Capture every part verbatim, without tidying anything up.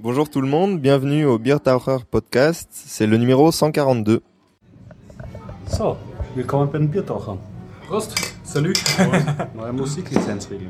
Bonjour tout le monde, bienvenue au Biertaucher Podcast, c'est le numéro cent quarante-deux. So, willkommen bei den Biertauchern. Prost, salut. Neue Musiklizenzregeln.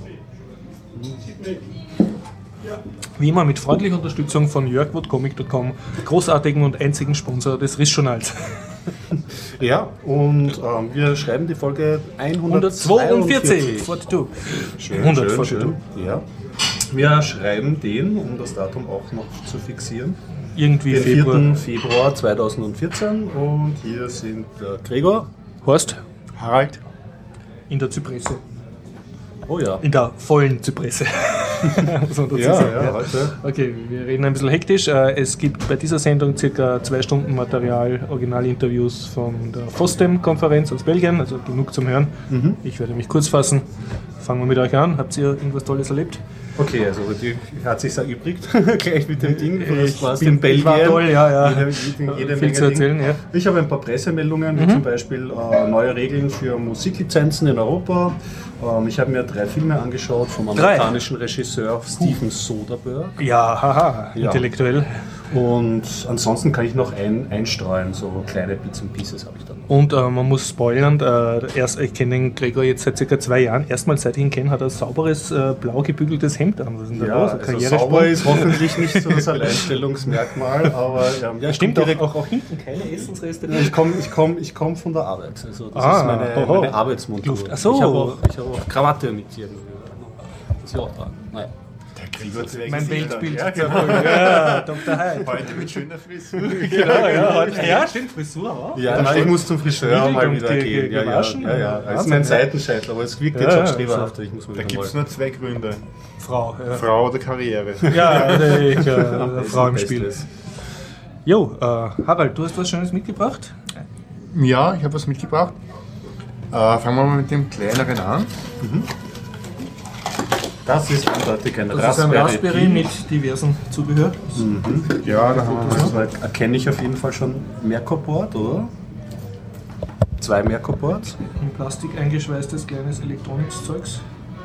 Wie immer mit freundlicher Unterstützung von jörg punkt comic punkt com, großartigen und einzigen Sponsor des Riss-Journals. Ja, und ähm, wir schreiben die Folge hundertzweiundvierzig. zweiundvierzig. Schön, hundert schön, schön. schön. Ja. Wir schreiben den, um das Datum auch noch zu fixieren, Irgendwie den Februar. vierten Februar zweitausendvierzehn. Und hier sind der Gregor, Horst, Harald. in der Zypresse. Oh ja. In der vollen Zypresse. Muss man dazu Ja, sagen, ja, heute. Okay, wir reden ein bisschen hektisch. Es gibt bei dieser Sendung circa zwei Stunden Material, Originalinterviews von der FOSDEM-Konferenz aus Belgien, also genug zum Hören. Mhm. Ich werde mich kurz fassen. Fangen wir mit euch an. Habt ihr irgendwas Tolles erlebt? Okay, also die hat sich erübrigt, gleich mit dem Ding. Du Ich warst bin- in Belgien. war toll, ja, ja. Jede, jede, jede Viel Menge zu erzählen, Ding. ja. Ich habe ein paar Pressemeldungen, wie Mhm. zum Beispiel äh, neue Regeln für Musiklizenzen in Europa. Ähm, ich habe mir drei Filme angeschaut vom Drei? amerikanischen Regisseur Steven Soderbergh. Ja, haha, Ja. intellektuell. Und ansonsten kann ich noch ein, einstreuen, so kleine Bits and Pieces habe ich dann noch. Und äh, man muss spoilern, äh, erst, ich kenne den Gregor jetzt seit circa zwei Jahren. Erstmals seit ich ihn kenne, hat er ein sauberes, äh, blau gebügeltes Hemd an. Was ist denn da Ja, los? Ein also Karrieresprung? sauber ist hoffentlich nicht so das Alleinstellungsmerkmal, aber ja, ja, ich Stimmt komm auch, direkt auch, auch hinten keine Essensreste. Ich komme ich komm, ich komm von der Arbeit. Also das Ah, ist meine, oho. meine Arbeitsmontur. Luft. Ach so. Ich habe auch, ich hab auch Krawatte mit hier. Das ich auch tragen. Naja. Der Gregor zeigt Mein sich Weltbild. dann. Ja, Ja, genau. ja, Doktor Hyde. Heute mit schöner Frisur. Genau, ja, heute, ja, stimmt, Frisur auch. Ja, nein, ich muss zum Friseur mal wieder Ge- ge- gehen. Ja, ja, gewaschen? ja, ja. Das ist Wahnsinn, mein ja. Seitenscheitel, aber es wirkt Ja, jetzt ja, auch streberhafter. Ich muss mal Da wieder gibt es mal. nur zwei Gründe. Frau. Ja, Frau oder Karriere. ja ich, äh, Das ist Frau im das Spiel. Beste. Jo, äh, Harald, du hast was Schönes mitgebracht? Ja, ich habe was mitgebracht. Äh, fangen wir mal mit dem kleineren an. Das ist eindeutig ein Das ist ein Raspberry, Raspberry Pi. mit diversen Zubehör. Ja, da haben wir Also erkenne ich auf jeden Fall schon Mercor-Board, oder? Zwei Mercor-Boards. In Plastik eingeschweißtes kleines Elektronik-Zeugs.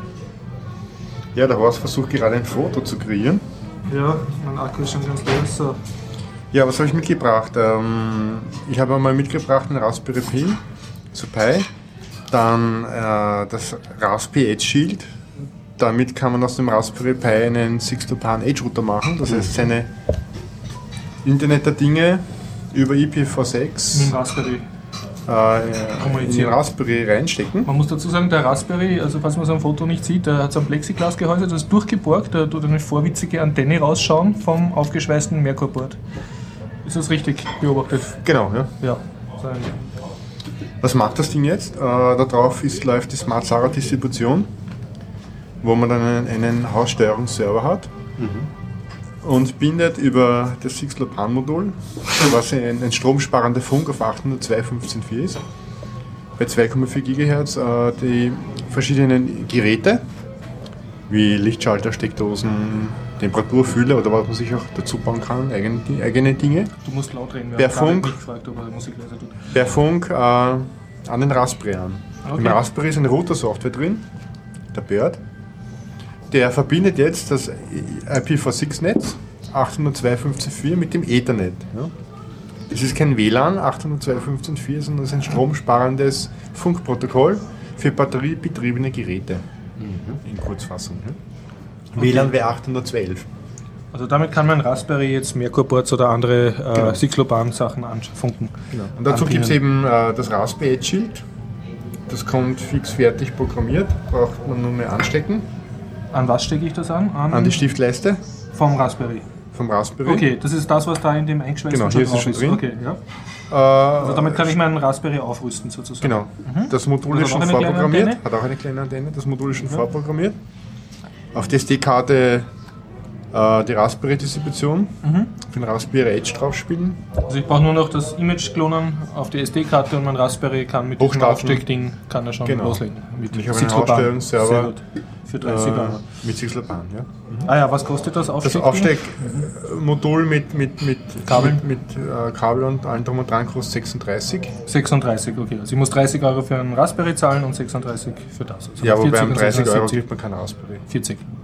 Ja, der Horst versucht gerade ein Foto zu kreieren. Ja, mein Akku ist schon ganz leer. So. Ja, was habe ich mitgebracht? Ähm, ich habe einmal mitgebracht einen Raspberry Pi, so Pi. Dann äh, das Raspberry Edge Shield. Damit kann man aus dem Raspberry Pi einen Six-to-Pan Edge Router machen. Das heißt, seine Internet der Dinge über I P v Mit sechs dem Raspberry. äh, in den Kommunizieren. Raspberry reinstecken. Man muss dazu sagen, der Raspberry, also falls man es am Foto nicht sieht, der hat so ein Plexiglasgehäuse, das ist durchgeborgt, da tut eine vorwitzige Antenne rausschauen vom aufgeschweißten Mercor-Board. Ist das richtig beobachtet? Genau, ja. Ja. So ein Was macht das Ding jetzt? Äh, da drauf ist, läuft die Smart Sara Distribution, wo man dann einen, einen Haussteuerungsserver hat und bindet über das Six-Lopan-Modul, was ein, ein stromsparender Funk auf achthundertzwei Punkt fünfzehn Punkt vier ist, bei zwei Komma vier Gigahertz äh, die verschiedenen Geräte, wie Lichtschalter, Steckdosen, Temperaturfühler oder was man sich auch dazu bauen kann, eigene, eigene Dinge, Du musst laut reden, wir Per haben gar Funk. nicht gefragt, ob er Musik leiser tut. per Funk äh, an den Raspberry an. Okay. Im Raspberry ist eine Router-Software drin, der Bird. Der verbindet jetzt das I P v sechs Netz achthundertzwei Punkt fünfzehn Punkt vier mit dem Ethernet. Ja. Das ist kein W L A N achthundertzwei Punkt fünfzehn Punkt vier, sondern das ist ein stromsparendes Funkprotokoll für batteriebetriebene Geräte. In Kurzfassung. Ja. W L A N wäre achthundertzwölf. Also damit kann man Raspberry jetzt Mercor-Boards oder andere äh, Genau. Six-Lopan-Sachen anfunken. Und dazu gibt es Anpinnen. eben äh, das Raspberry Edge Shield. Das kommt fix fertig programmiert, braucht man nur mehr anstecken. An was stecke ich das an? An die Stiftleiste Vom Raspberry. vom Raspberry. Okay, das ist das, was da in dem eingeschweißten Genau, hier ist es schon drauf drin. Okay, ja. Äh, Also damit kann ich meinen Raspberry aufrüsten sozusagen. Genau. Das Modul Hat ist das schon auch eine kleine vorprogrammiert. Antenne? Hat auch eine kleine Antenne. Das Modul ist schon vorprogrammiert. Auf der S D-Karte äh, die Raspberry-Distribution für den Raspberry Edge drauf spielen. Also ich brauche nur noch das Image klonen auf die S D-Karte und mein Raspberry kann mit diesem Hochstarten. Aufsteckding kann er schon Genau. loslegen. Mit Ich habe einen Six-Lopan. Ausstellungsserver. Sehr gut. Für dreißig Euro. Äh, mit Six-Lopan, ja. Ah ja, was kostet das Das Aufsteckding? Aufsteckmodul mit, mit, mit Kabel? mit, mit äh, Kabel und allem drum und dran kostet sechsunddreißig. sechsunddreißig, okay. Also ich muss dreißig Euro für einen Raspberry zahlen und sechsunddreißig für das. Also Ja, wobei vierzig, um also dreißig Euro siebzig. kriegt man keinen Raspberry. vierzig.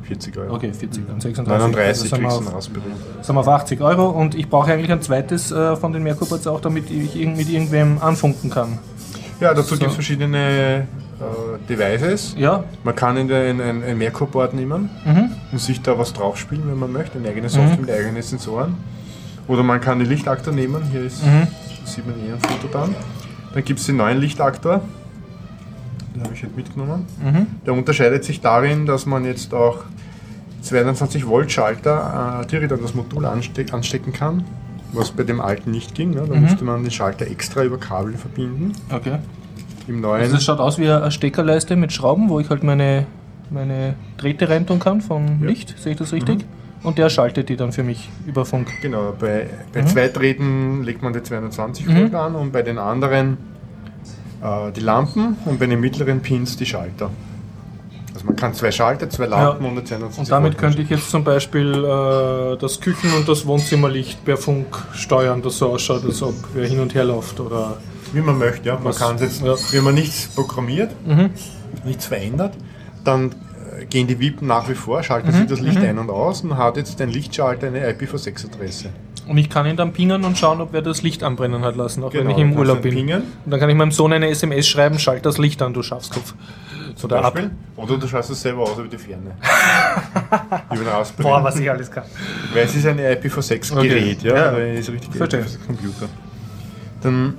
vierzig Euro. Okay, vierzig, dann sechsunddreißig. neununddreißig also kriegst sind du wir einen Raspberry. auf, sind wir auf achtzig Euro und ich brauche eigentlich ein zweites äh, von den Merkur-Boards auch, damit ich irgend mit irgendwem anfunken kann. Ja, dazu So. gibt es verschiedene äh, Devices. Ja. Man kann in ein, ein, ein Merkur-Board nehmen Mhm. und sich da was draufspielen, wenn man möchte, eine eigene Software Mhm. mit eigenen Sensoren. Oder man kann den Lichtaktor nehmen, hier ist, Mhm. sieht man eh ein Foto dann. Dann gibt es den neuen Lichtaktor, den habe ich halt mitgenommen. Mhm. Der unterscheidet sich darin, dass man jetzt auch zweiundzwanzig Volt Schalter äh, direkt an das Modul anste anstecken kann, was bei dem alten nicht ging. Ne? Da Mhm. musste man den Schalter extra über Kabel verbinden. Okay. Im neuen Also das schaut aus wie eine Steckerleiste mit Schrauben, wo ich halt meine, meine Drähte reintun kann vom Ja. Licht, sehe ich das richtig? Und der schaltet die dann für mich über Funk. Genau, bei, bei Mhm. zwei Drähten legt man die zweihundertzwanzig Mhm. Volt an und bei den anderen äh, die Lampen und bei den mittleren Pins die Schalter. Also man kann zwei Schalter, zwei Lampen Ja. und eine zweihundertzwanzig Und damit Volt könnte ich jetzt zum Beispiel äh, das Küchen- und das Wohnzimmerlicht per Funk steuern, das so ausschaut, als ob wer hin und her läuft. Oder Wie man möchte, ja. Man Was- kann es jetzt, ja. wenn man nichts programmiert, Mhm. nichts verändert, dann äh, gehen die Wippen nach wie vor, schalten Mhm. sich das Licht ein und aus und hat jetzt ein Lichtschalter eine I P v sechs Adresse. Und ich kann ihn dann pingen und schauen, ob wer das Licht anbrennen hat lassen, auch wenn ich dann im kannst Urlaub du ihn bin. pingen, Und dann kann ich meinem Sohn eine S M S schreiben, schalt das Licht an, du Schafskopf. zum Oder ab. Beispiel. Oder du schaltest es selber aus über die Ferne. über den Raspberry. Boah, was ich alles kann. Weil es ist ein I P v sechs Gerät, Okay. ja, Ja. weil es ist ein richtig Verstehe. I P v sechs Computer. Dann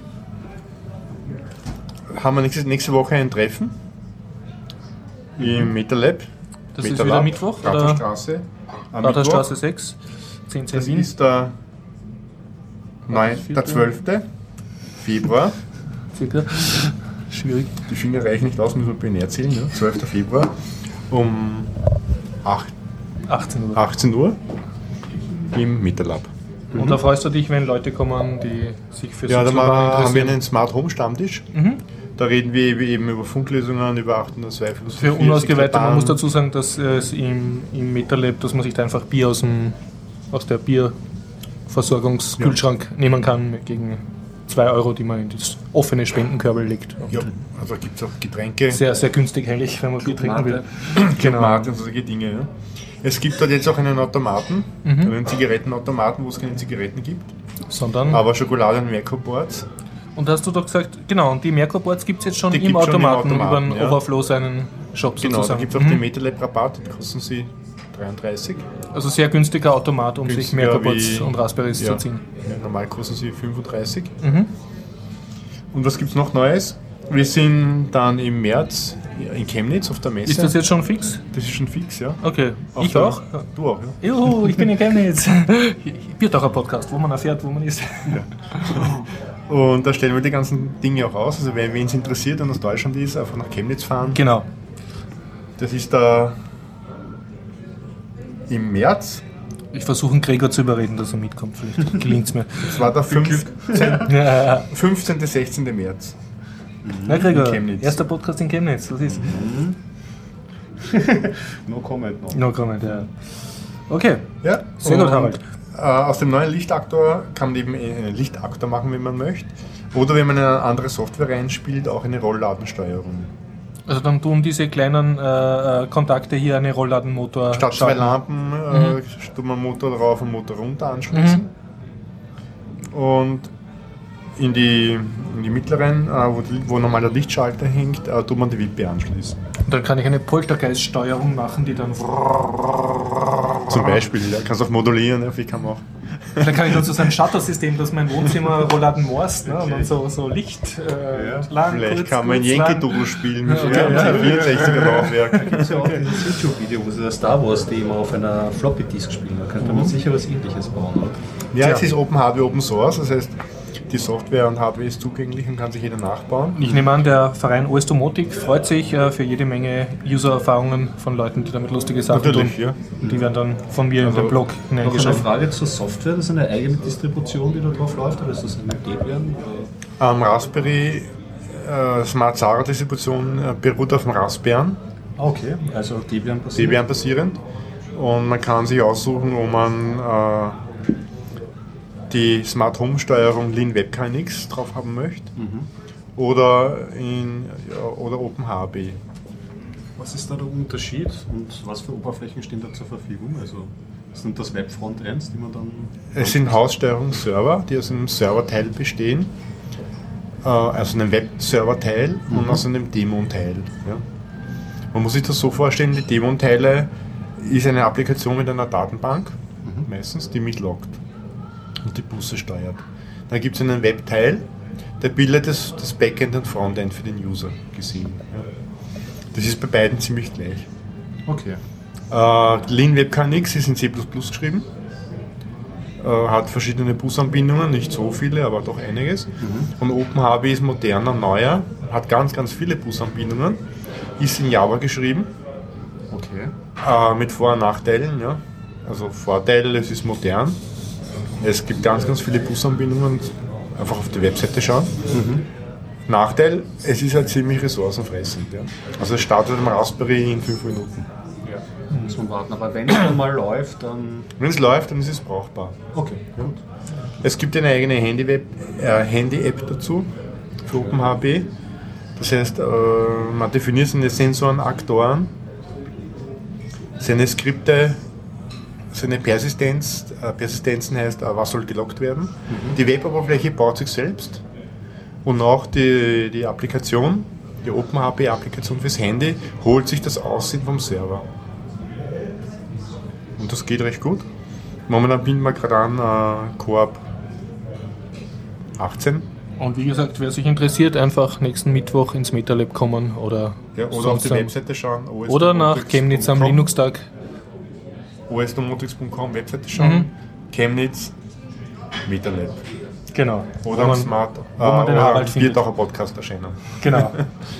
haben wir nächste, nächste Woche ein Treffen im MetaLab. Das ist MetaLab, wieder Mittwoch, oder? Rathausstraße. Am Rathausstraße sechs, zehn Mittwoch. Das Wien. ist der, neun, der zwölfte Februar. Circa. Schwierig. Die Finger reichen nicht aus, müssen wir binär zählen. Ja? zwölfter Februar um acht, achtzehn Uhr. achtzehn Uhr im MetaLab. Und da freust du dich, wenn Leute kommen, die sich für Ja, da Sozialwaren haben wir interessieren. einen Smart Home Stammtisch. Mhm. Da reden wir eben über Funklösungen, über achthundertzwei Für Unausgeweihte, man muss dazu sagen, dass es im, im MetaLab, dass man sich da einfach Bier aus, dem, aus der Bierversorgungskühlschrank nehmen kann gegen zwei Euro, die man in das offene Spendenkörbel legt. Und Ja, also gibt es auch Getränke, Sehr, sehr günstig eigentlich, wenn man Bier trinken will. genau. und solche Dinge. Ja. Es gibt dort jetzt auch einen Automaten, Mhm. einen Zigarettenautomaten, wo es keine Zigaretten gibt, Sondern, aber Schokolade und Merkur-Boards. und hast du doch gesagt, genau, und die Merkur-Boards gibt es jetzt schon Die im gibt's schon im Automaten, Automaten, über den ja. Overflow seinen Shop Genau, da sozusagen. gibt es auch Mhm. den MetaLab-Rabatt, den kosten sie dreiunddreißig. Also sehr günstiger Automat, um sich Günstiger Merkur-Boards wie- und Raspberries Ja. zu ziehen. Ja, normal kosten sie fünfunddreißig. Mhm. Und was gibt es noch Neues? Wir sind dann im März in Chemnitz auf der Messe. Ist das jetzt schon fix? Das ist schon fix, ja. Okay, Auf ich der- auch. Du auch, ja. Juhu, ich bin in Chemnitz. Biertaucher-Podcast, wo man erfährt, wo man ist. Und da stellen wir die ganzen Dinge auch aus. Also wenn wen es interessiert und aus Deutschland ist, einfach nach Chemnitz fahren. Genau. Das ist da im März. Ich versuche Gregor zu überreden, dass er mitkommt. Vielleicht gelingt es mir. Das war der fünfzehnte. Ja. fünfzehnten sechzehnten März. Na Gregor, In Chemnitz. erster Podcast in Chemnitz, was ist? No comment noch. No comment, ja. Okay, Ja, sehr gut, und, Harald. Äh, aus dem neuen Lichtaktor kann man eben einen Lichtaktor machen, wenn man möchte. Oder wenn man eine andere Software reinspielt, auch eine Rollladensteuerung. Also dann tun diese kleinen äh, äh, Kontakte hier eine Rollladenmotor Statt zwei starten. Lampen äh, tut man Motor drauf und Motor runter anschließen. Und in die, in die mittleren, äh, wo, die, wo normal der Lichtschalter hängt, äh, tut man die Wippe anschließen. Und dann kann ich eine Poltergeist-Steuerung machen, die dann... Zum Beispiel, ja, kannst auch modulieren, ja, wie kann man auch. Dann kann ich dann so ein Shutter-System, dass mein Wohnzimmer Rollladen morst, ne? Und dann so, so Licht äh, Ja, lang, vielleicht kurz, kann man ein kurz, lang. Yankee-Doodle spielen mit okay, ja, ja. vierundsechziger Laufwerk. Da gibt es ja auch dieses YouTube-Video, wo sie das Star Wars-Thema auf einer Floppy-Disk spielen. Da könnte man sicher was Ähnliches bauen, oder? Ja, Tja. es ist Open Hardware, Open Source, das heißt, die Software und Hardware ist zugänglich und kann sich jeder nachbauen. Ich nehme an, der Verein O S Domotik freut sich äh, für jede Menge User-Erfahrungen von Leuten, die damit lustige Sachen Natürlich, tun. ja. Und die werden dann von mir Also, in den Blog Noch eine hineingeschrieben. Frage zur Software. Das ist eine eigene Distribution, die da drauf läuft, oder ist das eine Debian? Am Raspberry äh, Smart Zara Distribution äh, beruht auf dem Raspbian, Okay, also Debian passiert. Debian basierend. Und man kann sich aussuchen, wo man äh, die Smart Home Steuerung Lean Web K N X drauf haben möchte. Oder, in, ja, oder OpenHB. Was ist da der Unterschied und was für Oberflächen stehen da zur Verfügung? Also sind das Web-Frontends, die man dann... Es sind Haussteuerungsserver, die aus einem Serverteil bestehen, äh, also einem Web-Serverteil mhm. und aus einem Daemon-Teil. Ja. Man muss sich das so vorstellen, die Daemon-Teile ist eine Applikation mit einer Datenbank, mhm. meistens, die mitloggt und die Busse steuert. Dann gibt es einen Webteil, der bildet das, das Backend und Frontend für den User gesehen. Ja. Das ist bei beiden ziemlich gleich. Okay. Äh, LeanWebKNX ist in C plus plus geschrieben, äh, hat verschiedene Busanbindungen, nicht so viele, aber doch einiges. Mhm. Und OpenHB ist moderner, neuer, hat ganz, ganz viele Busanbindungen, ist in Java geschrieben. Okay. Äh, mit Vor- und Nachteilen. Ja. Also Vorteil, es ist modern. Es gibt ganz, ganz viele Busanbindungen, einfach auf die Webseite schauen. Mhm. Nachteil, es ist halt ziemlich ressourcenfressend. Ja. Also es startet am Raspberry in fünf Minuten. Ja, muss man warten. Aber wenn es dann mal läuft, dann... Wenn es läuft, dann ist es brauchbar. Okay, gut. Es gibt eine eigene Handy-Web, äh, Handy-App dazu für OpenHB. Das heißt, äh, man definiert seine Sensoren, Aktoren, seine Skripte, seine Persistenz. Äh, Persistenzen heißt, äh, was soll gelockt werden. Mhm. Die Web-Oberfläche baut sich selbst. Und auch die, die Applikation, die OpenHB-Applikation fürs Handy, holt sich das Aussehen vom Server. Und das geht recht gut. Momentan binden wir gerade an äh, Coop achtzehn. Und wie gesagt, wer sich interessiert, einfach nächsten Mittwoch ins MetaLab kommen oder, ja, oder auf die Webseite schauen. Oder nach Chemnitz am Linux-Tag. o s domotics punkt com Webseite schauen. Mhm. Chemnitz, MetaLab. Genau. Oder am Smart, wo man den oder Harald am findet. Biertaucher Podcast erscheinen. Genau. ja.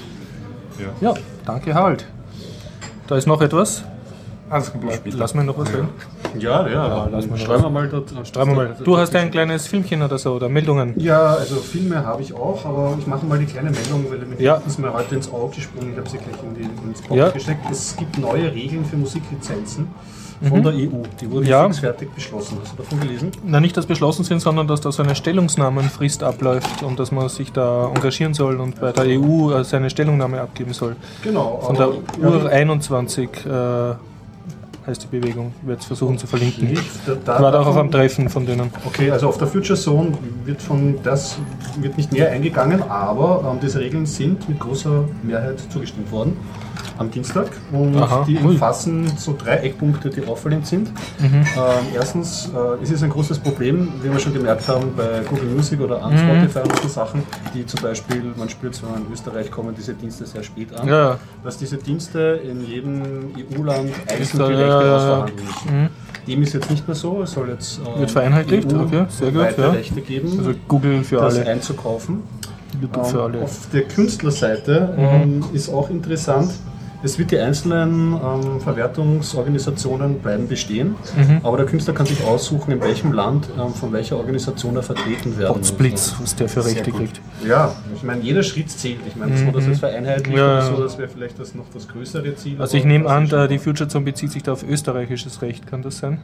ja, danke Harald. Da ist noch etwas. Alles kommt später. Lass mir noch was hören. Ja, ja, ja lass mal schreiben wir mal dort. Schreiben wir mal. Du hast ein kleines Filmchen oder so, oder Meldungen? Ja, also Filme habe ich auch, aber ich mache mal die kleine Meldung, weil mir ja. ist mir heute ins Auge gesprungen, ich habe sie gleich in die, ins Kopf ja. gesteckt. Es gibt neue Regeln für Musiklizenzen von mhm. der E U. Die wurden ja. fix fertig beschlossen. Hast du davon gelesen? Na, nicht, dass beschlossen sind, sondern dass da so eine Stellungnahmenfrist abläuft und dass man sich da engagieren soll und bei der E U seine Stellungnahme abgeben soll. Genau. Von der U R einundzwanzig äh, heißt die Bewegung. Ich werde es versuchen zu verlinken. Ich war da auch auf einem Treffen von denen. Okay, also auf der Future Zone wird von das wird nicht näher eingegangen, aber ähm, diese Regeln sind mit großer Mehrheit zugestimmt worden am Dienstag und Aha, die cool. umfassen so drei Eckpunkte, die auffallend sind. Mhm. Ähm, erstens, äh, es ist ein großes Problem, wie wir schon gemerkt haben, bei Google Music oder an Spotify mhm. und so Sachen, die zum Beispiel, man spürt, wenn man in Österreich kommen diese Dienste sehr spät an, ja. dass diese Dienste in jedem E U-Land einzeln die Rechte ja, ausverhandeln müssen. Mhm. Dem ist jetzt nicht mehr so, es soll jetzt äh, wird vereinheitlicht, E U okay, sehr gut, weitere ja. Rechte geben, also Google für das alle einzukaufen. YouTube für alle. Ähm, auf der Künstlerseite mhm. ähm, ist auch interessant. Es wird die einzelnen ähm, Verwertungsorganisationen bleiben bestehen, mhm. aber der Künstler kann sich aussuchen, in welchem Land ähm, von welcher Organisation er vertreten werden muss. Botsblitz, was der für Rechte kriegt. Ja, ich meine, jeder Schritt zählt. Ich meine, so, dass es vereinheitlicht ja. oder so, das wäre vielleicht das noch das größere Ziel. Also ich nehme an, da die Future Zone bezieht sich da auf österreichisches Recht, kann das sein?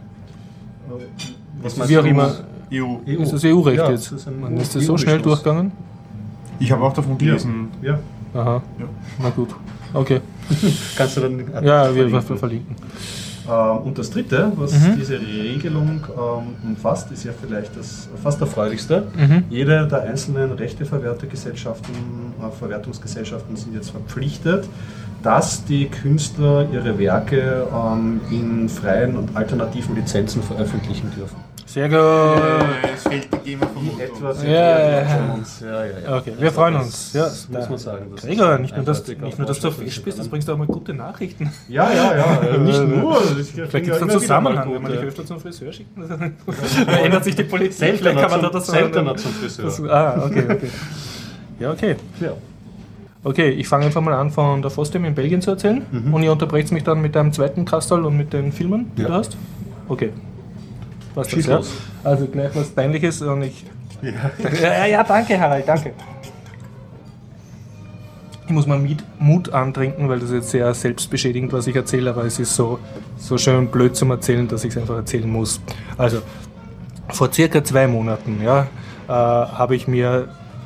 Was Wie auch immer. E U. E U. Ist das E U-Recht ja, jetzt? Das ist, Man ist das so schnell durchgegangen? Ich habe auch davon gelesen. Ja. ja. Aha, ja. Na gut. Okay. Kannst du dann ja, wir verlinken. verlinken. Ähm, und das dritte, was mhm. diese Regelung ähm, umfasst, ist ja vielleicht das fast erfreulichste. Mhm. Jede der einzelnen Rechteverwertergesellschaften, äh, Verwertungsgesellschaften sind jetzt verpflichtet, dass die Künstler ihre Werke ähm, in freien und alternativen Lizenzen veröffentlichen dürfen. Sehr gut. Es fehlt die GEMA vom etwas ja, ja, uns. Ja, ja, ja. Okay, wir freuen uns. Ja, das muss man sagen. Das Gregor, nicht nur, dass, nicht nur, dass du auf Fisch bist, das bringst du auch mal gute Nachrichten. Ja, ja, ja. Nicht nur. Vielleicht gibt es einen Zusammenhang, wenn man dich öfter zum Friseur schickt. Dann ändert sich die Politik. Seltener, kann man zum, da das seltener zum Friseur. Das, ah, okay, okay. Ja, okay. Ja. Okay, ich fange einfach mal an, von der FOSDEM in Belgien zu erzählen. Mhm. Und ihr unterbrecht mich dann mit deinem zweiten Kastal und mit den Filmen, die ja. du hast. Okay. Was das, ja? Also gleich was Peinliches und ich... Ja. ja, ja, danke Harald, danke. Ich muss mal Mut antrinken, weil das ist jetzt sehr selbstbeschädigend, was ich erzähle, aber es ist so, so schön blöd zum Erzählen, dass ich es einfach erzählen muss. Also, vor circa zwei Monaten ja, äh, habe ich mir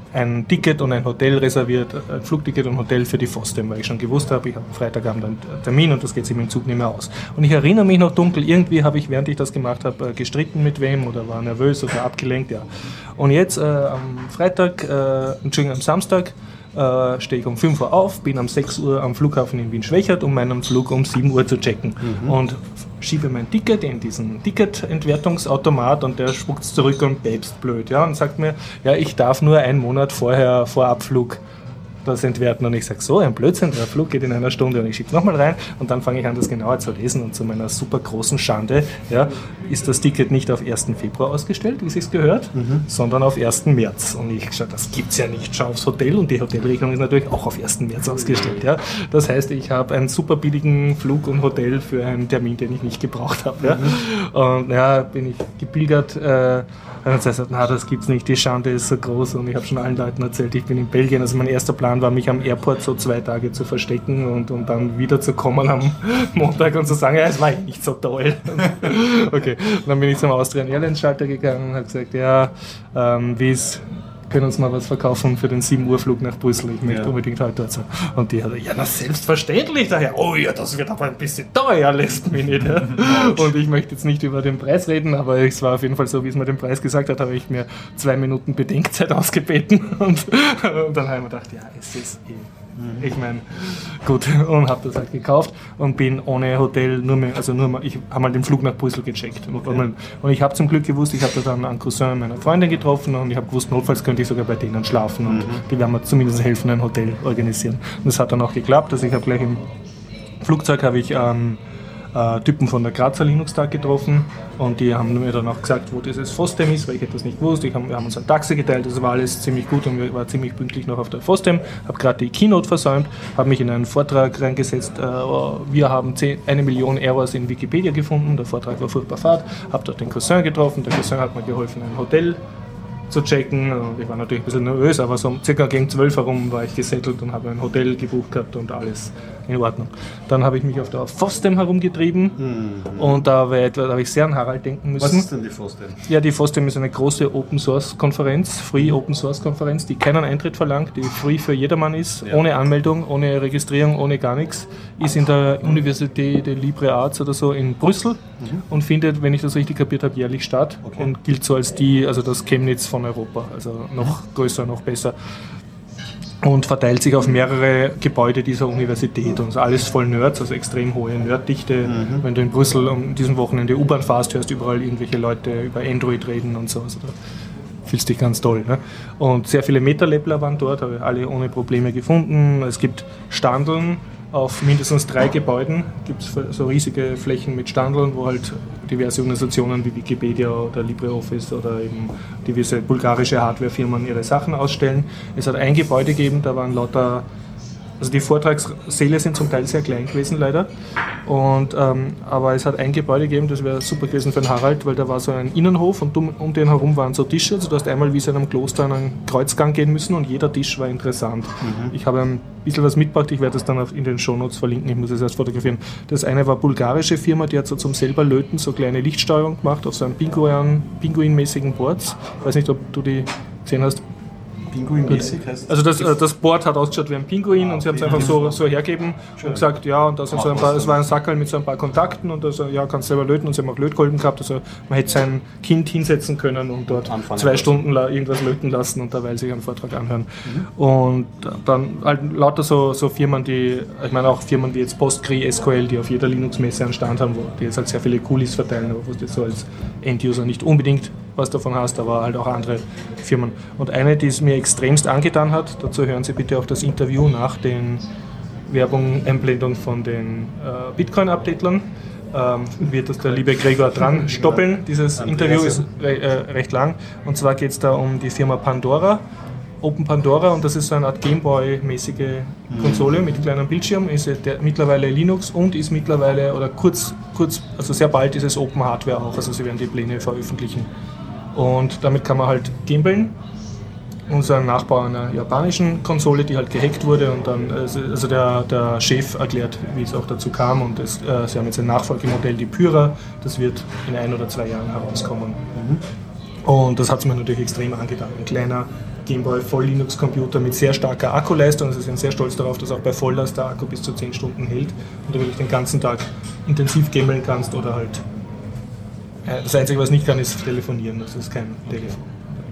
ein Ticket und ein Hotel reserviert, ein Flugticket und Hotel für die FOSDEM, weil ich schon gewusst habe, ich habe am Freitagabend einen Termin und das geht sich mit dem Zug nicht mehr aus. Und ich erinnere mich noch dunkel, irgendwie habe ich, während ich das gemacht habe, gestritten mit wem oder war nervös oder abgelenkt, ja. Und jetzt äh, am Freitag, äh, Entschuldigung, am Samstag, Äh, stehe ich um fünf Uhr auf, bin um sechs Uhr am Flughafen in Wien-Schwächert, um meinen Flug um sieben Uhr zu checken. Mhm. Und schiebe mein Ticket in diesen Ticketentwertungsautomat und der spuckt es zurück und päpst blöd. Ja, und sagt mir, ja, ich darf nur einen Monat vorher vor Abflug das entwerten. Und ich sage, so ein Blödsinn, der Flug geht in einer Stunde und ich schiebe nochmal rein und dann fange ich an, das genauer zu lesen und zu meiner super großen Schande, ja, ist das Ticket nicht auf ersten Februar ausgestellt, wie es sich gehört, mhm. sondern auf ersten März. Und ich schaue, das gibt es ja nicht, schau aufs Hotel und die Hotelrechnung ist natürlich auch auf ersten März ausgestellt. Ja. Das heißt, ich habe einen super billigen Flug und Hotel für einen Termin, den ich nicht gebraucht habe. Ja. Mhm. Und ja, bin ich gepilgert, äh, und dann sagt, na, das gibt's nicht, die Schande ist so groß und ich habe schon allen Leuten erzählt, ich bin in Belgien. Also mein erster Plan war, mich am Airport so zwei Tage zu verstecken und, und dann wieder zu kommen am Montag und zu sagen, ja, es war nicht so toll. Okay, und dann bin ich zum Austrian Airlines Schalter gegangen und habe gesagt, ja, ähm, wie es können uns mal was verkaufen für den sieben Uhr Flug nach Brüssel. Ich möchte ja. unbedingt heute dort sein. Und die hat ja, na selbstverständlich daher. Oh ja, das wird aber ein bisschen teuer, lässt mich nicht. Ja. Und ich möchte jetzt nicht über den Preis reden, aber es war auf jeden Fall so, wie es mir den Preis gesagt hat, habe ich mir zwei Minuten Bedenkzeit ausgebeten. Und, und dann habe ich mir gedacht, ja, es ist eh. Ich meine, gut, und habe das halt gekauft und bin ohne Hotel nur mehr, also nur mal, ich habe mal den Flug nach Brüssel gecheckt. Okay. Und ich habe zum Glück gewusst, ich habe da dann einen Cousin meiner Freundin getroffen und ich habe gewusst, notfalls könnte ich sogar bei denen schlafen und mhm. die werden mir zumindest helfen, ein Hotel organisieren. Und das hat dann auch geklappt, also ich habe gleich im Flugzeug habe ich ähm, äh, Typen von der Grazer Linux-Tag getroffen und die haben mir dann auch gesagt, wo dieses FOSDEM ist, weil ich das nicht wusste. Ich hab, wir haben uns ein Taxi geteilt, das war alles ziemlich gut und ich war ziemlich pünktlich noch auf der FOSDEM, habe gerade die Keynote versäumt, habe mich in einen Vortrag reingesetzt, äh, wir haben zehn, eine Million Errors in Wikipedia gefunden, der Vortrag war furchtbar fad, habe dort den Cousin getroffen, der Cousin hat mir geholfen, ein Hotel zu checken. Und ich war natürlich ein bisschen nervös, aber so circa gegen zwölf herum war ich gesettelt und habe ein Hotel gebucht gehabt und alles in Ordnung. Dann habe ich mich auf der FOSDEM herumgetrieben mhm. und da, da habe ich sehr an Harald denken müssen. Was ist denn die FOSDEM? Ja, die FOSDEM ist eine große Open-Source-Konferenz, Free Open-Source-Konferenz, die keinen Eintritt verlangt, die free für jedermann ist, ja. ohne Anmeldung, ohne Registrierung, ohne gar nichts. Ist in der Université de Libre Arts oder so in Brüssel mhm. und findet, wenn ich das richtig kapiert habe, jährlich statt okay. und gilt so als die, also das Chemnitz von Europa, also noch größer, noch besser. Und verteilt sich auf mehrere Gebäude dieser Universität und alles voll Nerds, also extrem hohe Nerddichte. Mhm. Wenn du in Brüssel um diesem Wochenende U-Bahn fährst, hörst du überall irgendwelche Leute über Android reden und so. Also da fühlst dich ganz toll. Ne? Und sehr viele Meta-Labler waren dort, habe ich alle ohne Probleme gefunden. Es gibt Standeln auf mindestens drei Gebäuden, gibt es so riesige Flächen mit Standeln, wo halt diverse Organisationen wie Wikipedia oder LibreOffice oder eben diverse bulgarische Hardwarefirmen ihre Sachen ausstellen. Es hat ein Gebäude gegeben, da waren lauter, also die Vortragssäle sind zum Teil sehr klein gewesen leider, und, ähm, aber es hat ein Gebäude gegeben, das wäre super gewesen für den Harald, weil da war so ein Innenhof und um, um den herum waren so Tische, also du hast einmal wie so in einem Kloster an einen Kreuzgang gehen müssen und jeder Tisch war interessant. Mhm. Ich habe ein bisschen was mitgebracht, ich werde das dann auf, in den Shownotes verlinken, ich muss es erst fotografieren. Das eine war eine bulgarische Firma, die hat so zum selber Löten so kleine Lichtsteuerung gemacht auf so einem Pinguin, Pinguin-mäßigen Boards. Ich weiß nicht, ob du die gesehen hast. Pinguin-mäßig heißt Also das, das Board hat ausgeschaut wie ein Pinguin ah, und sie haben es einfach so, so hergeben Schön. und gesagt, ja, und da sind so ein paar, es war ein Sackerl mit so ein paar Kontakten und also, ja, kannst selber löten und sie haben auch Lötkolben gehabt, also man hätte sein Kind hinsetzen können und dort Anfangen zwei Stunden la- irgendwas löten lassen und dabei sich einen Vortrag anhören. Mhm. Und dann halt lauter so, so Firmen, die, ich meine auch Firmen wie jetzt Postgre, S Q L, die auf jeder Linux-Messe einen Stand haben, wo die jetzt halt sehr viele Coolies verteilen, aber wo du so als End-User nicht unbedingt was davon hast, aber halt auch andere Firmen. Und eine, die es mir extremst angetan hat, dazu hören Sie bitte auch das Interview nach den Werbung, Einblendung von den äh, Bitcoin-Updatelern, ähm, wird das der liebe Gregor dran stoppeln. Dieses Interview ist re- äh, recht lang, und zwar geht es da um die Firma Pandora, Open Pandora, und das ist so eine Art Gameboy-mäßige Konsole mit kleinem Bildschirm, ist der, mittlerweile Linux und ist mittlerweile, oder kurz, kurz, also sehr bald ist es Open Hardware auch, also sie werden die Pläne veröffentlichen. Und damit kann man halt gamblen. Unser Nachbau einer japanischen Konsole, die halt gehackt wurde, und dann, also der, der Chef erklärt, wie es auch dazu kam, und das, äh, sie haben jetzt ein Nachfolgemodell, die Pyra, das wird in ein oder zwei Jahren herauskommen. Mhm. Und das hat es mir natürlich extrem angetan. Ein kleiner Gameboy Voll Linux Computer mit sehr starker Akkuleistung. Also sie sind sehr stolz darauf, dass auch bei Volllast der Akku bis zu zehn Stunden hält und du wirklich den ganzen Tag intensiv gameln kannst oder halt. Das Einzige, was nicht kann, ist telefonieren. Das ist kein Telefon.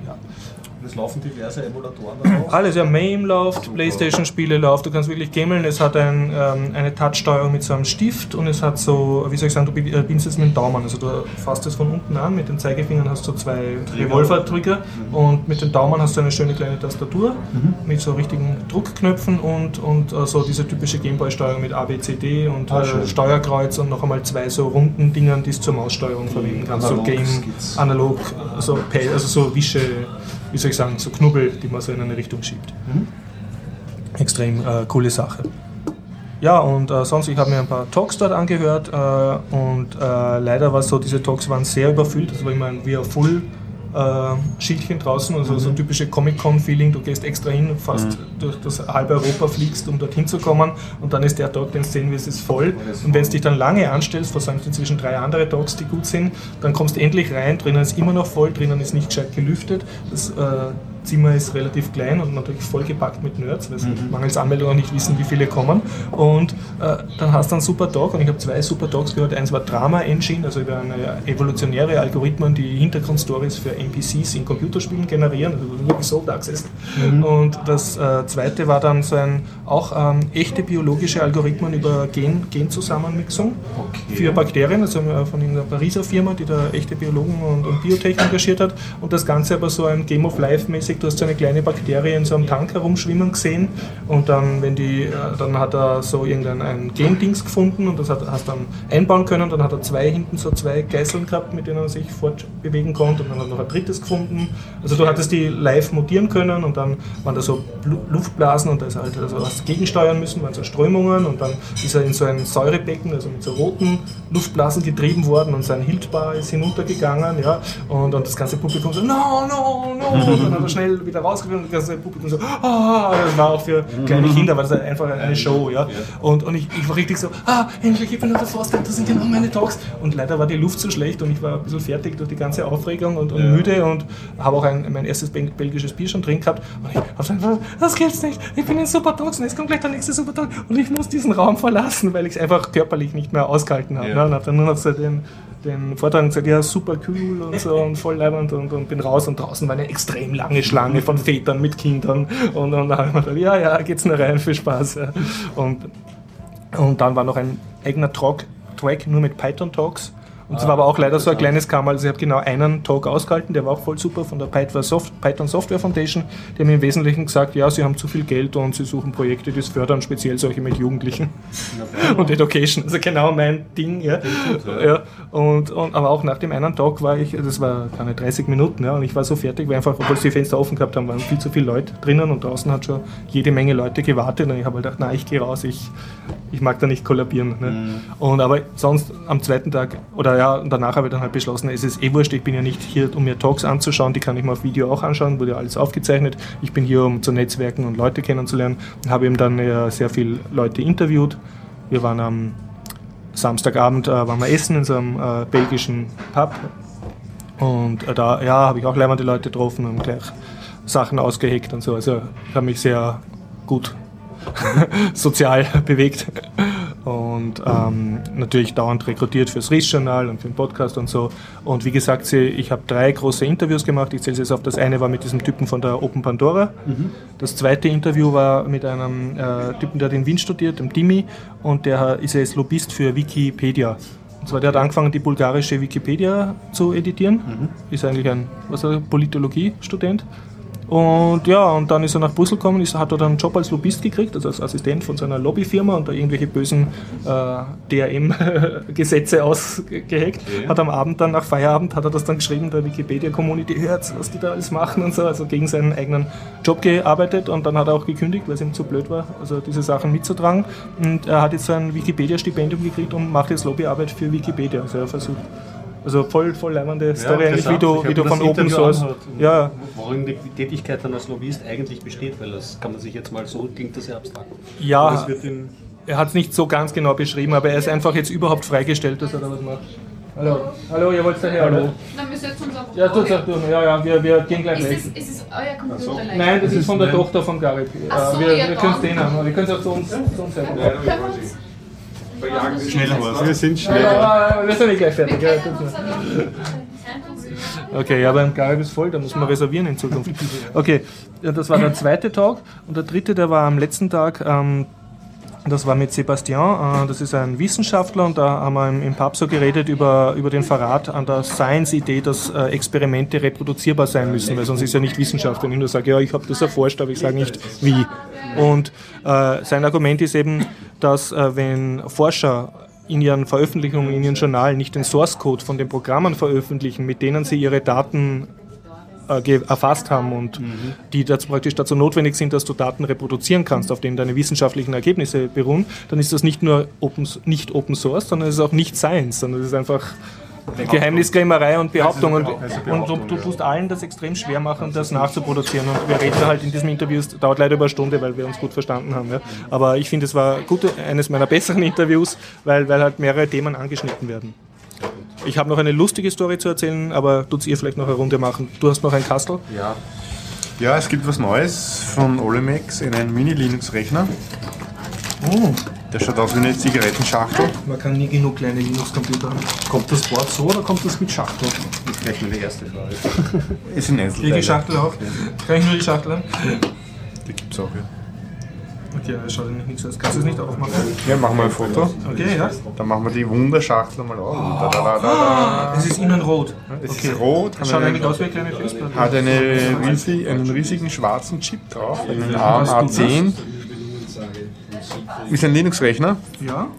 Es laufen diverse Emulatoren darauf. Alles, ja, MAME läuft, Playstation-Spiele läuft, du kannst wirklich gameln. Es hat ein, ähm, eine Touch-Steuerung mit so einem Stift und es hat so, wie soll ich sagen, du bedienst es mit dem Daumen. Also du fasst es von unten an, mit den Zeigefingern hast du zwei Revolver-Trigger mhm. und mit dem Daumen hast du eine schöne kleine Tastatur mhm. mit so richtigen Druckknöpfen und, und äh, so diese typische Gameboy-Steuerung mit A, B, C, D und ah, äh, Steuerkreuz und noch einmal zwei so runden Dingern, die es zur Maussteuerung verwenden kannst. So Game, analog, also, also so Wische, wie soll ich sagen, so Knubbel, die man so in eine Richtung schiebt. Mhm. Extrem äh, coole Sache. Ja, und äh, sonst, ich habe mir ein paar Talks dort angehört äh, und äh, leider war es so, diese Talks waren sehr überfüllt, das war immer ein We Are Full äh, Schildchen draußen, also mhm. so typische Comic-Con-Feeling, du gehst extra hin, fast mhm. durch das halbe Europa fliegst, um dorthin zu kommen und dann ist der Talk, den sehen wir, es ist voll und wenn du dich dann lange anstellst, versäumst inzwischen drei andere Talks, die gut sind, dann kommst du endlich rein, drinnen ist immer noch voll, drinnen ist nicht gescheit gelüftet, das äh, Zimmer ist relativ klein und natürlich vollgepackt mit Nerds, weil sie mhm. mangels Anmeldung auch nicht wissen, wie viele kommen. Und äh, dann hast du einen super Talk und ich habe zwei super Talks gehört. Eins war Drama Engine, also über eine evolutionäre Algorithmen, die Hintergrundstories für N P Cs in Computerspielen generieren, also wirklich Sold Access. Mhm. Und das äh, zweite war dann so ein auch ähm, echte biologische Algorithmen über Gen, Genzusammenmixung okay. für Bakterien, also äh, von einer Pariser Firma, die da echte Biologen und, und Biotech engagiert hat. Und das Ganze aber so ein Game of Life mäßig. Du hast so eine kleine Bakterie in so einem Tank herumschwimmen gesehen und dann, wenn die, dann hat er so irgendein ein Game-Dings gefunden und das hat, hast dann einbauen können. Dann hat er zwei hinten so zwei Geißeln gehabt, mit denen er sich fortbewegen konnte und dann hat er noch ein drittes gefunden. Also du hattest die live mutieren können und dann waren da so Luftblasen und da ist er halt, also hast gegensteuern müssen, waren so Strömungen und dann ist er in so ein Säurebecken, also mit so roten Luftblasen getrieben worden und sein Hildbar ist hinuntergegangen, ja, und, und das ganze Publikum so, no, no, no, und dann hat er schnell wieder rausgekommen und das ganze Publikum so, ah, das war auch für kleine Kinder, war das einfach eine Show, ja. Und, und ich, ich war richtig so, ah, endlich, ich bin nur der Forster, das sind genau meine Talks. Und leider war die Luft so schlecht und ich war ein bisschen fertig durch die ganze Aufregung und, und ja. müde und habe auch ein, mein erstes belgisches Bier schon drin gehabt. Und ich habe einfach, das gibt's nicht, ich bin in super Talks und jetzt kommt gleich der nächste super Talk und ich muss diesen Raum verlassen, weil ich es einfach körperlich nicht mehr ausgehalten habe. Ja. Ne? Und habe dann nur noch so den, den Vortrag gesagt, ja, super cool und so und voll leibend und, und bin raus und draußen war eine extrem lange Schlange von Vätern mit Kindern und, und dann habe ich mir gedacht, ja, ja, geht's nur rein, viel Spaß. Ja. Und, und dann war noch ein eigener Track, Track nur mit Python-Talks. Und es ah, war aber auch leider so ein kleines Kammer, also ich habe genau einen Talk ausgehalten, der war auch voll super von der Python Software Foundation. Die haben im Wesentlichen gesagt, ja, sie haben zu viel Geld und sie suchen Projekte, die es fördern, speziell solche mit Jugendlichen ja, und Education. Also genau mein Ding. Ja. Ja. Und, und, aber auch nach dem einen Talk war ich, das war keine dreißig Minuten, ja, und ich war so fertig, weil einfach, obwohl sie die Fenster offen gehabt haben, waren viel zu viele Leute drinnen und draußen hat schon jede Menge Leute gewartet und ich habe halt gedacht, na, ich gehe raus, ich, ich mag da nicht kollabieren. Ne. Mhm. Und aber sonst am zweiten Tag, oder ja, und danach habe ich dann halt beschlossen, es ist eh wurscht, ich bin ja nicht hier, um mir Talks anzuschauen, die kann ich mir auf Video auch anschauen, wurde ja alles aufgezeichnet. Ich bin hier, um zu netzwerken und Leute kennenzulernen und habe eben dann ja sehr viele Leute interviewt. Wir waren am Samstagabend, äh, waren wir essen in so einem äh, belgischen Pub und äh, da ja, habe ich auch leibende Leute getroffen und gleich Sachen ausgeheckt und so. Also ich habe mich sehr gut sozial bewegt. Und ähm, natürlich dauernd rekrutiert fürs Riss-Journal und für den Podcast und so. Und wie gesagt, ich habe drei große Interviews gemacht. Ich zähle es jetzt auf. Das eine war mit diesem Typen von der Open Pandora. Mhm. Das zweite Interview war mit einem äh, Typen, der hat in Wien studiert, dem Dimi. Und der ist jetzt Lobbyist für Wikipedia. Und zwar, der hat angefangen, die bulgarische Wikipedia zu editieren. Mhm. Ist eigentlich ein, was ist er, Politologie-Student. Und ja, und dann ist er nach Brüssel gekommen, ist, hat dort einen Job als Lobbyist gekriegt, also als Assistent von seiner Lobbyfirma und da irgendwelche bösen äh, D R M-Gesetze ausgeheckt. Okay. Hat am Abend dann, nach Feierabend, hat er das dann geschrieben, der Wikipedia-Community, hört, was die da alles machen und so, also gegen seinen eigenen Job gearbeitet und dann hat er auch gekündigt, weil es ihm zu blöd war, also diese Sachen mitzutragen. Und er hat jetzt so ein Wikipedia-Stipendium gekriegt und macht jetzt Lobbyarbeit für Wikipedia, also er versucht. Also voll, voll leibende Story, ja, eigentlich, wie du, wie du von Open Source. Ja. Worin die Tätigkeit dann als Lobbyist eigentlich besteht, weil das kann man sich jetzt mal so, klingt das sehr abstrakt. Ja, das wird er hat es nicht so ganz genau beschrieben, aber er ist einfach jetzt überhaupt freigestellt, dass er da was macht. Hallo, hallo, ihr wollt daher, hallo. Dann wir sollten uns einfach... Ja, tut's auch durch. Ja, ja, wir, wir gehen gleich weg. Ist es, ist es euer Computer also, leicht? Nein, das ist von der Tochter von Garib. Ach so, wir ja, wir können es denen haben, wir können es auch zu uns, zu uns selber machen. Schneller was, wir sind schneller. Ja, wir sind nicht gleich fertig. Ja, okay, ja, beim Garib ist voll, da muss man reservieren in Zukunft. Okay, ja, das war der zweite Tag und der dritte, der war am letzten Tag. Ähm, Das war mit Sebastian, das ist ein Wissenschaftler und da haben wir im Pub so geredet über, über den Verrat an der Science-Idee, dass Experimente reproduzierbar sein müssen, weil sonst ist ja nicht Wissenschaft, wenn ich nur sage, ja, ich habe das erforscht, aber ich sage nicht wie. Und äh, sein Argument ist eben, dass äh, wenn Forscher in ihren Veröffentlichungen, in ihren Journalen nicht den Source-Code von den Programmen veröffentlichen, mit denen sie ihre Daten erfasst haben und mhm. die dazu praktisch dazu notwendig sind, dass du Daten reproduzieren kannst, auf denen deine wissenschaftlichen Ergebnisse beruhen, dann ist das nicht nur open, nicht Open Source, sondern es ist auch nicht Science, sondern es ist einfach Geheimniskrämerei und Behauptung und, und du, du tust allen das extrem schwer machen, das nachzuproduzieren und wir reden halt in diesem Interview, es dauert leider über eine Stunde, weil wir uns gut verstanden haben, ja. Aber ich finde, es war gut, eines meiner besseren Interviews, weil, weil halt mehrere Themen angeschnitten werden. Ich habe noch eine lustige Story zu erzählen, aber tut's ihr vielleicht noch eine Runde machen. Du hast noch ein Kastel? Ja. Ja, es gibt was Neues von Olimex, einen Mini-Linux-Rechner. Oh. Der schaut aus wie eine Zigarettenschachtel. Man kann nie genug kleine Linux-Computer haben. Kommt das Board so oder kommt das mit Schachtel? Das ist gleich mal die erste Frage. Es sind Einzelteile. Kriege die Schachtel auch? Kann ich nur die Schachtel haben? Die gibt es auch, ja. Okay, das schaut nicht nichts aus. Kannst du es nicht aufmachen? Ja, machen wir ein Foto. Okay, ja. Dann machen wir die Wunderschachtel mal auf. Oh. Da, da, da, da. Es ist innen rot. Es okay. ist rot. Das schaut eigentlich aus wie eine kleine Festplatte. Hat eine riesig, einen riesigen schwarzen Chip drauf, einen ARM A zehn. Ist ein Linux-Rechner. Ja.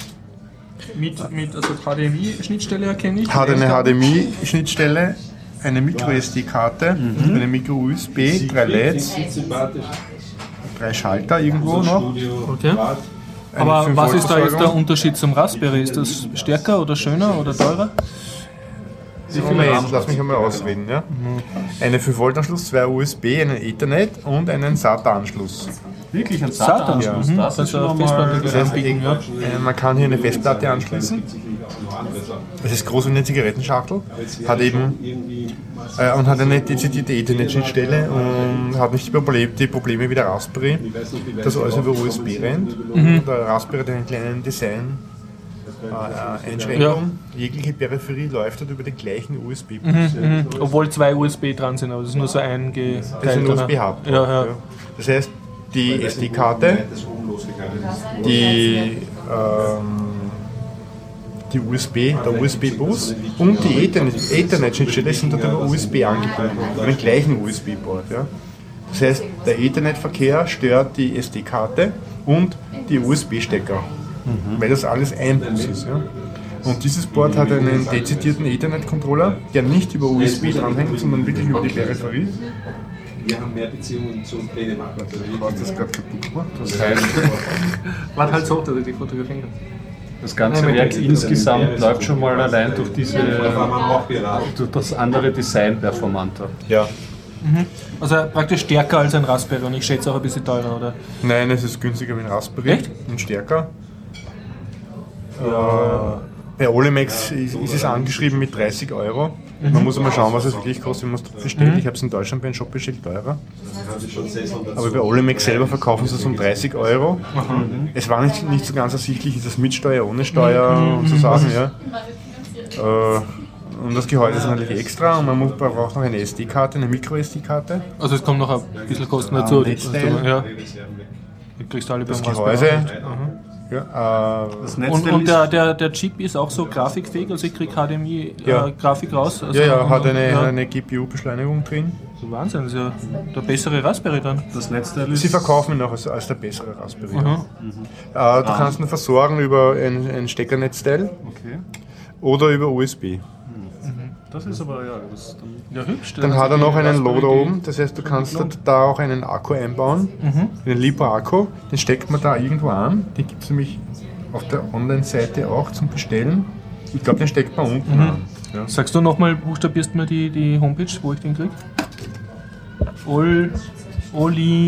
Mit, mit also H D M I-Schnittstelle erkenne ich. Hat eine H D M I-Schnittstelle, eine Micro S D-Karte, mhm. eine Micro U S B, drei L E Ds. Drei Schalter irgendwo noch. Okay. Aber was ist da jetzt der Unterschied zum Raspberry? Ist das stärker oder schöner oder teurer? Moment, lass mich einmal ausreden. Ja? Eine fünf Volt Anschluss, zwei U S B, einen Ethernet und einen SATA-Anschluss. Wirklich ein SATA-Anschluss? Ja. Das, das, ist das heißt, ja. Man kann hier eine Festplatte anschließen. Es ist groß wie eine Zigarettenschachtel. Hat eben äh, und hat eine dezidierte Ethernet-Schnittstelle und hat nicht die Probleme, die Probleme wie der Raspberry, dass alles über U S B rennt. Mhm. Der Raspberry hat einen kleinen Design. Äh, Einschränkung. Ja. Jegliche Peripherie läuft dort über den gleichen U S B-Bus. Mhm, mhm. Obwohl zwei U S B dran sind, aber es ist nur so ein geteilter. Das ist ein U S B-Hub. Ja, ja. Das heißt, die S D-Karte, die, ähm, die U S B, der U S B-Bus und die Ethernet-Schnittstelle sind dort über U S B angebunden, über den gleichen U S B-Board. Ja. Das heißt, der Ethernet-Verkehr stört die S D-Karte und die U S B-Stecker. Mhm. Weil das alles ein Bus ist. Ja? Und dieses Board hat einen dezidierten Ethernet-Controller, der nicht über U S B dranhängt, sondern wirklich über die Peripherie. Wir haben mehr Beziehungen zu Dänemark. Du hast das gerade kaputt gemacht. Das heißt, warte halt so, dass ich die fotografieren kann. Das ganze Werk insgesamt läuft schon mal allein durch diese, durch das andere Design performanter. Ja. Mhm. Also praktisch stärker als ein Raspberry und ich schätze auch ein bisschen teurer, oder? Nein, es ist günstiger wie ein Raspberry. Echt? Und stärker. Ja. Äh, bei Olimex ist, ist es angeschrieben mit dreißig Euro. Mhm. Man muss mal schauen, was es wirklich kostet, wenn man es bestellt. Mhm. Ich habe es in Deutschland bei einem Shop bestellt, teurer. Aber bei Olimex selber verkaufen sie es um dreißig Euro. Mhm. Es war nicht, nicht so ganz ersichtlich, ist das mit Steuer, ohne Steuer mhm. und so Sachen. Ja. Äh, und das Gehäuse ist natürlich extra und man muss, braucht noch eine S D-Karte, eine Micro S D-Karte. Also es kommt noch ein bisschen Kosten dazu. Um, ja. Du kriegst alle das beim Gehäuse. Ja, äh, das und und der, der, der Chip ist auch so grafikfähig, also ich kriege H D M I-Grafik ja. äh, raus. Also ja, ja, hat eine, ja. eine G P U-Beschleunigung drin. So Wahnsinn, das ist ja der bessere Raspberry dann. Das Netzteil ist Sie verkaufen ihn noch als, als der bessere Raspberry. Mhm. Äh, du ah. kannst ihn versorgen über ein, ein Steckernetzteil okay. oder über U S B. Das ist aber ja, das dann, ja hübsch. Dann hat er noch einen Loader oben, das heißt, du kannst da auch einen Akku einbauen, mhm. einen Lipo-Akku, den steckt man da irgendwo an, den gibt es nämlich auf der Online-Seite auch zum Bestellen. Ich glaube, den steckt man unten mhm. an. Ja. Sagst du nochmal, buchstabierst mir die, die Homepage, wo ich den kriege? Ol, Oli,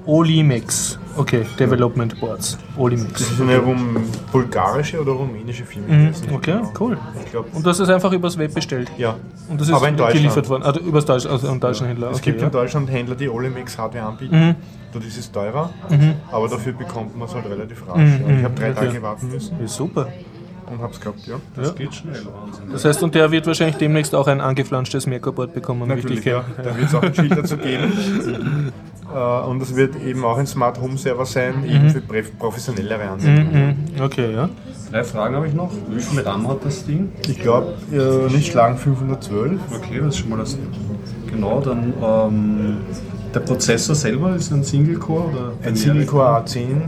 Olimex. Okay, Development Boards. Olimex. Das ist eine rum bulgarische oder rumänische Firma. Mhm. Okay, genau. Cool. Ich glaub, und das ist einfach übers Web bestellt? Ja. Und das ist aber in geliefert worden? Also übers Deutsch, also einen deutschen Händler? Es okay, gibt ja. in Deutschland Händler, die Olimex Hardware anbieten. Mhm. Dort ist es teurer, mhm. aber dafür bekommt man es halt relativ rasch. Mhm. Ja. Ich habe drei okay. Tage warten müssen. Ja, super. Und hab's gehabt, ja. Das ja. geht schnell, Wahnsinn. Das heißt, und der wird wahrscheinlich demnächst auch ein angeflanschtes Merkurboard bekommen. Natürlich, ja. Da wird es auch ein Schild dazu geben. Und es wird eben auch ein Smart Home Server sein, mhm. eben für professionellere Anwendungen. Mhm. Okay, ja. Drei Fragen habe ich noch. Wie viel RAM hat das Ding? Ich glaube, äh, nicht schlagen fünfhundertzwölf. Okay, das ist schon mal das. Genau, dann ähm, der Prozessor selber ist ein Single Core oder ein Single Core A zehn,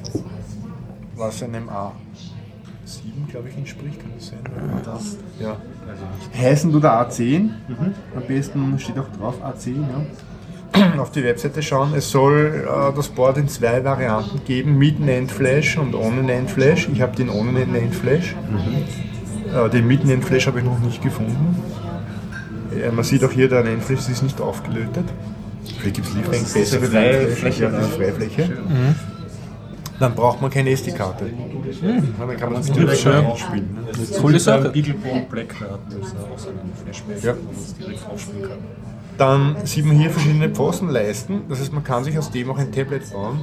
was einem A sieben, glaube ich, entspricht, kann das sein? Das, ja. Heißen du der A zehn? Mhm. Am besten steht auch drauf A zehn, ja. Auf die Webseite schauen. Es soll äh, das Board in zwei Varianten geben, mit NAND Flash und ohne NAND Flash. Ich habe den ohne NAND Flash. Mhm. Äh, den mit NAND Flash habe ich noch nicht gefunden. Äh, man sieht auch hier, der NAND Flash ist nicht aufgelötet. Vielleicht gibt es Lieferungen bessere Freifläche. Ja, das ist Freifläche. Mhm. Dann braucht man keine S D-Karte. Mhm. Dann kann man es direkt spielen. Ne? Coole Sache. Beaglebone Black, da hat auch so einen Flashback, ja. wo man es direkt aufspielen kann. Dann sieht man hier verschiedene Pfostenleisten, das heißt, man kann sich aus dem auch ein Tablet bauen.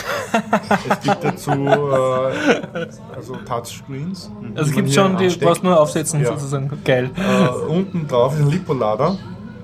Es gibt dazu äh, also Touchscreens. Also es gibt schon, die brauchst nur aufsetzen, ja. sozusagen. Geil. Äh, unten drauf ist ein Lipo-Lader.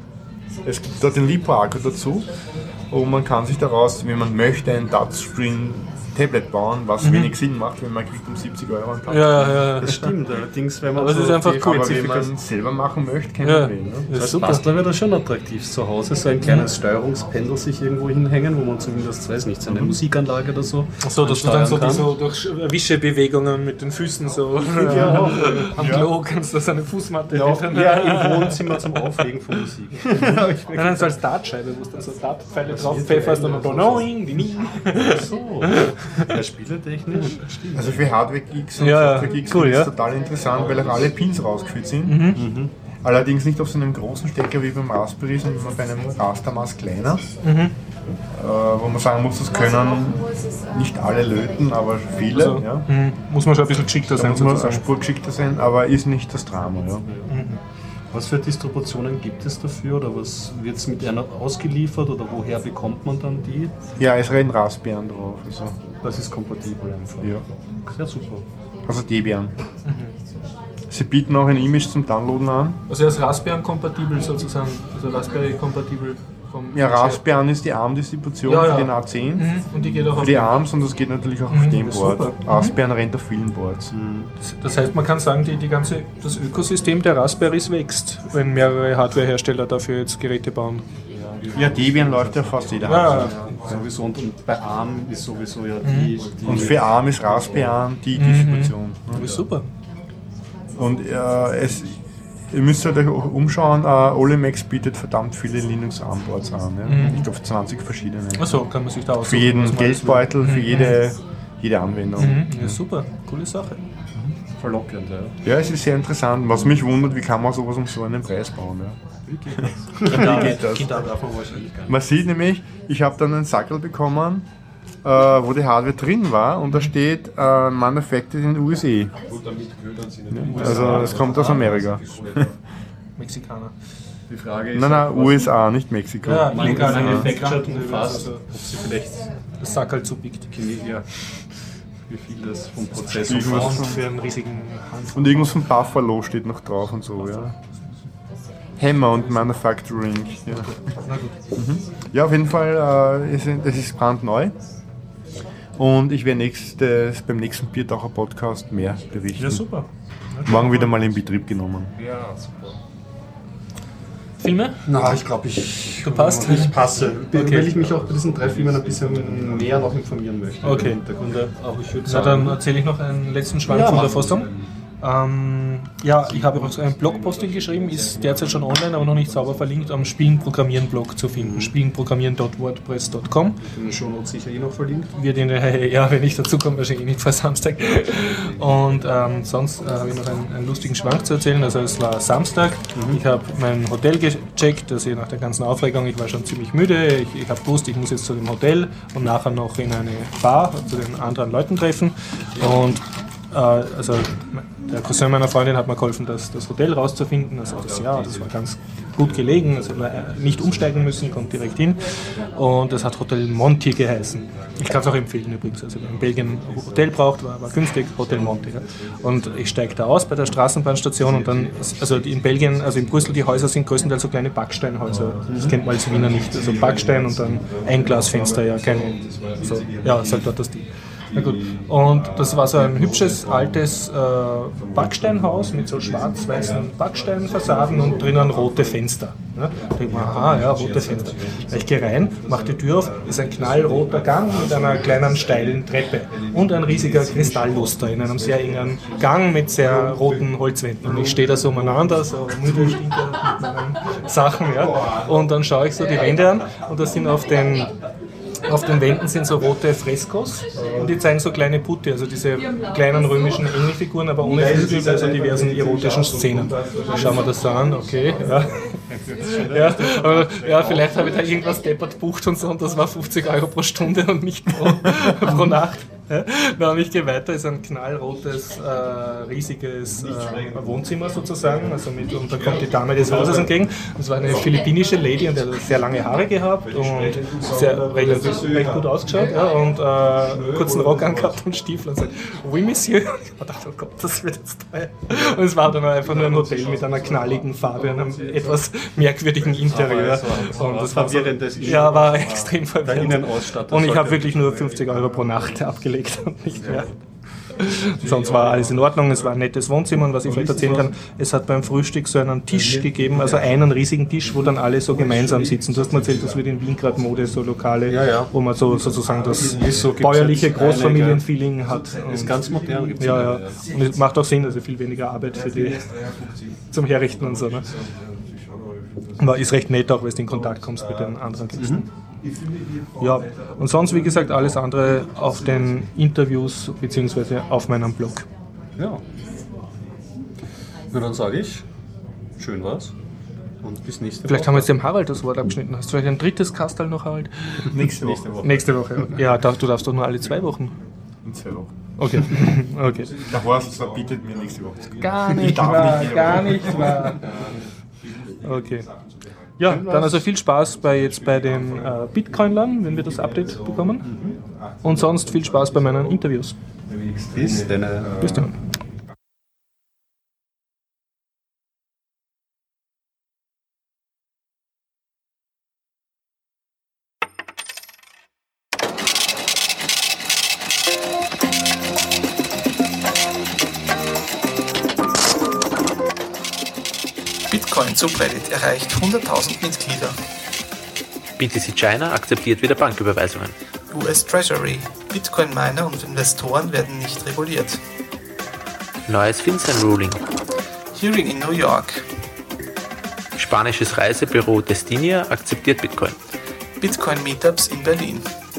Es gibt da den Lipo-Akku dazu. Und man kann sich daraus, wenn man möchte, ein Touchscreen Tablet bauen, was mhm. wenig Sinn macht, wenn man kriegt um siebzig Euro ein Tablet. Ja, ja, das stimmt. Allerdings, wenn man aber so es ist einfach cool. Aber wenn man es selber machen möchte, kein ja. Problem. Ne? Das heißt, Bastler wäre das schon attraktiv. Zu Hause so ein kleines Steuerungspendel sich irgendwo hinhängen, wo man zumindest, weiß nicht, so eine mhm. Musikanlage oder so. Achso, dass du dann so, so durch Wischebewegungen mit den Füßen so ja, auch, am ja. Klo kannst du so eine Fußmatte ja, ja, im Wohnzimmer zum Auflegen von Musik. Nein, nein, so als Dartscheibe, wo du dann so Dartpfeile drauf pfefferst und dann noing, die nie. So. Ja, spieletechnisch. Also für Hardware-Geeks und ja, Software-Geeks cool, ist es ja. total interessant, weil auch alle Pins rausgeführt sind. Mhm. Mhm. Allerdings nicht auf so einem großen Stecker wie beim Raspberry, sondern bei einem Rastermaß kleiner. Mhm. Äh, wo man sagen muss, das können nicht alle löten, aber viele. Also, ja. mhm. Muss man schon ein bisschen geschickter sein. Muss man eine Spur geschickter sein, aber ist nicht das Drama. Ja. Mhm. Was für Distributionen gibt es dafür oder was wird es mit einer ausgeliefert oder woher bekommt man dann die? Ja, es rein Raspbian drauf. Also. Das ist kompatibel einfach. Ja. Sehr super. Also Debian. Mhm. Sie bieten auch ein Image zum Downloaden an. Also er ist Raspbian-kompatibel sozusagen, also Raspberry-kompatibel. Ja, Raspbian ist die ARM-Distribution ja, ja. für den A zehn. Mhm. Und die geht auch für auf die ARMs und das geht natürlich auch mhm. auf dem Board. Super. Raspbian mhm. rennt auf vielen Boards. Mhm. Das, das heißt, man kann sagen, die, die ganze, das Ökosystem der Raspberries wächst, wenn mehrere Hardwarehersteller dafür jetzt Geräte bauen. Ja, Debian läuft ja fast jeder ja, Hardware. Ja, sowieso. Und, und bei ARM ist sowieso ja die, die... Und für ARM ist Raspbian die Distribution. Mhm. Das ist super. Und äh, es... Ihr müsst euch auch umschauen, uh, Olimex bietet verdammt viele Linux-ARM-Boards an. Ja? Mhm. Ich glaube zwanzig verschiedene. Achso, kann man sich da aussuchen. Für jeden Geldbeutel, mhm. für jede, jede Anwendung. Mhm. Ja, super, coole Sache. Mhm. Verlockend, ja. Ja, es ist sehr interessant. Was mich wundert, wie kann man sowas um so einen Preis bauen? Ja? Wie geht das? Wie geht das? Geht da davon wahrscheinlich gar nicht. Man sieht nämlich, ich habe dann einen Sackel bekommen, äh, wo die Hardware drin war und da steht äh, Manufactured in U S A. Gut, damit gehört sie nicht. Also es kommt aus Amerika. Mexikaner. Die Frage ist, nein, nein, U S A, nicht Mexiko. Ja, manufactured umfasst, ob sie vielleicht das Sackel zupickt. Ja, wie viel das vom Prozess umfasst. Für einen riesigen Handvoll. Und irgendwas von Buffalo steht noch drauf und so, ja. Hammer und Manufacturing. Ja, mhm. Ja auf jeden Fall, äh, ist, das ist brandneu. Und ich werde nächstes, beim nächsten Biertaucher Podcast mehr berichten. Ja, super. Morgen wieder mal in Betrieb genommen. Ja, super. Filme? Na, ich glaube, ich, du passt? ich passe. Okay. Weil ich mich auch bei diesen drei Filmen ein bisschen mehr noch informieren möchte. Okay. Auch ich würde Na, dann erzähle ich noch einen letzten Schwank ja, von der Fassung. Ähm, ja, ich habe auch so einen Blogpost geschrieben, ist derzeit schon online, aber noch nicht sauber verlinkt, am Spielen-Programmieren-Blog zu finden. Spielenprogrammieren punkt wordpress punkt com. In den Shownotes sicher eh noch verlinkt. Wird in der, ja, wenn ich dazu komme, wahrscheinlich nicht vor Samstag. Und ähm, sonst äh, habe ich noch einen, einen lustigen Schwank zu erzählen. Also es war Samstag, mhm. ich habe mein Hotel gecheckt, also nach der ganzen Aufregung, ich war schon ziemlich müde, ich, ich habe gewusst, ich muss jetzt zu dem Hotel und nachher noch in eine Bar zu den anderen Leuten treffen. Und äh, also der Cousin meiner Freundin hat mir geholfen, das, das Hotel rauszufinden. Also das, ja, das war ganz gut gelegen, also nicht umsteigen müssen, kommt direkt hin. Und das hat Hotel Monti geheißen. Ich kann es auch empfehlen übrigens. Also wer in Belgien ein Hotel braucht, war, war günstig, Hotel Monti. Ja. Und ich steige da aus bei der Straßenbahnstation und dann, also in Belgien, also in Brüssel, die Häuser sind größtenteils so kleine Backsteinhäuser. Das kennt man als Wiener nicht. Also Backstein und dann Einglasfenster, ja, keine, also, ja, ist halt dort das Ding. Na gut. Und das war so ein hübsches, altes äh, Backsteinhaus mit so schwarz-weißen Backsteinfassaden und drinnen rote Fenster. Ja? Da denke ich mir, aha, ja, rote Fenster. Ich gehe rein, mache die Tür auf, ist ein knallroter Gang mit einer kleinen steilen Treppe und ein riesiger Kristallluster in einem sehr engen Gang mit sehr roten Holzwänden. Und ich stehe da so umeinander, so müde, stinker mit meinen Sachen. Ja? Und dann schaue ich so die Wände an und da sind auf den Auf den Wänden sind so rote Freskos und die zeigen so kleine Putti, also diese kleinen römischen Engelfiguren, aber ohne Flügel bei so diversen erotischen Szenen. Schauen wir das so an, okay, ja. Ja, aber, ja, vielleicht habe ich da irgendwas deppert bucht und so und das war fünfzig Euro pro Stunde und nicht pro, pro Nacht. Ja, dann ich gehe weiter, ist ein knallrotes, äh, riesiges äh, Wohnzimmer sozusagen, also mit, und da kommt die Dame des Hauses entgegen. Das war eine philippinische Lady und die hat sehr lange Haare gehabt und sehr recht, recht gut ausgeschaut, ja, und äh, kurzen Rock angehabt und Stiefel und sagt, we miss you. Ich dachte, oh Gott, das wird jetzt teuer. Und es war dann einfach nur ein Hotel mit einer knalligen Farbe und einem etwas merkwürdigen Interieur. Und das war so, ja, war extrem verwirrend. Und ich habe wirklich nur fünfzig Euro pro Nacht abgelegt. Und nicht mehr. Sonst war alles in Ordnung, es war ein nettes Wohnzimmer und was ich vielleicht erzählen kann, es hat beim Frühstück so einen Tisch gegeben, also einen riesigen Tisch, wo dann alle so gemeinsam sitzen. Du hast mir erzählt, das wird in Wien gerade Mode, so Lokale, ja, ja. wo man so sozusagen das so bäuerliche Großfamilienfeeling hat. Und ist ganz modern. Gibt's ja, ja. Und es macht auch Sinn, also viel weniger Arbeit für die zum Herrichten und so. Ne? Aber ist recht nett auch, wenn du in Kontakt kommst mit den anderen Gästen. Mhm. Ja, und sonst, wie gesagt, alles andere auf den Interviews bzw. auf meinem Blog. Ja. Na, dann sage ich, schön war's und bis nächste Woche. Vielleicht haben wir jetzt dem Harald das Wort abgeschnitten. Hast du vielleicht ein drittes Kastal noch, Harald? Nächste Woche. Nächste Woche. Ja, du darfst doch nur alle zwei Wochen. In zwei Wochen. Okay. okay. Der Horst verbietet mir nächste Woche. Gar nicht wahr, gar nicht wahr. Okay. Ja, dann also viel Spaß bei jetzt bei den äh, Bitcoinlern, wenn wir das Update bekommen. Und sonst viel Spaß bei meinen Interviews. Bis dann. Bis dann. Bitcoin Subreddit erreicht hunderttausend Mitglieder. B T C China akzeptiert wieder Banküberweisungen. U S Treasury. Bitcoin-Miner und Investoren werden nicht reguliert. Neues FinCEN-Ruling. Hearing in New York. Spanisches Reisebüro Destinia akzeptiert Bitcoin. Bitcoin-Meetups in Berlin.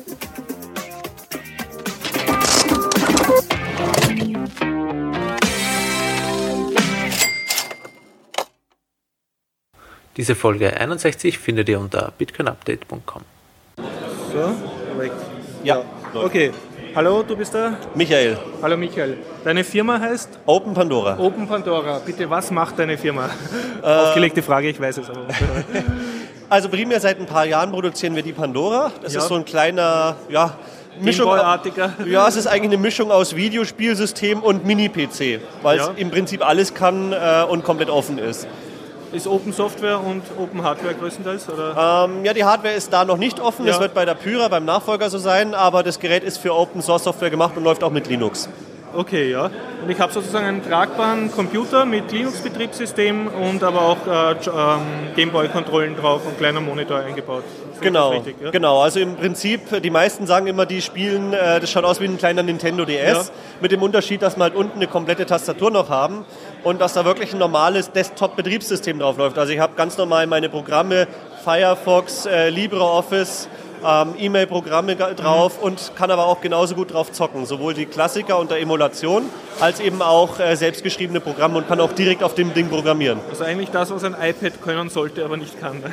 Diese Folge einundsechzig findet ihr unter bitcoin update punkt com. So, ja, okay. Hallo, du bist der? Michael. Hallo Michael. Deine Firma heißt? Open Pandora. Open Pandora. Bitte, was macht deine Firma? Äh, Aufgelegte Frage, ich weiß es aber. Also primär seit ein paar Jahren produzieren wir die Pandora. Das ja. ist so ein kleiner, ja, Mischung. Ja, es ist eigentlich eine Mischung aus Videospielsystem und Mini-P C, weil ja. es im Prinzip alles kann äh, und komplett offen ist. Ist Open Software und Open Hardware größtenteils? Oder? Ähm, ja, die Hardware ist da noch nicht offen. Das ja. wird bei der Pyra, beim Nachfolger so sein, aber das Gerät ist für Open Source Software gemacht und läuft auch mit Linux. Okay, ja. Und ich habe sozusagen einen tragbaren Computer mit Linux-Betriebssystem und aber auch äh, ähm, Gameboy-Kontrollen drauf und kleiner Monitor eingebaut. Genau, richtig, ja? Genau. Also im Prinzip, die meisten sagen immer, die spielen, äh, das schaut aus wie ein kleiner Nintendo D S, ja. Mit dem Unterschied, dass wir halt unten eine komplette Tastatur noch haben und dass da wirklich ein normales Desktop-Betriebssystem drauf läuft. Also ich habe ganz normal meine Programme, Firefox, äh, LibreOffice, ähm, E-Mail-Programme drauf mhm. und kann aber auch genauso gut drauf zocken. Sowohl die Klassiker unter Emulation, als eben auch äh, selbstgeschriebene Programme und kann auch direkt auf dem Ding programmieren. Also eigentlich das, was ein iPad können sollte, aber nicht kann. Ne?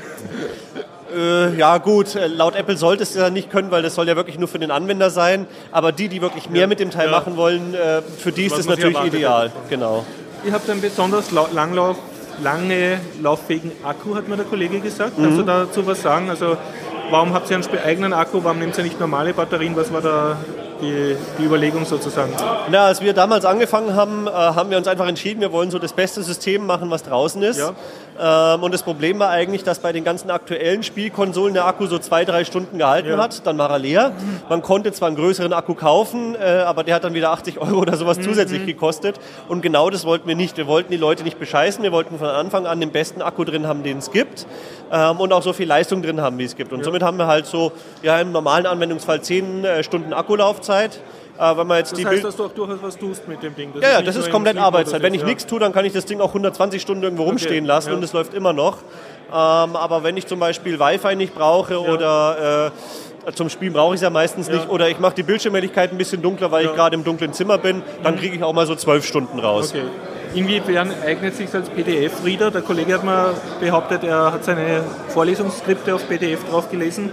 Äh, ja gut, laut Apple sollte es ja nicht können, weil das soll ja wirklich nur für den Anwender sein. Aber die, die wirklich mehr ja. mit dem Teil ja. machen wollen, äh, für die ist das natürlich ideal. Hat. Genau. Ihr habt einen besonders langlauf, lange lauffähigen Akku, hat mir der Kollege gesagt. Mhm. Kannst du dazu was sagen? Also warum habt ihr einen eigenen Akku? Warum nehmt ihr nicht normale Batterien? Was war da die, die Überlegung sozusagen? Na, als wir damals angefangen haben, äh, haben wir uns einfach entschieden, wir wollen so das beste System machen, was draußen ist. Ja. Ähm, und das Problem war eigentlich, dass bei den ganzen aktuellen Spielkonsolen der Akku so zwei, drei Stunden gehalten ja. hat. Dann war er leer. Man konnte zwar einen größeren Akku kaufen, äh, aber der hat dann wieder achtzig Euro oder sowas mhm. zusätzlich gekostet. Und genau das wollten wir nicht. Wir wollten die Leute nicht bescheißen. Wir wollten von Anfang an den besten Akku drin haben, den es gibt. Ähm, und auch so viel Leistung drin haben, wie es gibt. Und ja. somit haben wir halt so ja, im normalen Anwendungsfall zehn äh, Stunden Akkulaufzeit. Äh, wenn man jetzt das die heißt, Bild- dass du auch durchaus was tust mit dem Ding? Das ja, ist ja, das ist komplett Arbeitszeit. Wenn ich ja. nichts tue, dann kann ich das Ding auch hundertzwanzig Stunden irgendwo rumstehen okay. lassen ja. und es läuft immer noch. Ähm, aber wenn ich zum Beispiel Wi-Fi nicht brauche ja. oder äh, zum Spielen brauche ich es ja meistens ja. nicht oder ich mache die Bildschirmhelligkeit ein bisschen dunkler, weil ja. ich gerade im dunklen Zimmer bin, dann kriege ich auch mal so zwölf Stunden raus. Okay. Inwiefern eignet sich als P D F-Reader? Der Kollege hat mir behauptet, er hat seine Vorlesungsskripte auf P D F drauf gelesen.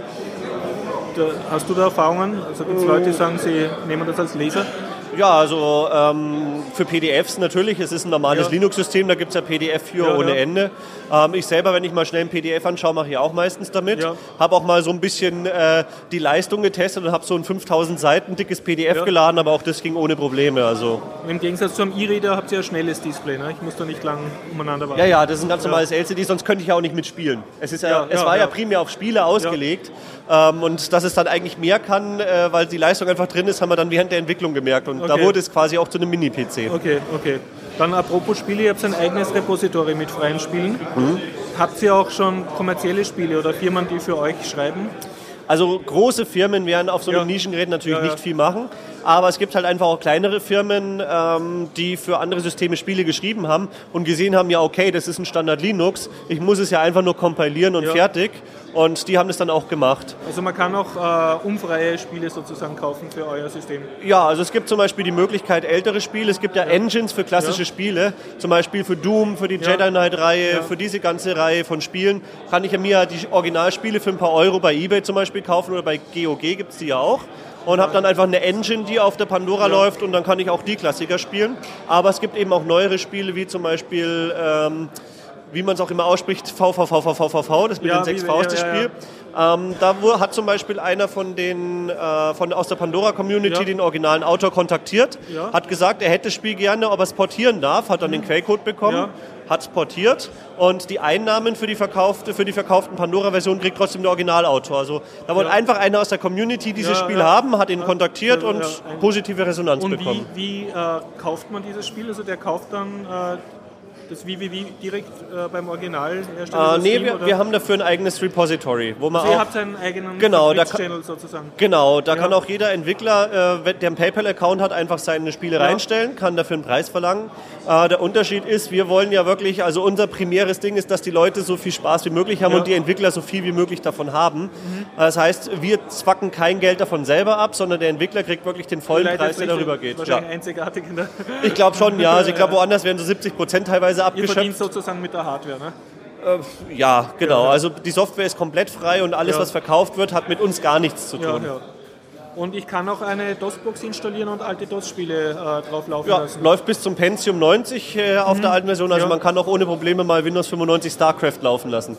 Hast du da Erfahrungen? Also gibt es Leute, die sagen, sie nehmen das als Leser? Ja, also ähm, für P D Fs natürlich, es ist ein normales ja. Linux-System, da gibt es ja P D F für ja, ohne ja. Ende. Ähm, ich selber, wenn ich mal schnell ein P D F anschaue, mache ich auch meistens damit. Ja. Habe auch mal so ein bisschen äh, die Leistung getestet und habe so ein fünftausend Seiten dickes P D F ja. geladen, aber auch das ging ohne Probleme. Also. Im Gegensatz zum E-Reader habt ihr ein schnelles Display, ne? Ich muss da nicht lang umeinander warten. Ja, ja, das ist ein ganz normales ja. L C D, sonst könnte ich ja auch nicht mitspielen. Es, ist ja, ja, es ja, war ja. ja primär auf Spiele ausgelegt ja. ähm, und dass es dann eigentlich mehr kann, äh, weil die Leistung einfach drin ist, haben wir dann während der Entwicklung gemerkt und okay. da wurde es quasi auch zu einem Mini-P C. Okay, okay. Dann apropos Spiele, ihr habt ein eigenes Repository mit freien Spielen. Mhm. Habt ihr auch schon kommerzielle Spiele oder Firmen, die für euch schreiben? Also große Firmen werden auf so einem ja. Nischengerät natürlich ja, ja. nicht viel machen, aber es gibt halt einfach auch kleinere Firmen, ähm, die für andere Systeme Spiele geschrieben haben und gesehen haben, ja okay, das ist ein Standard Linux, ich muss es ja einfach nur kompilieren und ja. fertig. Und die haben das dann auch gemacht. Also man kann auch äh, unfreie Spiele sozusagen kaufen für euer System? Ja, also es gibt zum Beispiel die Möglichkeit ältere Spiele. Es gibt ja, ja. Engines für klassische ja. Spiele. Zum Beispiel für Doom, für die ja. Jedi Knight-Reihe, ja. für diese ganze Reihe von Spielen. Kann ich ja mir die Originalspiele für ein paar Euro bei eBay zum Beispiel kaufen oder bei G O G gibt es die ja auch. Und habe dann einfach eine Engine, die auf der Pandora ja. läuft und dann kann ich auch die Klassiker spielen. Aber es gibt eben auch neuere Spiele, wie zum Beispiel... Ähm, wie man es auch immer ausspricht, V V V V V V V, das mit ja, den sechs Vs, das ja, Spiel. Ja. Ähm, da hat zum Beispiel einer von den, äh, von, aus der Pandora-Community ja. den originalen Autor kontaktiert, ja. hat gesagt, er hätte das Spiel gerne, ob er es portieren darf, hat dann mhm. den Quellcode bekommen, ja. hat es portiert und die Einnahmen für die, verkaufte, für die verkauften Pandora-Version kriegt trotzdem der Originalautor. Also da wollte ja. einfach einer aus der Community dieses ja, Spiel ja. haben, hat ihn kontaktiert ja, ja, und ja. positive Resonanz und bekommen. Und wie, wie äh, kauft man dieses Spiel? Also der kauft dann... Äh, das W W W direkt äh, beim Originalhersteller? Äh, nee, Steam, wir, wir haben dafür ein eigenes Repository. Wo man also auch, ihr habt einen eigenen genau, Channel sozusagen? Genau, da ja. kann auch jeder Entwickler, äh, der einen PayPal-Account hat, einfach seine Spiele ja. reinstellen, kann dafür einen Preis verlangen. Äh, der Unterschied ist, wir wollen ja wirklich, also unser primäres Ding ist, dass die Leute so viel Spaß wie möglich haben ja. und die Entwickler so viel wie möglich davon haben. Mhm. Das heißt, wir zwacken kein Geld davon selber ab, sondern der Entwickler kriegt wirklich den vollen Preis, der darüber geht. Wahrscheinlich ja. einzigartig in der Ich glaube schon, ja. Also ich glaube, woanders werden so siebzig Prozent teilweise abgeschöpft. Ihr verdient sozusagen mit der Hardware, ne? Äh, ja, genau. Also die Software ist komplett frei und alles, ja. was verkauft wird, hat mit uns gar nichts zu tun. Ja, ja. Und ich kann auch eine DOS-Box installieren und alte DOS-Spiele äh, drauf laufen ja, lassen. Läuft bis zum Pentium neunzig äh, auf mhm. der alten Version. Also ja. man kann auch ohne Probleme mal Windows fünfundneunzig StarCraft laufen lassen.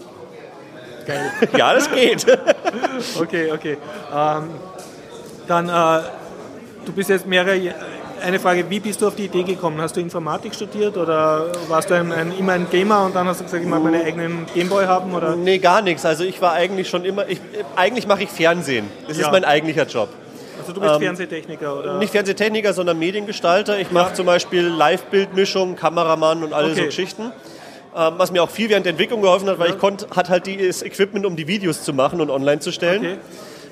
Geil. Ja, das geht. Okay, okay. Ähm, dann, äh, du bist jetzt mehrere... Eine Frage, wie bist du auf die Idee gekommen? Hast du Informatik studiert oder warst du ein, ein, immer ein Gamer und dann hast du gesagt, ich mag meinen eigenen Gameboy haben? Oder? Nee, gar nichts. Also ich war eigentlich schon immer, ich, eigentlich mache ich Fernsehen. Das ja. ist mein eigentlicher Job. Also du bist ähm, Fernsehtechniker, oder? Nicht Fernsehtechniker, sondern Mediengestalter. Ich mache ja. zum Beispiel Live-Bildmischung, Kameramann und alle okay. so Geschichten. Ähm, was mir auch viel während der Entwicklung geholfen hat, weil ja. ich konnte, hat halt das Equipment, um die Videos zu machen und online zu stellen. Okay.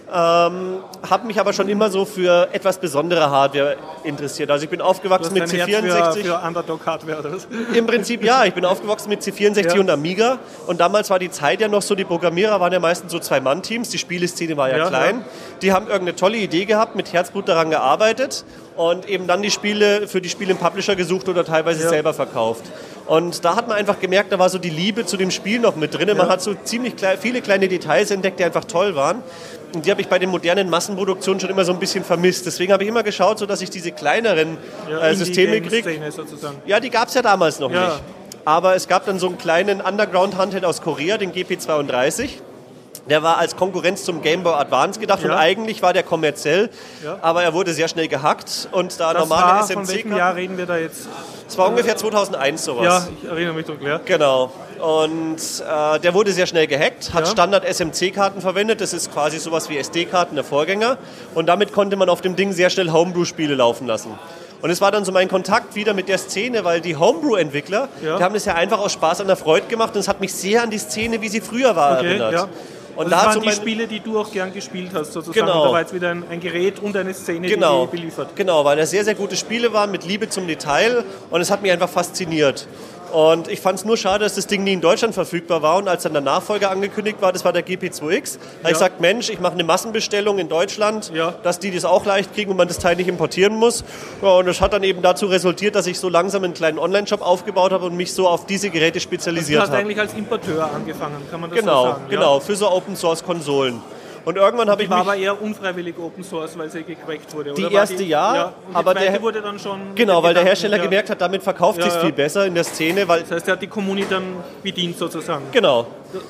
Ähm, habe mich aber schon immer so für etwas besondere Hardware interessiert. Also ich bin aufgewachsen mit C vierundsechzig. Für, für Underdog-Hardware oder was? Im Prinzip ja, ich bin aufgewachsen mit C vierundsechzig ja. und Amiga und damals war die Zeit ja noch so, die Programmierer waren ja meistens so Zwei-Mann-Teams, die Spieleszene war ja, ja klein. Ja. Die haben irgendeine tolle Idee gehabt, mit Herzblut daran gearbeitet und eben dann die Spiele für die Spiele im Publisher gesucht oder teilweise ja. selber verkauft. Und da hat man einfach gemerkt, da war so die Liebe zu dem Spiel noch mit drin. Ja. Man hat so ziemlich kle- viele kleine Details entdeckt, die einfach toll waren. Und die habe ich bei den modernen Massenproduktionen schon immer so ein bisschen vermisst. Deswegen habe ich immer geschaut, so dass ich diese kleineren ja, äh, Systeme kriege. Ja, die gab es ja damals noch ja. nicht. Aber es gab dann so einen kleinen Underground-Handheld aus Korea, den G P zweiunddreißig. Der war als Konkurrenz zum Game Boy Advance gedacht ja. und eigentlich war der kommerziell, ja. aber er wurde sehr schnell gehackt und da das normale war, S M C... Von welchem Jahr reden wir da jetzt? Es war ungefähr zweitausendeins sowas. Ja, ich erinnere mich dunkel, ja. Genau. Und äh, der wurde sehr schnell gehackt, hat ja. Standard-S M C-Karten verwendet, das ist quasi sowas wie S D-Karten, der Vorgänger. Und damit konnte man auf dem Ding sehr schnell Homebrew-Spiele laufen lassen. Und es war dann so mein Kontakt wieder mit der Szene, weil die Homebrew-Entwickler, ja. die haben das ja einfach aus Spaß an der Freude gemacht und es hat mich sehr an die Szene, wie sie früher war, okay, erinnert. Ja. Und das waren die Spiele, die du auch gern gespielt hast, sozusagen. Genau. Und da war jetzt wieder ein, ein Gerät und eine Szene, genau. die beliefert. Genau, weil das sehr, sehr gute Spiele waren mit Liebe zum Detail und es hat mich einfach fasziniert. Und ich fand es nur schade, dass das Ding nie in Deutschland verfügbar war. Und als dann der Nachfolger angekündigt war, das war der G P zwei X, habe ja. ich gesagt, Mensch, ich mache eine Massenbestellung in Deutschland, ja. dass die das auch leicht kriegen und man das Teil nicht importieren muss. Ja, und das hat dann eben dazu resultiert, dass ich so langsam einen kleinen Online-Shop aufgebaut habe und mich so auf diese Geräte spezialisiert habe. Also du hast eigentlich als Importeur angefangen, kann man das genau, so sagen? Genau, ja? für so Open-Source-Konsolen. Und irgendwann habe ich war mich... aber eher unfreiwillig Open Source, weil sie gecrackt wurde, die oder? erste die, ja, ja und aber die zweite der wurde dann schon... Genau, weil der Hersteller ja. gemerkt hat, damit verkauft ja, sich ja. viel besser in der Szene, weil... Das heißt, er hat die Community dann bedient sozusagen. Genau.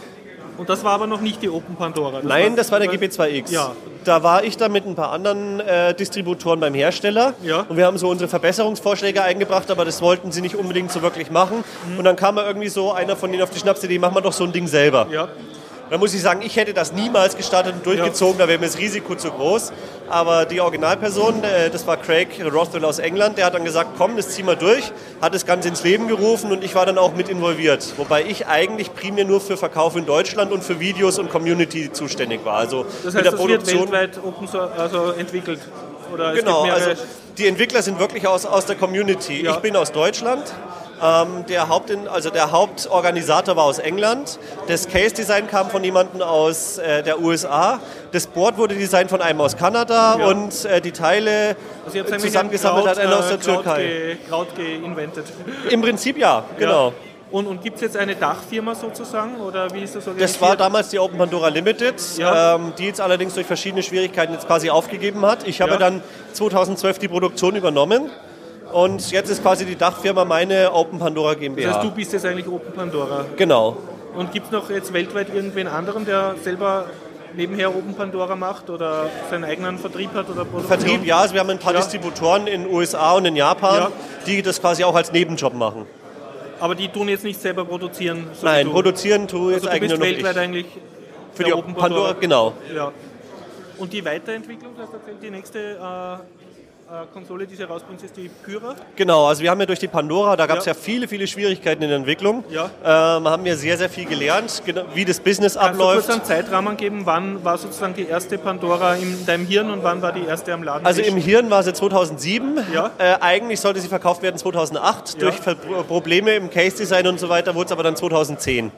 Und das war aber noch nicht die Open Pandora? Das Nein, das war der G P zwei X. Ja. Da war ich dann mit ein paar anderen äh, Distributoren beim Hersteller ja. und wir haben so unsere Verbesserungsvorschläge eingebracht, aber das wollten sie nicht unbedingt so wirklich machen. Mhm. Und dann kam mal irgendwie so einer von denen auf die Schnapsidee, machen wir doch so ein Ding selber. Ja. Da muss ich sagen, ich hätte das niemals gestartet und durchgezogen, ja. da wäre mir das Risiko zu groß. Aber die Originalperson, das war Craig Rothwell aus England, der hat dann gesagt, komm, das ziehen wir durch, hat das Ganze ins Leben gerufen und ich war dann auch mit involviert. Wobei ich eigentlich primär nur für Verkauf in Deutschland und für Videos und Community zuständig war. Also das heißt, mit der das Produktion, wird weltweit Open Source, also entwickelt? Oder genau, also die Entwickler sind wirklich aus, aus der Community. Ja. Ich bin aus Deutschland. Ähm, der, Haupt, also der Hauptorganisator war aus England. Das Case-Design kam von jemandem aus äh, der U S A. Das Board wurde designt von einem aus Kanada ja. und äh, die Teile also zusammengesammelt hat einer aus der Kraut Türkei. Kraut geinventet. Im Prinzip ja, genau. Ja. Und, und gibt es jetzt eine Dachfirma sozusagen, oder wie ist das organisiert? Das war damals die Open Pandora Limited, ja. ähm, die jetzt allerdings durch verschiedene Schwierigkeiten jetzt quasi aufgegeben hat. Ich habe ja. dann zweitausendzwölf die Produktion übernommen. Und jetzt ist quasi die Dachfirma meine Open Pandora GmbH. Das heißt, du bist jetzt eigentlich Open Pandora? Genau. Und gibt es noch jetzt weltweit irgendwen anderen, der selber nebenher Open Pandora macht oder seinen eigenen Vertrieb hat oder Produktion? Vertrieb, ja. Also wir haben ein paar ja. Distributoren in den U S A und in Japan, ja. die das quasi auch als Nebenjob machen. Aber die tun jetzt nicht selber produzieren? So Nein, produzieren tue jetzt also eigentlich nur noch ich. Du bist weltweit eigentlich für die Open Pandora, Pandora genau. Ja. Und die Weiterentwicklung, das erzählt, die nächste... Äh, Konsole, die sie rausbringt, ist die Pyra? Genau, also wir haben ja durch die Pandora, da gab es ja. ja viele, viele Schwierigkeiten in der Entwicklung. Ja. Ähm, haben ja sehr, sehr viel gelernt, wie das Business Kannst abläuft. Kannst du kurz einen Zeitrahmen geben, wann war sozusagen die erste Pandora in deinem Hirn und wann war die erste am Laden? Also im Hirn war sie zweitausendsieben, ja. äh, eigentlich sollte sie verkauft werden zweitausendacht, ja. durch Probleme im Case-Design und so weiter wurde es aber dann zweitausendzehn.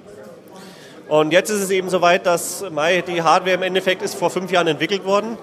Und jetzt ist es eben soweit, dass die Hardware im Endeffekt ist vor fünf Jahren entwickelt worden.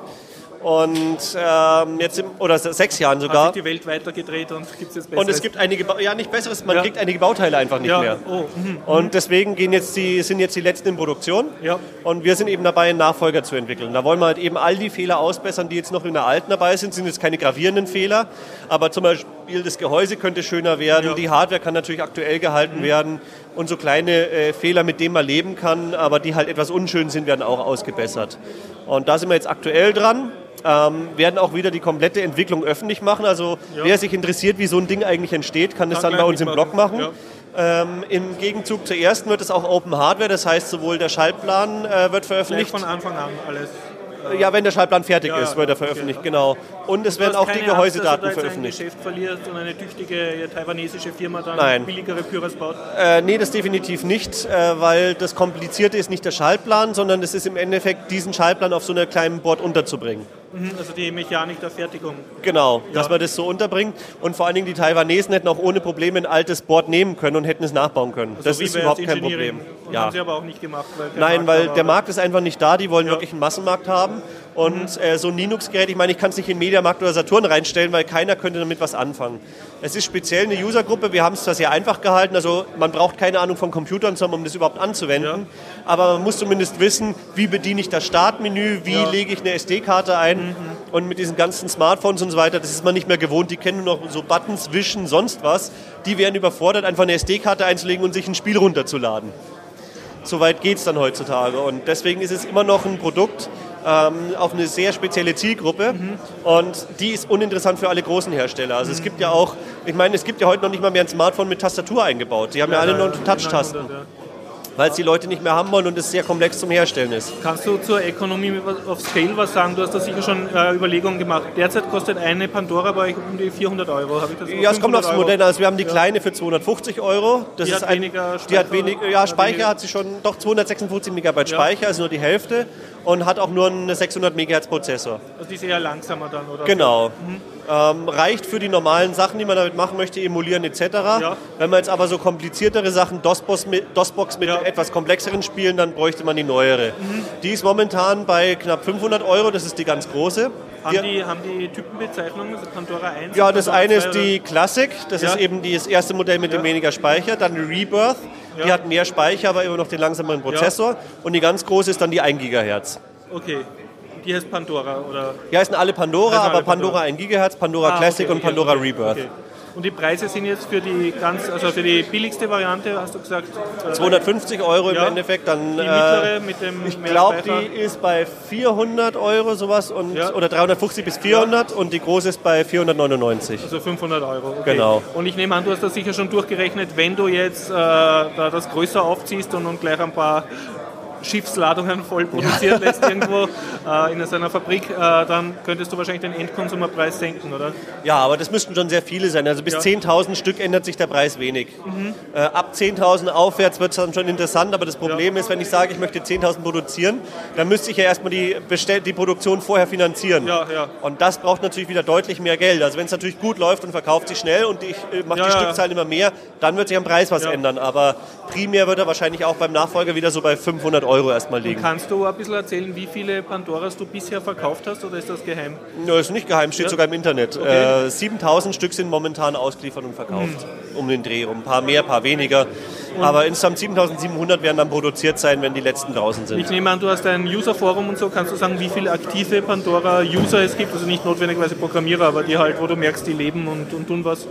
Und ähm, jetzt, im, oder sechs Jahren sogar. Hat sich die Welt weitergedreht und gibt es jetzt Besseres? Und es gibt einige, ja nicht Besseres, man ja. kriegt einige Bauteile einfach nicht ja. mehr. Oh. Mhm. Und deswegen gehen jetzt die, sind jetzt die letzten in Produktion. Ja. Und wir sind eben dabei, einen Nachfolger zu entwickeln. Da wollen wir halt eben all die Fehler ausbessern, die jetzt noch in der alten dabei sind. Sind jetzt keine gravierenden Fehler, aber zum Beispiel das Gehäuse könnte schöner werden, ja. die Hardware kann natürlich aktuell gehalten mhm. werden. Und so kleine äh, Fehler, mit denen man leben kann, aber die halt etwas unschön sind, werden auch ausgebessert. Und da sind wir jetzt aktuell dran. Ähm, werden auch wieder die komplette Entwicklung öffentlich machen. Also ja. wer sich interessiert, wie so ein Ding eigentlich entsteht, kann das dann bei uns im Blog machen. Ja. Ähm, Im Gegenzug zur ersten wird es auch Open Hardware, das heißt sowohl der Schaltplan äh, wird veröffentlicht. Gleich von Anfang an alles. Ja, wenn der Schaltplan fertig ja, ist, wird er veröffentlicht, okay. genau. Und es werden auch die Gehäusedaten Angst, dass veröffentlicht. Ein Geschäft verliert und eine tüchtige taiwanesische Firma dann Nein. billigere Pyros baut? Äh, nee, das definitiv nicht, äh, weil das Komplizierte ist nicht der Schaltplan, sondern es ist im Endeffekt, diesen Schaltplan auf so einer kleinen Board unterzubringen. Also die Mechanik der Fertigung. Genau, ja. dass man das so unterbringt. Und vor allen Dingen die Taiwanesen hätten auch ohne Probleme ein altes Board nehmen können und hätten es nachbauen können. Also das ist überhaupt kein Problem. Und ja. haben sie aber auch nicht gemacht. Weil der Nein, Markt weil der Markt ist einfach nicht da. Die wollen ja. wirklich einen Massenmarkt haben. Und mhm. äh, so ein Linux-Gerät, ich meine, ich kann es nicht in Mediamarkt oder Saturn reinstellen, weil keiner könnte damit was anfangen. Es ist speziell eine Usergruppe. Wir haben es zwar sehr einfach gehalten. Also man braucht keine Ahnung von Computern, um das überhaupt anzuwenden. Ja. Aber man muss zumindest wissen, wie bediene ich das Startmenü, wie ja. lege ich eine S D-Karte ein. Mhm. Und mit diesen ganzen Smartphones und so weiter, das ist man nicht mehr gewohnt. Die kennen nur noch so Buttons, Wischen, sonst was. Die werden überfordert, einfach eine S D-Karte einzulegen und sich ein Spiel runterzuladen. So weit geht es dann heutzutage. Und deswegen ist es immer noch ein Produkt ähm, auf eine sehr spezielle Zielgruppe. Mhm. Und die ist uninteressant für alle großen Hersteller. Also mhm. es gibt ja auch, ich meine, es gibt ja heute noch nicht mal mehr ein Smartphone mit Tastatur eingebaut. Die haben ja, ja alle noch Touch-Tasten. Weil es die Leute nicht mehr haben wollen und es sehr komplex zum Herstellen ist. Kannst du zur Economy of Scale was sagen? Du hast da sicher schon äh, Überlegungen gemacht. Derzeit kostet eine Pandora bei euch um die vierhundert Euro. Habe ich das ja, es kommt aufs Modell. Also wir haben die kleine für zweihundertfünfzig Euro. Das die ist hat ein, weniger Speicher? Die hat wenig, ja, Speicher hat sie schon, doch zweihundertsechsundfünfzig Megabyte Speicher, ja. also nur die Hälfte. Und hat auch nur einen sechshundert Megahertz Prozessor. Also die ist eher langsamer dann, oder? Genau. Mhm. Ähm, reicht für die normalen Sachen, die man damit machen möchte, emulieren et cetera. Ja. Wenn man jetzt aber so kompliziertere Sachen, DOS-Box mit, DOS-Box mit ja. etwas komplexeren Spielen, dann bräuchte man die neuere. Mhm. Die ist momentan bei knapp fünfhundert Euro, das ist die ganz große. Haben die, die, haben die Typenbezeichnungen, also Pandora eins? Ja, das Pandora eine zwei, ist die Classic, das ja. ist eben das erste Modell mit ja. dem weniger Speicher. Dann die Rebirth, ja. die hat mehr Speicher, aber immer noch den langsameren Prozessor. Ja. Und die ganz große ist dann die ein Gigahertz. Okay. Die heißt Pandora, oder? Ja, heißen alle Pandora, heißen alle aber Pandora, Pandora ein Gigahertz, Pandora ah, Classic okay, und Pandora okay, Rebirth. Okay. Und die Preise sind jetzt für die ganz, also für die billigste Variante, hast du gesagt? zweihundertfünfzig Euro ja. im Endeffekt. Dann, die mittlere mit dem Ich glaube, die ist bei vierhundert Euro sowas und, ja. oder dreihundertfünfzig bis vierhundert ja. und die große ist bei vierhundertneunundneunzig. Also fünfhundert Euro, okay. Genau. Und ich nehme an, du hast das sicher schon durchgerechnet, wenn du jetzt äh, da das größer aufziehst und, und gleich ein paar Schiffsladungen voll produziert lässt irgendwo äh, in seiner Fabrik, äh, dann könntest du wahrscheinlich den Endkonsumerpreis senken, oder? Ja, aber das müssten schon sehr viele sein. Also bis ja. zehntausend Stück ändert sich der Preis wenig. Mhm. Äh, ab zehntausend aufwärts wird es dann schon interessant, aber das Problem ja. ist, wenn ich sage, ich möchte zehntausend produzieren, dann müsste ich ja erstmal die, Bestell- die Produktion vorher finanzieren. Ja, ja. Und das braucht natürlich wieder deutlich mehr Geld. Also wenn es natürlich gut läuft und verkauft sich schnell und ich äh, mache ja, die ja. Stückzahlen immer mehr, dann wird sich am Preis was ja. ändern. Aber primär wird er wahrscheinlich auch beim Nachfolger wieder so bei fünfhundert Euro erstmal liegen. Und kannst du ein bisschen erzählen, wie viele Pandoras du bisher verkauft hast, oder ist das geheim? Ja, ist nicht geheim, steht ja. sogar im Internet. Okay. Äh, siebentausend Stück sind momentan ausgeliefert und verkauft. Hm. Um den Dreh, um ein paar mehr, ein paar weniger. Und aber insgesamt siebentausendsiebenhundert werden dann produziert sein, wenn die letzten draußen sind. Ich nehme an, du hast ein User-Forum und so. Kannst du sagen, wie viele aktive Pandora-User es gibt? Also nicht notwendigerweise Programmierer, aber die halt, wo du merkst, die leben und, und tun was.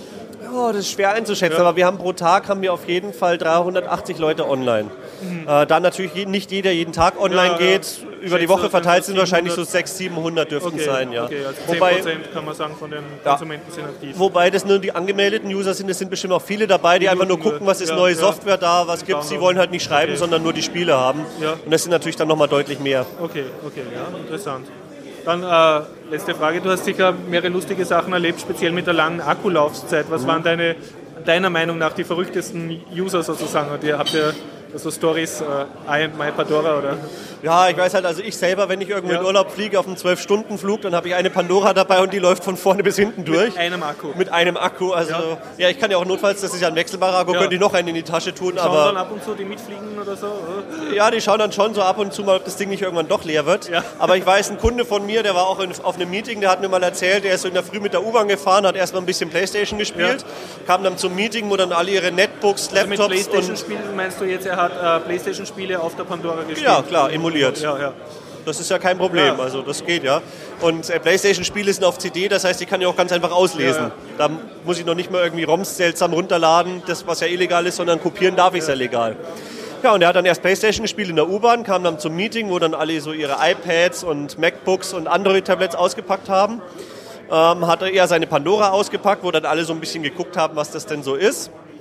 Oh, das ist schwer einzuschätzen, ja. aber wir haben pro Tag haben wir auf jeden Fall dreihundertachtzig Leute online. Mhm. Äh, da natürlich nicht jeder jeden Tag online ja, geht, ja. über die Woche verteilt sind wahrscheinlich so sechshundert, siebenhundert dürften okay, sein. Ja. Okay, also wobei, zehn Prozent kann man sagen von den Konsumenten ja. sind aktiv. Wobei das nur die angemeldeten User sind, es sind bestimmt auch viele dabei, die, die einfach nur gucken, was ist ja, neue ja. Software da, was gibt es. Sie wollen halt nicht schreiben, okay. sondern nur die Spiele haben. Ja. Und das sind natürlich dann nochmal deutlich mehr. Okay, okay, ja, interessant. Dann äh, letzte Frage, du hast sicher mehrere lustige Sachen erlebt, speziell mit der langen Akkulaufzeit. Was mhm. waren deine, deiner Meinung nach die verrücktesten User sozusagen? Und ihr habt ja so Stories, äh, I and my Pandora, oder? Ja, ich weiß halt, also ich selber, wenn ich irgendwo ja. in Urlaub fliege auf einem zwölf Stunden Flug, dann habe ich eine Pandora dabei und die läuft von vorne bis hinten durch. Mit einem Akku. Mit einem Akku, also ja, ja ich kann ja auch notfalls, das ist ja ein wechselbarer Akku, ja. könnte ich noch einen in die Tasche tun. Die schauen aber dann ab und zu, die mitfliegen oder so? Oder? Ja, die schauen dann schon so ab und zu mal, ob das Ding nicht irgendwann doch leer wird. Ja. Aber ich weiß, ein Kunde von mir, der war auch in, auf einem Meeting, der hat mir mal erzählt, der ist so in der Früh mit der U-Bahn gefahren, hat erstmal ein bisschen Playstation gespielt, ja. kam dann zum Meeting, wo dann alle ihre Netbooks, Laptops also mit Playstation-Spielen meinst du jetzt, er hat äh, Playstation-Spiele auf der Pandora gespielt? Ja, klar, emuliert. Ja, ja. Das ist ja kein Problem, ja. also das geht ja. Und äh, Playstation-Spiele sind auf C D, das heißt, die kann ich auch ganz einfach auslesen. Ja, ja. Da muss ich noch nicht mal irgendwie ROMs seltsam runterladen, das was ja illegal ist, sondern kopieren darf ich es ja. ja legal. Ja, und er hat dann erst Playstation gespielt in der U-Bahn, kam dann zum Meeting, wo dann alle so ihre iPads und MacBooks und Android-Tablets ausgepackt haben. Ähm, hat er eher seine Pandora ausgepackt, wo dann alle so ein bisschen geguckt haben, was das denn so ist.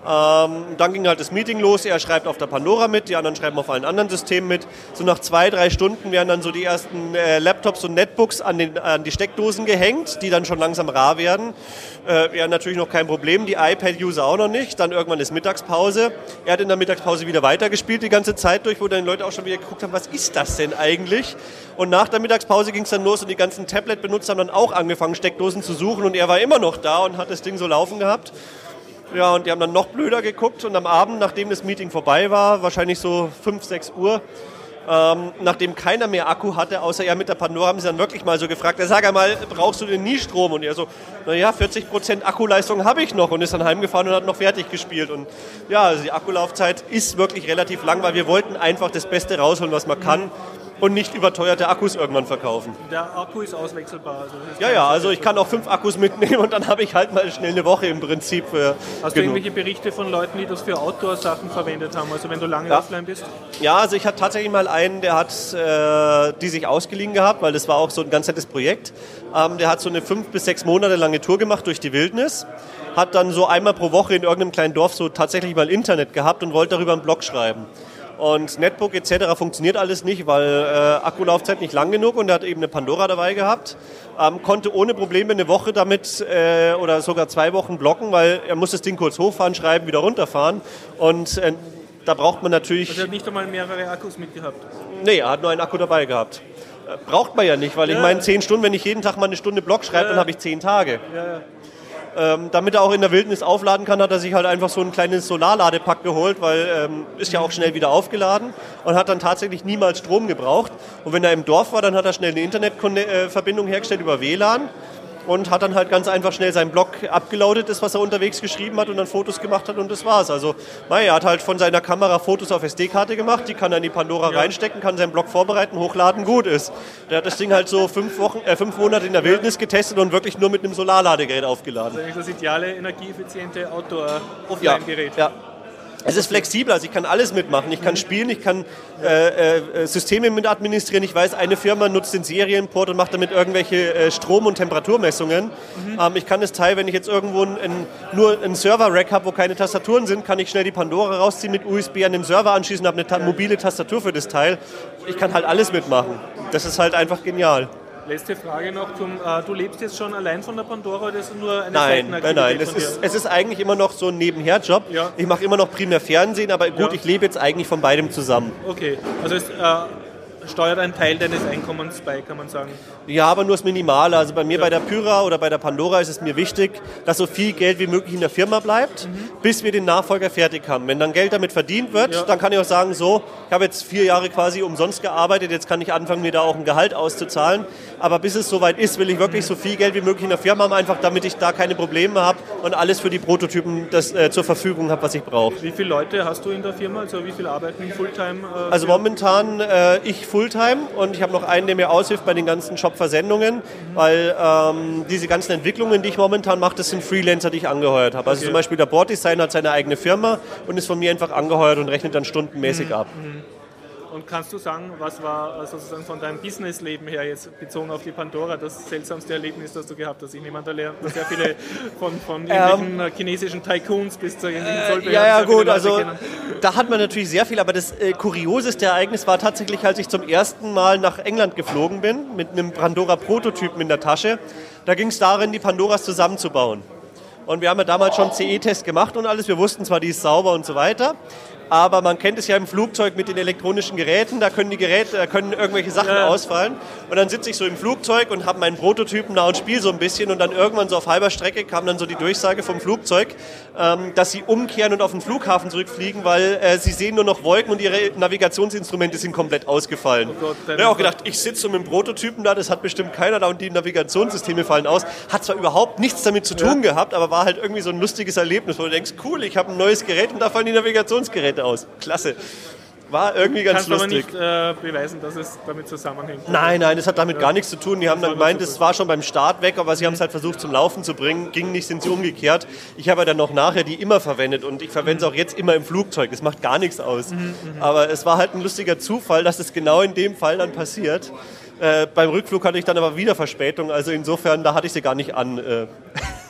Ähm, dann ging halt das Meeting los, er schreibt auf der Pandora mit, die anderen schreiben auf allen anderen Systemen mit. So nach zwei, drei Stunden werden dann so die ersten äh, Laptops und Netbooks an, den, an die Steckdosen gehängt, die dann schon langsam rar werden. Äh, ja, natürlich noch kein Problem, die iPad-User auch noch nicht. Dann irgendwann ist Mittagspause. Er hat in der Mittagspause wieder weitergespielt die ganze Zeit durch, wo dann die Leute auch schon wieder geguckt haben, was ist das denn eigentlich? Und nach der Mittagspause ging es dann los und die ganzen Tablet-Benutzer haben dann auch angefangen, Steckdosen zu suchen und er war immer noch da und hat das Ding so laufen gehabt. Ja, und die haben dann noch blöder geguckt und am Abend, nachdem das Meeting vorbei war, wahrscheinlich so fünf, sechs Uhr, ähm, nachdem keiner mehr Akku hatte, außer er mit der Pandora, haben sie dann wirklich mal so gefragt, sag einmal, brauchst du denn nie Strom? Und er so, naja, vierzig Prozent Akkuleistung habe ich noch und ist dann heimgefahren und hat noch fertig gespielt. Und ja, also die Akkulaufzeit ist wirklich relativ lang, weil wir wollten einfach das Beste rausholen, was man kann. Und nicht überteuerte Akkus irgendwann verkaufen. Der Akku ist auswechselbar. Also ja, ja, also ich kann auch fünf Akkus mitnehmen und dann habe ich halt mal schnell eine Woche im Prinzip. Für Hast genug. Du irgendwelche Berichte von Leuten, die das für Outdoor-Sachen verwendet haben, also wenn du lange ja. offline bist? Ja, also ich hatte tatsächlich mal einen, der hat äh, die sich ausgeliehen gehabt, weil das war auch so ein ganz nettes Projekt. Ähm, der hat so eine fünf bis sechs Monate lange Tour gemacht durch die Wildnis, hat dann so einmal pro Woche in irgendeinem kleinen Dorf so tatsächlich mal Internet gehabt und wollte darüber einen Blog schreiben. Und Netbook et cetera funktioniert alles nicht, weil äh, Akkulaufzeit nicht lang genug und er hat eben eine Pandora dabei gehabt. Ähm, konnte ohne Probleme eine Woche damit äh, oder sogar zwei Wochen blocken, weil er muss das Ding kurz hochfahren, schreiben, wieder runterfahren. Und äh, da braucht man natürlich... Also er hat nicht einmal mehrere Akkus mitgehabt? Nee, er hat nur einen Akku dabei gehabt. Äh, braucht man ja nicht, weil ja. ich meine, zehn Stunden, wenn ich jeden Tag mal eine Stunde Block schreibe, ja. dann habe ich zehn Tage. Ja, ja. Ähm, damit er auch in der Wildnis aufladen kann, hat er sich halt einfach so ein kleines Solarladepack geholt, weil ähm, ist ja auch schnell wieder aufgeladen und hat dann tatsächlich niemals Strom gebraucht. Und wenn er im Dorf war, dann hat er schnell eine Internetverbindung hergestellt über W L A N und hat dann halt ganz einfach schnell seinen Blog abgeloadet, das was er unterwegs geschrieben hat und dann Fotos gemacht hat und das war's. Also er hat halt von seiner Kamera Fotos auf S D-Karte gemacht, die kann er in die Pandora ja. reinstecken, kann seinen Blog vorbereiten, hochladen, gut ist. Der hat das Ding halt so fünf Wochen, äh, fünf Monate in der Wildnis getestet und wirklich nur mit einem Solarladegerät aufgeladen. Das ist eigentlich das ideale, energieeffiziente Outdoor-Offline-Gerät. Ja, ja. Es ist flexibel, also ich kann alles mitmachen. Ich kann spielen, ich kann äh, äh, Systeme mit administrieren. Ich weiß, eine Firma nutzt den Serienport und macht damit irgendwelche äh, Strom- und Temperaturmessungen. Mhm. Ähm, ich kann das Teil, wenn ich jetzt irgendwo ein, ein, nur einen Server-Rack habe, wo keine Tastaturen sind, kann ich schnell die Pandora rausziehen, mit U S B an den Server anschließen und habe eine ta- mobile Tastatur für das Teil. Ich kann halt alles mitmachen. Das ist halt einfach genial. Letzte Frage noch, zum, äh, du lebst jetzt schon allein von der Pandora oder ist es nur eine Nein, Seitenaktivität nein, nein. Es von dir? ist, es ist eigentlich immer noch so ein Nebenherjob. Ja. Ich mache immer noch primär Fernsehen, aber gut, ja. ich lebe jetzt eigentlich von beidem zusammen. Okay, also es äh, steuert einen Teil deines Einkommens bei, kann man sagen? Ja, aber nur das Minimale. Also bei mir ja. bei der Pyra oder bei der Pandora ist es mir wichtig, dass so viel Geld wie möglich in der Firma bleibt, mhm. bis wir den Nachfolger fertig haben. Wenn dann Geld damit verdient wird, ja. dann kann ich auch sagen, so, ich habe jetzt vier Jahre quasi umsonst gearbeitet, jetzt kann ich anfangen, mir da auch ein Gehalt auszuzahlen. Aber bis es soweit ist, will ich wirklich so viel Geld wie möglich in der Firma haben, einfach damit ich da keine Probleme habe und alles für die Prototypen das, äh, zur Verfügung habe, was ich brauche. Wie viele Leute hast du in der Firma? Also wie viele arbeiten Fulltime? Äh, also momentan äh, ich Fulltime und ich habe noch einen, der mir aushilft bei den ganzen Shop-Versendungen, mhm. weil ähm, diese ganzen Entwicklungen, die ich momentan mache, das sind Freelancer, die ich angeheuert habe. Also okay. zum Beispiel der Boarddesigner hat seine eigene Firma und ist von mir einfach angeheuert und rechnet dann stundenmäßig mhm. ab. Mhm. Und kannst du sagen, was war sozusagen von deinem Businessleben her jetzt bezogen auf die Pandora das seltsamste Erlebnis, das du gehabt hast? Ich nehme an, da lernt man sehr viele von, von irgendwelchen ähm, chinesischen Tycoons bis zu irgendwelchen Zollbehörden. Ja, ja, gut, also da hat man natürlich sehr viel, aber das äh, kurioseste Ereignis war tatsächlich, als ich zum ersten Mal nach England geflogen bin, mit einem Pandora-Prototypen in der Tasche. Da ging es darin, die Pandoras zusammenzubauen. Und wir haben ja damals schon C E-Test gemacht und alles. Wir wussten zwar, die ist sauber und so weiter, aber man kennt es ja im Flugzeug mit den elektronischen Geräten, da können die Geräte, da können irgendwelche Sachen ja. ausfallen. Und dann sitze ich so im Flugzeug und habe meinen Prototypen da und spiele so ein bisschen und dann irgendwann so auf halber Strecke kam dann so die Durchsage vom Flugzeug, ähm, dass sie umkehren und auf den Flughafen zurückfliegen, weil äh, sie sehen nur noch Wolken und ihre Navigationsinstrumente sind komplett ausgefallen. Oh Gott, ich habe auch gedacht, ich sitze so mit dem Prototypen da, das hat bestimmt keiner da und die Navigationssysteme fallen aus. Hat zwar überhaupt nichts damit zu tun ja. gehabt, aber war halt irgendwie so ein lustiges Erlebnis, wo du denkst, cool, ich habe ein neues Gerät und da fallen die Navigationsgeräte aus. Klasse. War irgendwie ganz Kannst lustig. Kannst aber nicht äh, beweisen, dass es damit zusammenhängt. Nein, nein, das hat damit ja. gar nichts zu tun. Die haben dann gemeint, es war schon beim Start weg, aber sie mhm. haben es halt versucht zum Laufen zu bringen. Ging nicht, sind sie umgekehrt. Ich habe ja dann noch nachher die immer verwendet und ich verwende es auch jetzt immer im Flugzeug. Es macht gar nichts aus. Mhm, aber es war halt ein lustiger Zufall, dass es genau in dem Fall dann passiert. Äh, beim Rückflug hatte ich dann aber wieder Verspätung, also insofern, da hatte ich sie gar nicht an. Äh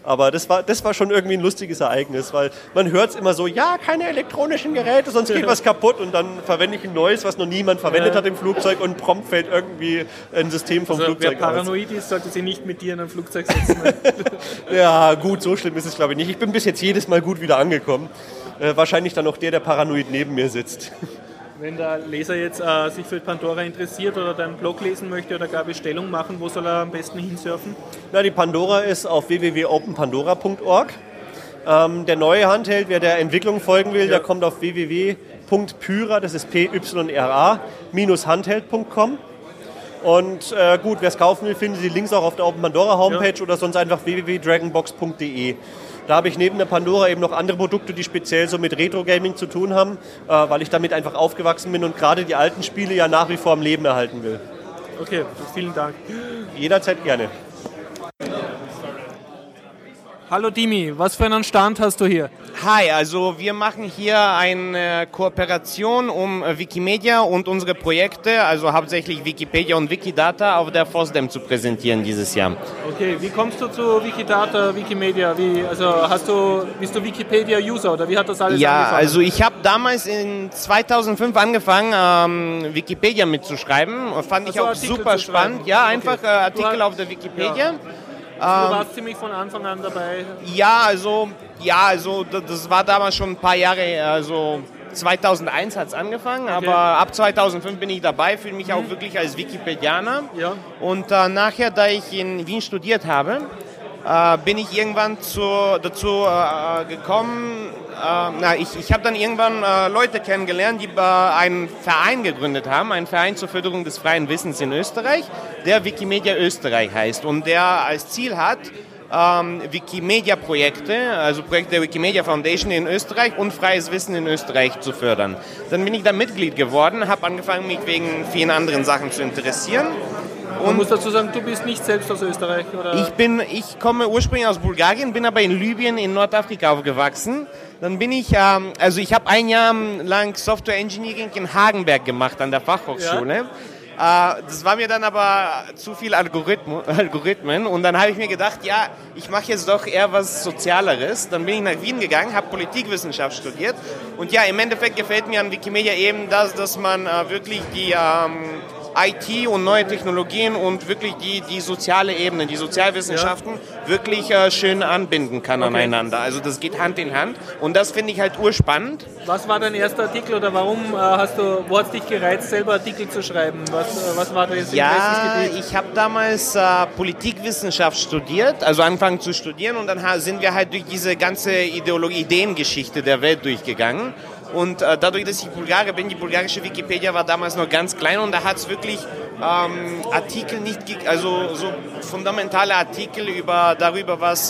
Aber das war, das war schon irgendwie ein lustiges Ereignis, weil man hört es immer so, ja, keine elektronischen Geräte, sonst geht was kaputt und dann verwende ich ein neues, was noch niemand verwendet ja. hat im Flugzeug und prompt fällt irgendwie ein System vom also, Flugzeug aus. Wer paranoid ist, sollte sich nicht mit dir in ein Flugzeug setzen. Ja, gut, so schlimm ist es glaube ich nicht. Ich bin bis jetzt jedes Mal gut wieder angekommen. Äh, wahrscheinlich dann auch der, der paranoid neben mir sitzt. Wenn der Leser jetzt äh, sich für Pandora interessiert oder deinen Blog lesen möchte oder gar Bestellung machen, wo soll er am besten hinsurfen? Na, die Pandora ist auf w w w punkt open pandora punkt org. Ähm, der neue Handheld, wer der Entwicklung folgen will, ja. der kommt auf w w w punkt pyra, das ist P Y R A, minus handheld punkt com. Und äh, gut, wer es kaufen will, findet die Links auch auf der Open Pandora Homepage ja. oder sonst einfach w w w punkt dragonbox punkt d e. Da habe ich neben der Pandora eben noch andere Produkte, die speziell so mit Retro-Gaming zu tun haben, äh, weil ich damit einfach aufgewachsen bin und gerade die alten Spiele ja nach wie vor am Leben erhalten will. Okay, vielen Dank. Jederzeit gerne. Hallo Dimi, was für einen Stand hast du hier? Hi, also wir machen hier eine Kooperation um Wikimedia und unsere Projekte, also hauptsächlich Wikipedia und Wikidata, auf der FOSDEM zu präsentieren dieses Jahr. Okay, wie kommst du zu Wikidata, Wikimedia? Wie, also hast du, bist du Wikipedia-User oder wie hat das alles ja, angefangen? Ja, also ich habe damals in zweitausendfünf angefangen, ähm, Wikipedia mitzuschreiben. Fand ich also auch Artikel super spannend. Ja, einfach okay. äh, Artikel auf der Wikipedia. Ja. Du warst ähm, ziemlich von Anfang an dabei. Ja, also, ja, also das war damals schon ein paar Jahre, also zweitausendeins hat es angefangen, okay. aber ab zweitausendfünf bin ich dabei, fühle mich mhm. auch wirklich als Wikipedianer. Ja. Und äh, nachher, da ich in Wien studiert habe, äh, bin ich irgendwann zu, dazu äh, gekommen, äh, na, ich, ich habe dann irgendwann äh, Leute kennengelernt, die äh, einen Verein gegründet haben, einen Verein zur Förderung des freien Wissens in Österreich, der Wikimedia Österreich heißt und der als Ziel hat, ähm, Wikimedia-Projekte, also Projekte der Wikimedia Foundation in Österreich und freies Wissen in Österreich zu fördern. Dann bin ich da Mitglied geworden, habe angefangen, mich wegen vielen anderen Sachen zu interessieren. Man muss dazu sagen, du bist nicht selbst aus Österreich, oder? Ich, bin, ich komme ursprünglich aus Bulgarien, bin aber in Libyen, in Nordafrika aufgewachsen. Dann bin ich, ähm, also ich habe ein Jahr lang Software Engineering in Hagenberg gemacht an der Fachhochschule. Ja. Äh, das war mir dann aber zu viel Algorithmen, Algorithmen und dann habe ich mir gedacht, ja, ich mache jetzt doch eher was Sozialeres. Dann bin ich nach Wien gegangen, habe Politikwissenschaft studiert und ja, im Endeffekt gefällt mir an Wikimedia eben das, dass man äh, wirklich die ähm, I T und neue Technologien und wirklich die, die soziale Ebene, die Sozialwissenschaften ja. wirklich äh, schön anbinden kann okay. aneinander. Also das geht Hand in Hand und das finde ich halt urspannend. Was war dein erster Artikel oder warum äh, hast du, wo hat es dich gereizt, selber Artikel zu schreiben? Was, äh, was war das Ja, ich habe damals äh, Politikwissenschaft studiert, also angefangen zu studieren und dann sind wir halt durch diese ganze Ideologie, Ideengeschichte der Welt durchgegangen. Und äh, dadurch, dass ich Bulgarier bin, die bulgarische Wikipedia war damals noch ganz klein und da hat es wirklich ähm, Artikel nicht, also so fundamentale Artikel über, darüber, was äh,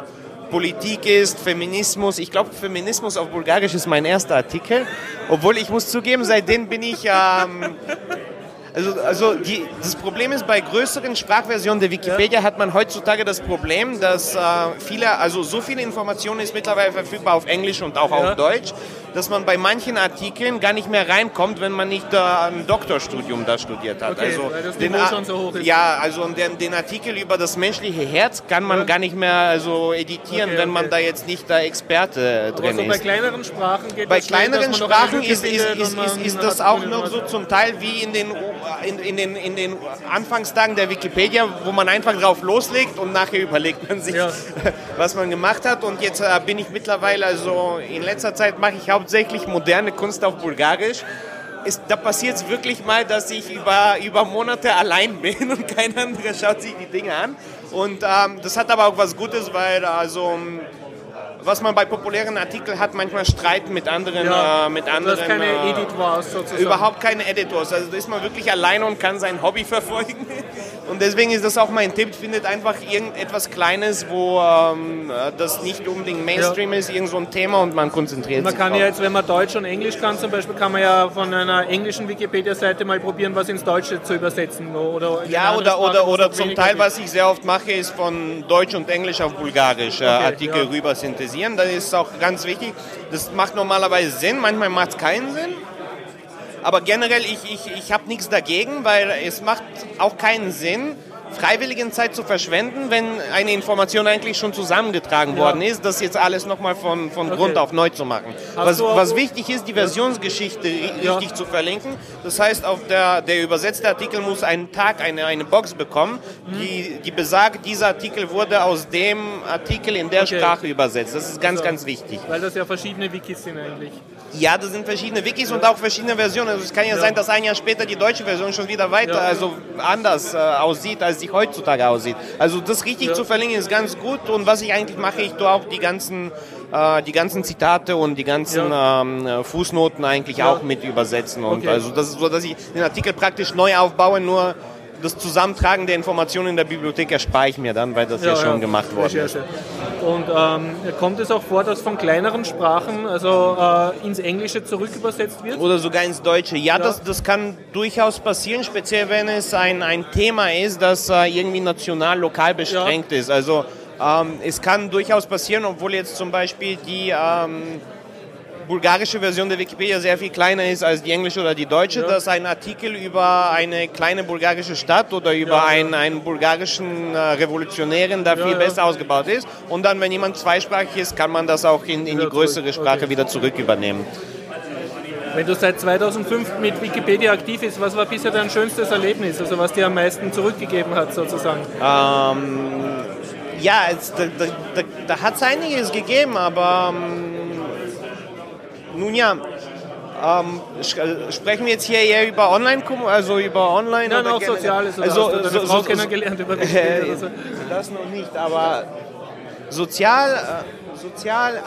Politik ist, Feminismus. Ich glaube, Feminismus auf Bulgarisch ist mein erster Artikel, obwohl ich muss zugeben, seitdem bin ich... Ähm, Also, also die, das Problem ist, bei größeren Sprachversionen der Wikipedia hat man heutzutage das Problem, dass äh, viele, also so viele Informationen ist mittlerweile verfügbar auf Englisch und auch ja. auf Deutsch, dass man bei manchen Artikeln gar nicht mehr reinkommt, wenn man nicht äh, ein Doktorstudium da studiert hat. Okay, also weil das den, Niveau schon so hoch ist. Ja, also den, den Artikel über das menschliche Herz kann man ja. gar nicht mehr also editieren, okay, wenn man okay. da jetzt nicht der Experte Aber drin so ist. Bei kleineren Sprachen geht Bei das kleineren schnell, Sprachen ist, ist, ist, ist, ist das auch noch so zum Teil wie in den In, in, den, in den Anfangstagen der Wikipedia, wo man einfach drauf loslegt und nachher überlegt man sich, ja. was man gemacht hat. Und jetzt äh, bin ich mittlerweile, also in letzter Zeit mache ich hauptsächlich moderne Kunst auf Bulgarisch. Ist, da passiert es wirklich mal, dass ich über, über Monate allein bin und kein anderer schaut sich die Dinge an. Und ähm, das hat aber auch was Gutes, weil also... was man bei populären Artikeln hat, manchmal Streit mit anderen. Ja, äh, mit anderen du hast keine äh, Editors sozusagen. Überhaupt keine Editors. Also da ist man wirklich alleine und kann sein Hobby verfolgen. Und deswegen ist das auch mein Tipp, findet einfach irgendetwas Kleines, wo ähm, das nicht unbedingt Mainstream ja. ist, irgend so ein Thema und man konzentriert man sich kann drauf. ja jetzt, wenn man Deutsch und Englisch kann zum Beispiel, kann man ja von einer englischen Wikipedia-Seite mal probieren, was ins Deutsche zu übersetzen. Oder ja, oder, Sprache, oder, oder zum Teil, geht. Was ich sehr oft mache, ist von Deutsch und Englisch auf Bulgarisch okay, Artikel ja. rüber synthesieren. Das ist auch ganz wichtig. Das macht normalerweise Sinn, manchmal macht es keinen Sinn. Aber generell, ich, ich, ich habe nichts dagegen, weil es macht auch keinen Sinn, freiwilligen Zeit zu verschwenden, wenn eine Information eigentlich schon zusammengetragen ja. worden ist, das jetzt alles nochmal von, von okay. Grund auf neu zu machen. Was, was wichtig ist, die Versionsgeschichte ja. richtig zu verlinken. Das heißt, auf der, der übersetzte Artikel muss einen Tag, eine, eine Box bekommen, mhm. die, die besagt, dieser Artikel wurde aus dem Artikel in der okay. Sprache übersetzt. Das ist ganz, also, ganz wichtig. Weil das ja verschiedene Wikis sind eigentlich. Ja, das sind verschiedene Wikis ja. und auch verschiedene Versionen. Also es kann ja, ja sein, dass ein Jahr später die deutsche Version schon wieder weiter, ja. also anders äh, aussieht, als sie heutzutage aussieht. Also das richtig ja. zu verlinken ist ganz gut. Und was ich eigentlich mache, ich tue auch die ganzen, äh, die ganzen Zitate und die ganzen ja. ähm, Fußnoten eigentlich ja. auch mit übersetzen. Und okay. also das ist so, dass ich den Artikel praktisch neu aufbaue, nur das Zusammentragen der Informationen in der Bibliothek erspare ich mir dann, weil das ja, ja schon ja. gemacht worden ist. Und ähm, kommt es auch vor, dass von kleineren Sprachen also äh, ins Englische zurück übersetzt wird? Oder sogar ins Deutsche. Ja, ja. Das, das kann durchaus passieren, speziell wenn es ein, ein Thema ist, das äh, irgendwie national, lokal beschränkt ja. ist. Also ähm, es kann durchaus passieren, obwohl jetzt zum Beispiel die ähm, bulgarische Version der Wikipedia sehr viel kleiner ist als die englische oder die deutsche, ja. dass ein Artikel über eine kleine bulgarische Stadt oder über ja, einen, ja. einen bulgarischen äh, Revolutionären da ja, viel ja. besser ausgebaut ist. Und dann, wenn jemand zweisprachig ist, kann man das auch in, in die größere Sprache okay. wieder zurück übernehmen. Wenn du seit zweitausendfünf mit Wikipedia aktiv bist, was war bisher dein schönstes Erlebnis, also was dir am meisten zurückgegeben hat sozusagen? Ähm, ja, es, da, da, da, da hat es einiges gegeben, aber ähm, nun ja, ähm, sprechen wir jetzt hier eher über Online, also über Online Nein, oder auch Soziales, oder also, hast du deine Frau so, kennengelernt über Wikipedia äh, oder so? Das noch nicht, aber sozial, äh, sozial,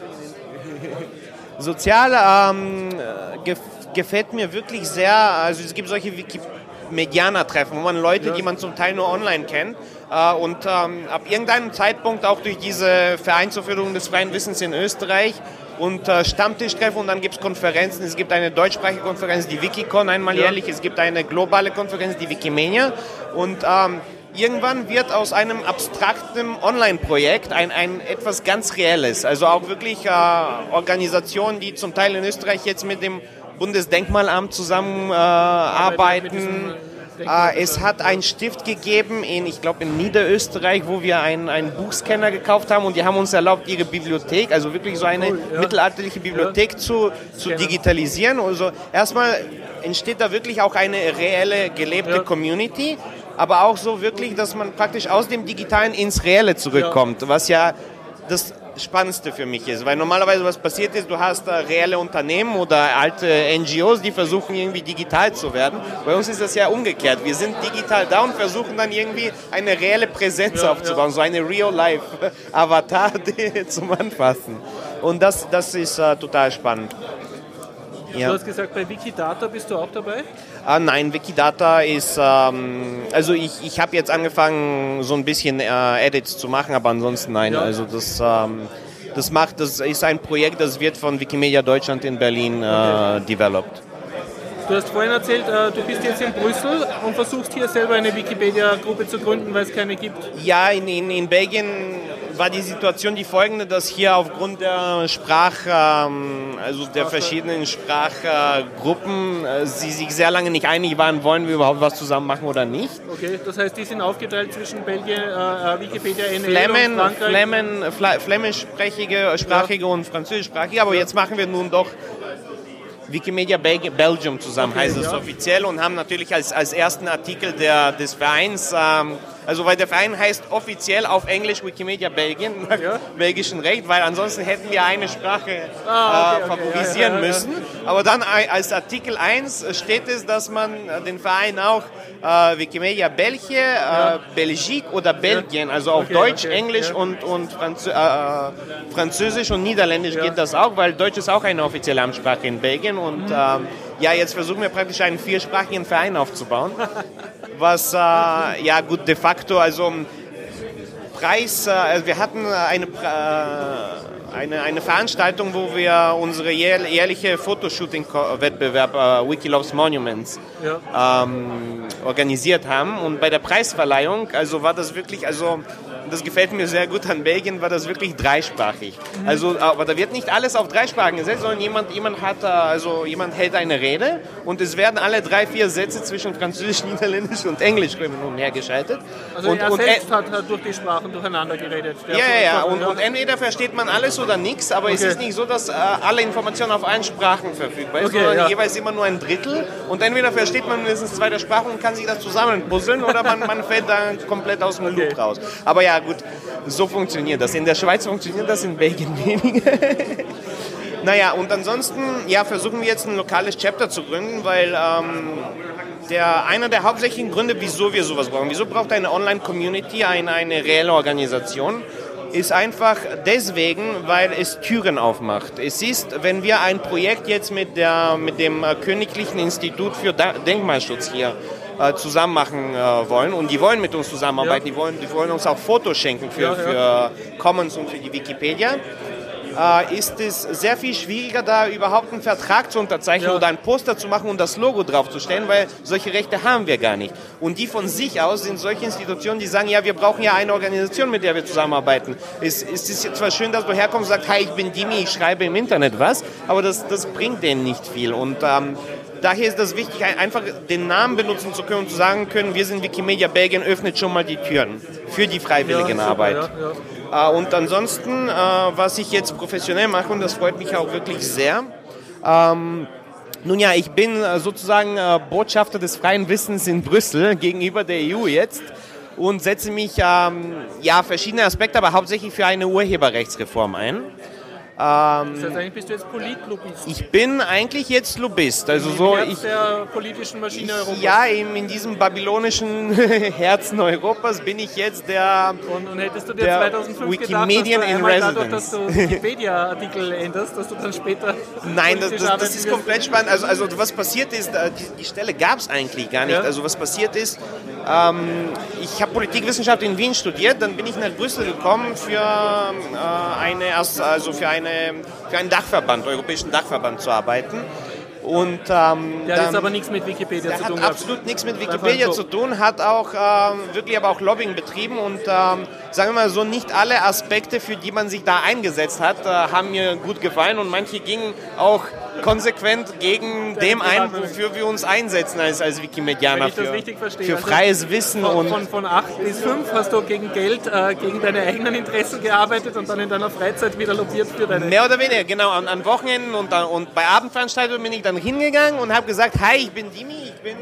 sozial ähm, gef gefällt mir wirklich sehr, also es gibt solche Wikimedianer-Treffen, wo man Leute, ja. die man zum Teil nur online kennt, äh, und ähm, ab irgendeinem Zeitpunkt auch durch diese Vereinsverführung des freien Wissens in Österreich und äh, Stammtischtreffen und dann gibt es Konferenzen. Es gibt eine deutschsprachige Konferenz, die Wikicon einmal ja. jährlich. Es gibt eine globale Konferenz, die Wikimania. Und ähm, irgendwann wird aus einem abstrakten Online-Projekt ein, ein etwas ganz Reelles. Also auch wirklich äh, Organisationen, die zum Teil in Österreich jetzt mit dem Bundesdenkmalamt zusammenarbeiten. Äh, Äh, es hat einen Stift gegeben, in, ich glaube in Niederösterreich, wo wir einen, einen Buchscanner gekauft haben und die haben uns erlaubt, ihre Bibliothek, also wirklich so eine cool, ja. mittelalterliche Bibliothek ja. zu, zu digitalisieren. Also erstmal entsteht da wirklich auch eine reelle, gelebte ja. Community, aber auch so wirklich, dass man praktisch aus dem Digitalen ins Reelle zurückkommt, ja. was ja das Spannendste für mich ist, weil normalerweise was passiert ist, du hast äh, reelle Unternehmen oder alte N G Os, die versuchen irgendwie digital zu werden. Bei uns ist das ja umgekehrt. Wir sind digital da und versuchen dann irgendwie eine reelle Präsenz ja, aufzubauen, ja. so eine Real-Life-Avatar zum Anfassen. Und das, das ist äh, total spannend. Ja. Du hast gesagt, bei Wikidata bist du auch dabei? Ah, nein, Wikidata ist, ähm, also ich, ich habe jetzt angefangen, so ein bisschen äh, Edits zu machen, aber ansonsten nein. Ja. Also das, ähm, das macht, das ist ein Projekt, das wird von Wikimedia Deutschland in Berlin äh, okay. developed. Du hast vorhin erzählt, äh, du bist jetzt in Brüssel und versuchst hier selber eine Wikipedia-Gruppe zu gründen, weil es keine gibt. Ja, in, in, in Belgien war die Situation die folgende, dass hier aufgrund der Sprache, ähm, also der verschiedenen Sprachgruppen, äh, sie sich sehr lange nicht einig waren, wollen wir überhaupt was zusammen machen oder nicht. Okay, das heißt, die sind aufgeteilt zwischen Belgien, äh, Wikipedia, N L Flemmen, und Frankreich? Flemmen, Fla flämischsprachige sprachige ja. und französischsprachige, aber okay. jetzt machen wir nun doch Wikimedia Belgium zusammen, okay, heißt es ja. offiziell, und haben natürlich als, als ersten Artikel der, des Vereins, ähm, also weil der Verein heißt offiziell auf Englisch Wikimedia Belgien, nach ja. belgischem Recht, weil ansonsten hätten wir eine Sprache ah, okay, äh, favorisieren okay, ja, ja, müssen. Ja. Aber dann als Artikel eins steht es, dass man den Verein auch äh, Wikimedia België, ja. äh, Belgique oder Belgien, also auf okay, Deutsch, okay, Englisch ja. und, und Franzö äh, Französisch und Niederländisch ja. geht das auch, weil Deutsch ist auch eine offizielle Amtssprache in Belgien. Und mhm. ähm, ja, jetzt versuchen wir praktisch einen viersprachigen Verein aufzubauen, was äh, ja gut de facto, also Preis, äh, wir hatten eine, äh, eine, eine Veranstaltung, wo wir unsere jährliche Fotoshooting-Wettbewerb äh, Wiki Loves Monuments ja. ähm, organisiert haben, und bei der Preisverleihung, also war das wirklich, also das gefällt mir sehr gut an Belgien, war das wirklich dreisprachig. Also, aber da wird nicht alles auf drei Sprachen gesetzt, sondern jemand, jemand, hat, also jemand hält eine Rede und es werden alle drei, vier Sätze zwischen Französisch, Niederländisch und Englisch hin und her geschaltet. Also und, er und selbst hat, hat durch die Sprachen durcheinander geredet. Ja, ja, ja. Und, und entweder versteht man alles oder nichts, aber okay. Es ist nicht so, dass äh, alle Informationen auf allen Sprachen verfügbar sind, okay, sondern ja. jeweils immer nur ein Drittel. Und entweder versteht man mindestens zwei der Sprachen und kann sich das zusammenpuzzeln oder man, man fällt da komplett aus dem okay. Loop raus. Aber ja, gut, so funktioniert das. In der Schweiz funktioniert das, in Belgien weniger. Naja, und ansonsten ja, versuchen wir jetzt ein lokales Chapter zu gründen, weil ähm, der, einer der hauptsächlichen Gründe, wieso wir sowas brauchen, wieso braucht eine Online-Community eine, eine reelle Organisation, ist einfach deswegen, weil es Türen aufmacht. Es ist, wenn wir ein Projekt jetzt mit, der, mit dem Königlichen Institut für Denkmalschutz hier äh, zusammen machen äh, wollen, und die wollen mit uns zusammenarbeiten, ja. die, wollen, die wollen uns auch Fotos schenken für, ja, ja. für Commons und für die Wikipedia, äh, ist es sehr viel schwieriger, da überhaupt einen Vertrag zu unterzeichnen ja. oder ein Poster zu machen und das Logo draufzustellen, weil solche Rechte haben wir gar nicht. Und die von sich aus sind solche Institutionen, die sagen, ja, wir brauchen ja eine Organisation, mit der wir zusammenarbeiten. Es, es ist zwar schön, dass du herkommst und sagst, hi, ich bin Dimi, ich schreibe im Internet was, aber das, das bringt denen nicht viel. Und ähm, daher ist das wichtig, einfach den Namen benutzen zu können und zu sagen können, wir sind Wikimedia Belgien, öffnet schon mal die Türen für die Freiwilligenarbeit. Ja, ja, ja. Und ansonsten, was ich jetzt professionell mache, und das freut mich auch wirklich sehr, ähm, nun ja, ich bin sozusagen Botschafter des freien Wissens in Brüssel gegenüber der E U jetzt und setze mich ähm, ja, verschiedene Aspekte, aber hauptsächlich für eine Urheberrechtsreform ein. Ähm, das heißt, eigentlich bist du jetzt Politlobbyist? Ich bin eigentlich jetzt Lobbyist. Also Im so, Herz ich, der politischen Maschine Europas? Ja, in, in diesem babylonischen Herzen Europas bin ich jetzt der Und, und hättest du dir zweitausendfünf Wikimedian gedacht, dass du in Residence. dadurch, dass du Wikipedia-Artikel änderst, dass du dann später... Nein, das, das, das ist komplett spannend. Also, also was passiert ist, die, die Stelle gab es eigentlich gar nicht. Ja. Also was passiert ist, ähm, ich habe Politikwissenschaft in Wien studiert, dann bin ich nach Brüssel gekommen für äh, eine, also für eine für einen Dachverband, europäischen Dachverband zu arbeiten. Und, ähm, der hat jetzt aber nichts mit Wikipedia zu tun. Der hat absolut nichts mit Wikipedia zu tun, hat auch ähm, wirklich aber auch Lobbying betrieben und ähm, sagen wir mal so, nicht alle Aspekte, für die man sich da eingesetzt hat, äh, haben mir gut gefallen und manche gingen auch konsequent gegen dem ein, wofür wir uns einsetzen als, als Wikimedianer, für, für freies Wissen. Von, und von, von acht bis fünf hast du gegen Geld, äh, gegen deine eigenen Interessen gearbeitet und dann in deiner Freizeit wieder lobbyiert für deine... Mehr oder weniger, genau, an, an Wochenenden und, und bei Abendveranstaltungen bin ich dann hingegangen und habe gesagt, hi, ich bin Dimi, ich bin...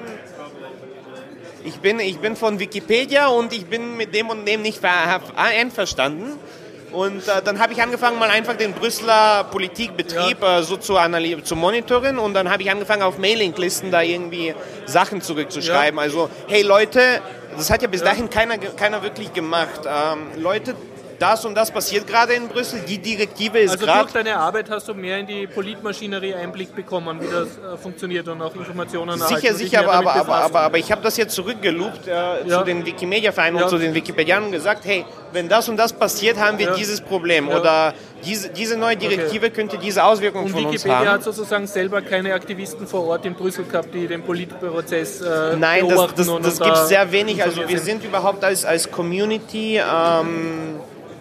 Ich bin, ich bin von Wikipedia und ich bin mit dem und dem nicht einverstanden. Und äh, dann habe ich angefangen, mal einfach den Brüsseler Politikbetrieb ja. äh, so zu, analy- zu monitoren und dann habe ich angefangen, auf Mailinglisten da irgendwie Sachen zurückzuschreiben. Ja. Also, hey Leute, das hat ja bis ja. dahin keiner, keiner wirklich gemacht. Ähm, Leute, das und das passiert gerade in Brüssel, die Direktive ist gerade... Also durch deine Arbeit hast du mehr in die Politmaschinerie Einblick bekommen, wie das äh, funktioniert und auch Informationen erhalten. Sicher, sicher, aber, aber, aber, aber, aber ich habe das jetzt zurückgeloopt äh, ja. zu den Wikimedia-Vereinen ja. und zu den Wikipedianern und gesagt, hey, wenn das und das passiert, haben wir ja. dieses Problem ja. oder diese, diese neue Direktive okay. könnte diese Auswirkungen und von uns haben. Und Wikipedia hat sozusagen selber keine Aktivisten vor Ort in Brüssel gehabt, die den Politprozess äh, Nein, beobachten. das, das, und das und gibt es da sehr wenig. Also wir sind überhaupt als, als Community... Ähm,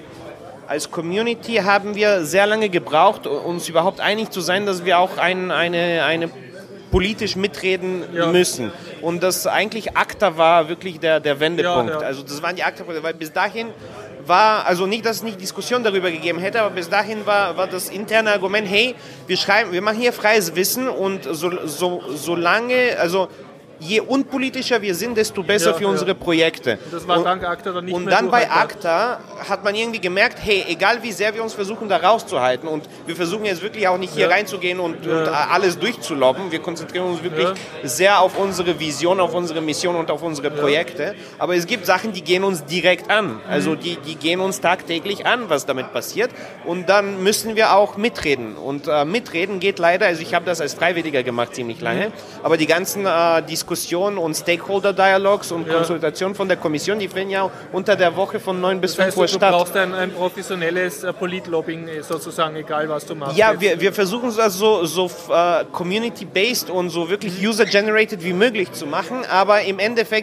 Als Community haben wir sehr lange gebraucht, uns überhaupt einig zu sein, dass wir auch ein, eine, eine politisch mitreden ja. müssen. Und das eigentlich ACTA war wirklich der, der Wendepunkt. Ja, ja. Also das waren die ACTA, weil bis dahin war, also nicht, dass es nicht Diskussion darüber gegeben hätte, aber bis dahin war, war das interne Argument, hey, wir schreiben, wir machen hier freies Wissen und so, so, solange, also je unpolitischer wir sind, desto besser ja, für unsere ja. Projekte. Und das war dank ACTA dann nicht Und mehr dann so bei haltbar. ACTA hat man irgendwie gemerkt, hey, egal wie sehr wir uns versuchen, da rauszuhalten und wir versuchen jetzt wirklich auch nicht hier ja. reinzugehen und, ja. und alles durchzulobben, wir konzentrieren uns wirklich ja. sehr auf unsere Vision, auf unsere Mission und auf unsere Projekte, ja. aber es gibt Sachen, die gehen uns direkt an, also die, die gehen uns tagtäglich an, was damit passiert und dann müssen wir auch mitreden und äh, mitreden geht leider, also ich habe das als Freiwilliger gemacht ziemlich lange, mhm. aber die ganzen äh, Diskussionen und Stakeholder-Dialogs und ja. Konsultationen von der Kommission, die finden ja unter der Woche von neun bis fünf Uhr statt. Du brauchst ein, ein professionelles äh, Politlobbying sozusagen, egal was du machst. Ja, wir, wir versuchen es also so, so uh, community-based und so wirklich user-generated wie möglich zu machen, aber im Endeffekt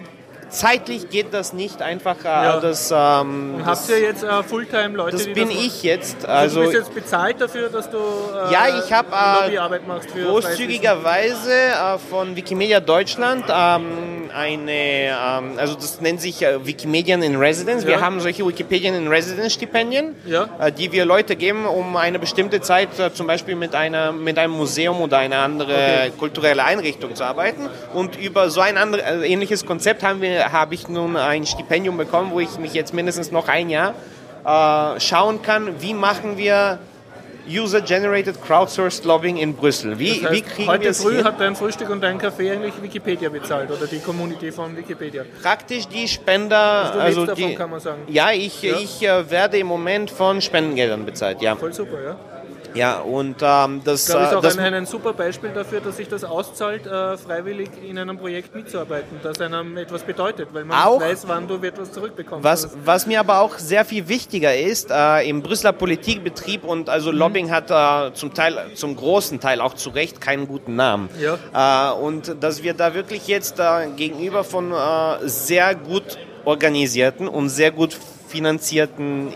zeitlich geht das nicht einfach. Äh, ja. das, ähm, Und das, habt ihr jetzt äh, Fulltime-Leute, das die bin das ich jetzt. Also, also du bist jetzt bezahlt dafür, dass du äh, ja, ich habe äh, Lobbyarbeit machst für großzügigerweise äh, von Wikimedia Deutschland ähm, eine, ähm, also das nennt sich äh, Wikimedian in Residence. Ja. Wir haben solche Wikipedian in Residence Stipendien, ja. äh, die wir Leute geben, um eine bestimmte Zeit äh, zum Beispiel mit, einer, mit einem Museum oder einer anderen okay. kulturelle Einrichtung zu arbeiten. Und über so ein andere, äh, ähnliches Konzept haben wir, habe ich nun ein Stipendium bekommen, wo ich mich jetzt mindestens noch ein Jahr äh, schauen kann, wie machen wir User-Generated Crowdsourced Lobbying in Brüssel. Wie, das heißt, wie kriegen heute wir es früh hin? hat dein Frühstück und dein Kaffee eigentlich Wikipedia bezahlt oder die Community von Wikipedia? Praktisch die Spender, also, also davon, die, kann man sagen. Ja, ich, ja. ich äh, werde im Moment von Spendengeldern bezahlt. Ja. Voll super, ja. Ja, und ähm, das, ich glaube, ist auch das ein, ein super Beispiel dafür, dass sich das auszahlt, äh, freiwillig in einem Projekt mitzuarbeiten, das einem etwas bedeutet, weil man auch, weiß, wann du etwas zurückbekommst. Was, was mir aber auch sehr viel wichtiger ist, äh, im Brüsseler Politikbetrieb und also mhm. Lobbying hat äh, zum Teil, zum großen Teil auch zu Recht keinen guten Namen. Ja. Äh, und dass wir da wirklich jetzt äh, gegenüber von äh, sehr gut organisierten und sehr gut finanzierten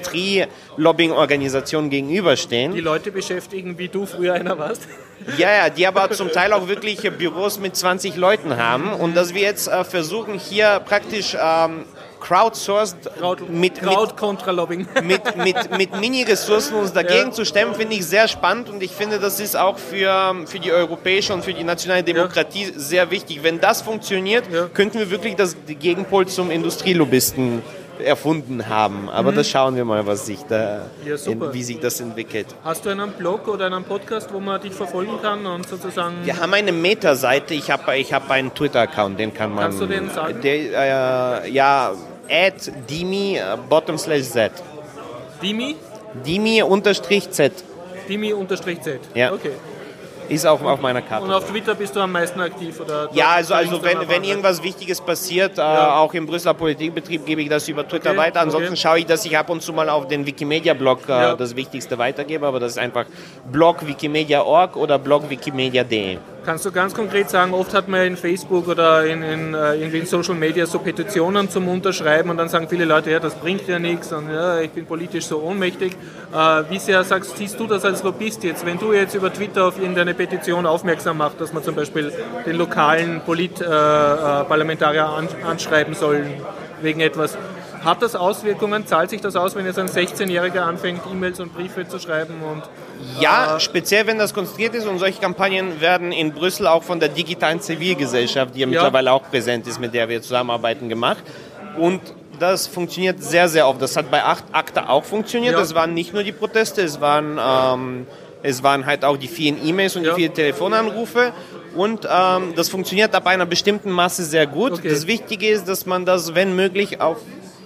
Industrie-Lobbying-Organisationen gegenüberstehen. Die Leute beschäftigen, wie du früher einer warst. Ja, ja, die aber zum Teil auch wirklich Büros mit zwanzig Leuten haben und dass wir jetzt äh, versuchen, hier praktisch ähm, crowdsourced Crowd, mit, Crowd kontra Lobbying. mit, mit, mit Mini-Ressourcen uns dagegen ja. zu stemmen, finde ich sehr spannend und ich finde, das ist auch für, für die europäische und für die nationale Demokratie ja. sehr wichtig. Wenn das funktioniert, ja. könnten wir wirklich das Gegenpol zum Industrielobbyisten erfunden haben. Aber mhm. das schauen wir mal, was sich da, ja, in, wie sich das entwickelt. Hast du einen Blog oder einen Podcast, wo man dich verfolgen kann und sozusagen... Wir haben eine Meta-Seite, ich habe ich hab einen Twitter-Account, den kann man... Kannst du den sagen? Der, äh, ja, at dimi bottom slash z. Dimi? Dimi unterstrich z. Dimi unterstrich z, ja. Okay. Ist auch auf meiner Karte. Und auf Twitter bist du am meisten aktiv? Oder ja, also, also wenn, wenn irgendwas Wichtiges passiert, ja. äh, auch im Brüsseler Politikbetrieb, gebe ich das über Twitter okay. weiter. Ansonsten okay. schaue ich, dass ich ab und zu mal auf den Wikimedia-Blog äh, ja. das Wichtigste weitergebe, aber das ist einfach blog wikimedia punkt org oder blog wikimedia punkt de. Kannst du ganz konkret sagen, oft hat man in Facebook oder in, in, irgendwie in Social Media so Petitionen zum Unterschreiben und dann sagen viele Leute, ja, das bringt ja nichts und ja, ich bin politisch so ohnmächtig. Äh, wie sehr sagst, siehst du das als Lobbyist jetzt, wenn du jetzt über Twitter auf irgendeine Petition aufmerksam machst, dass man zum Beispiel den lokalen Polit-Parlamentarier äh, an, anschreiben soll wegen etwas? Hat das Auswirkungen? Zahlt sich das aus, wenn jetzt ein sechzehnjähriger anfängt, E-Mails und Briefe zu schreiben? Und, ja, äh, speziell wenn das konstruiert ist und solche Kampagnen werden in Brüssel auch von der digitalen Zivilgesellschaft, die ja, ja. mittlerweile auch präsent ist, mit der wir zusammenarbeiten, gemacht. Und das funktioniert sehr, sehr oft. Das hat bei ACTA auch funktioniert. Ja. Das waren nicht nur die Proteste, es waren, ähm, es waren halt auch die vielen E-Mails und ja. die vielen Telefonanrufe. Und ähm, das funktioniert ab einer bestimmten Masse sehr gut. Okay. Das Wichtige ist, dass man das, wenn möglich, auf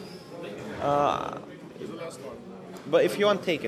Uh, but if you want, take it.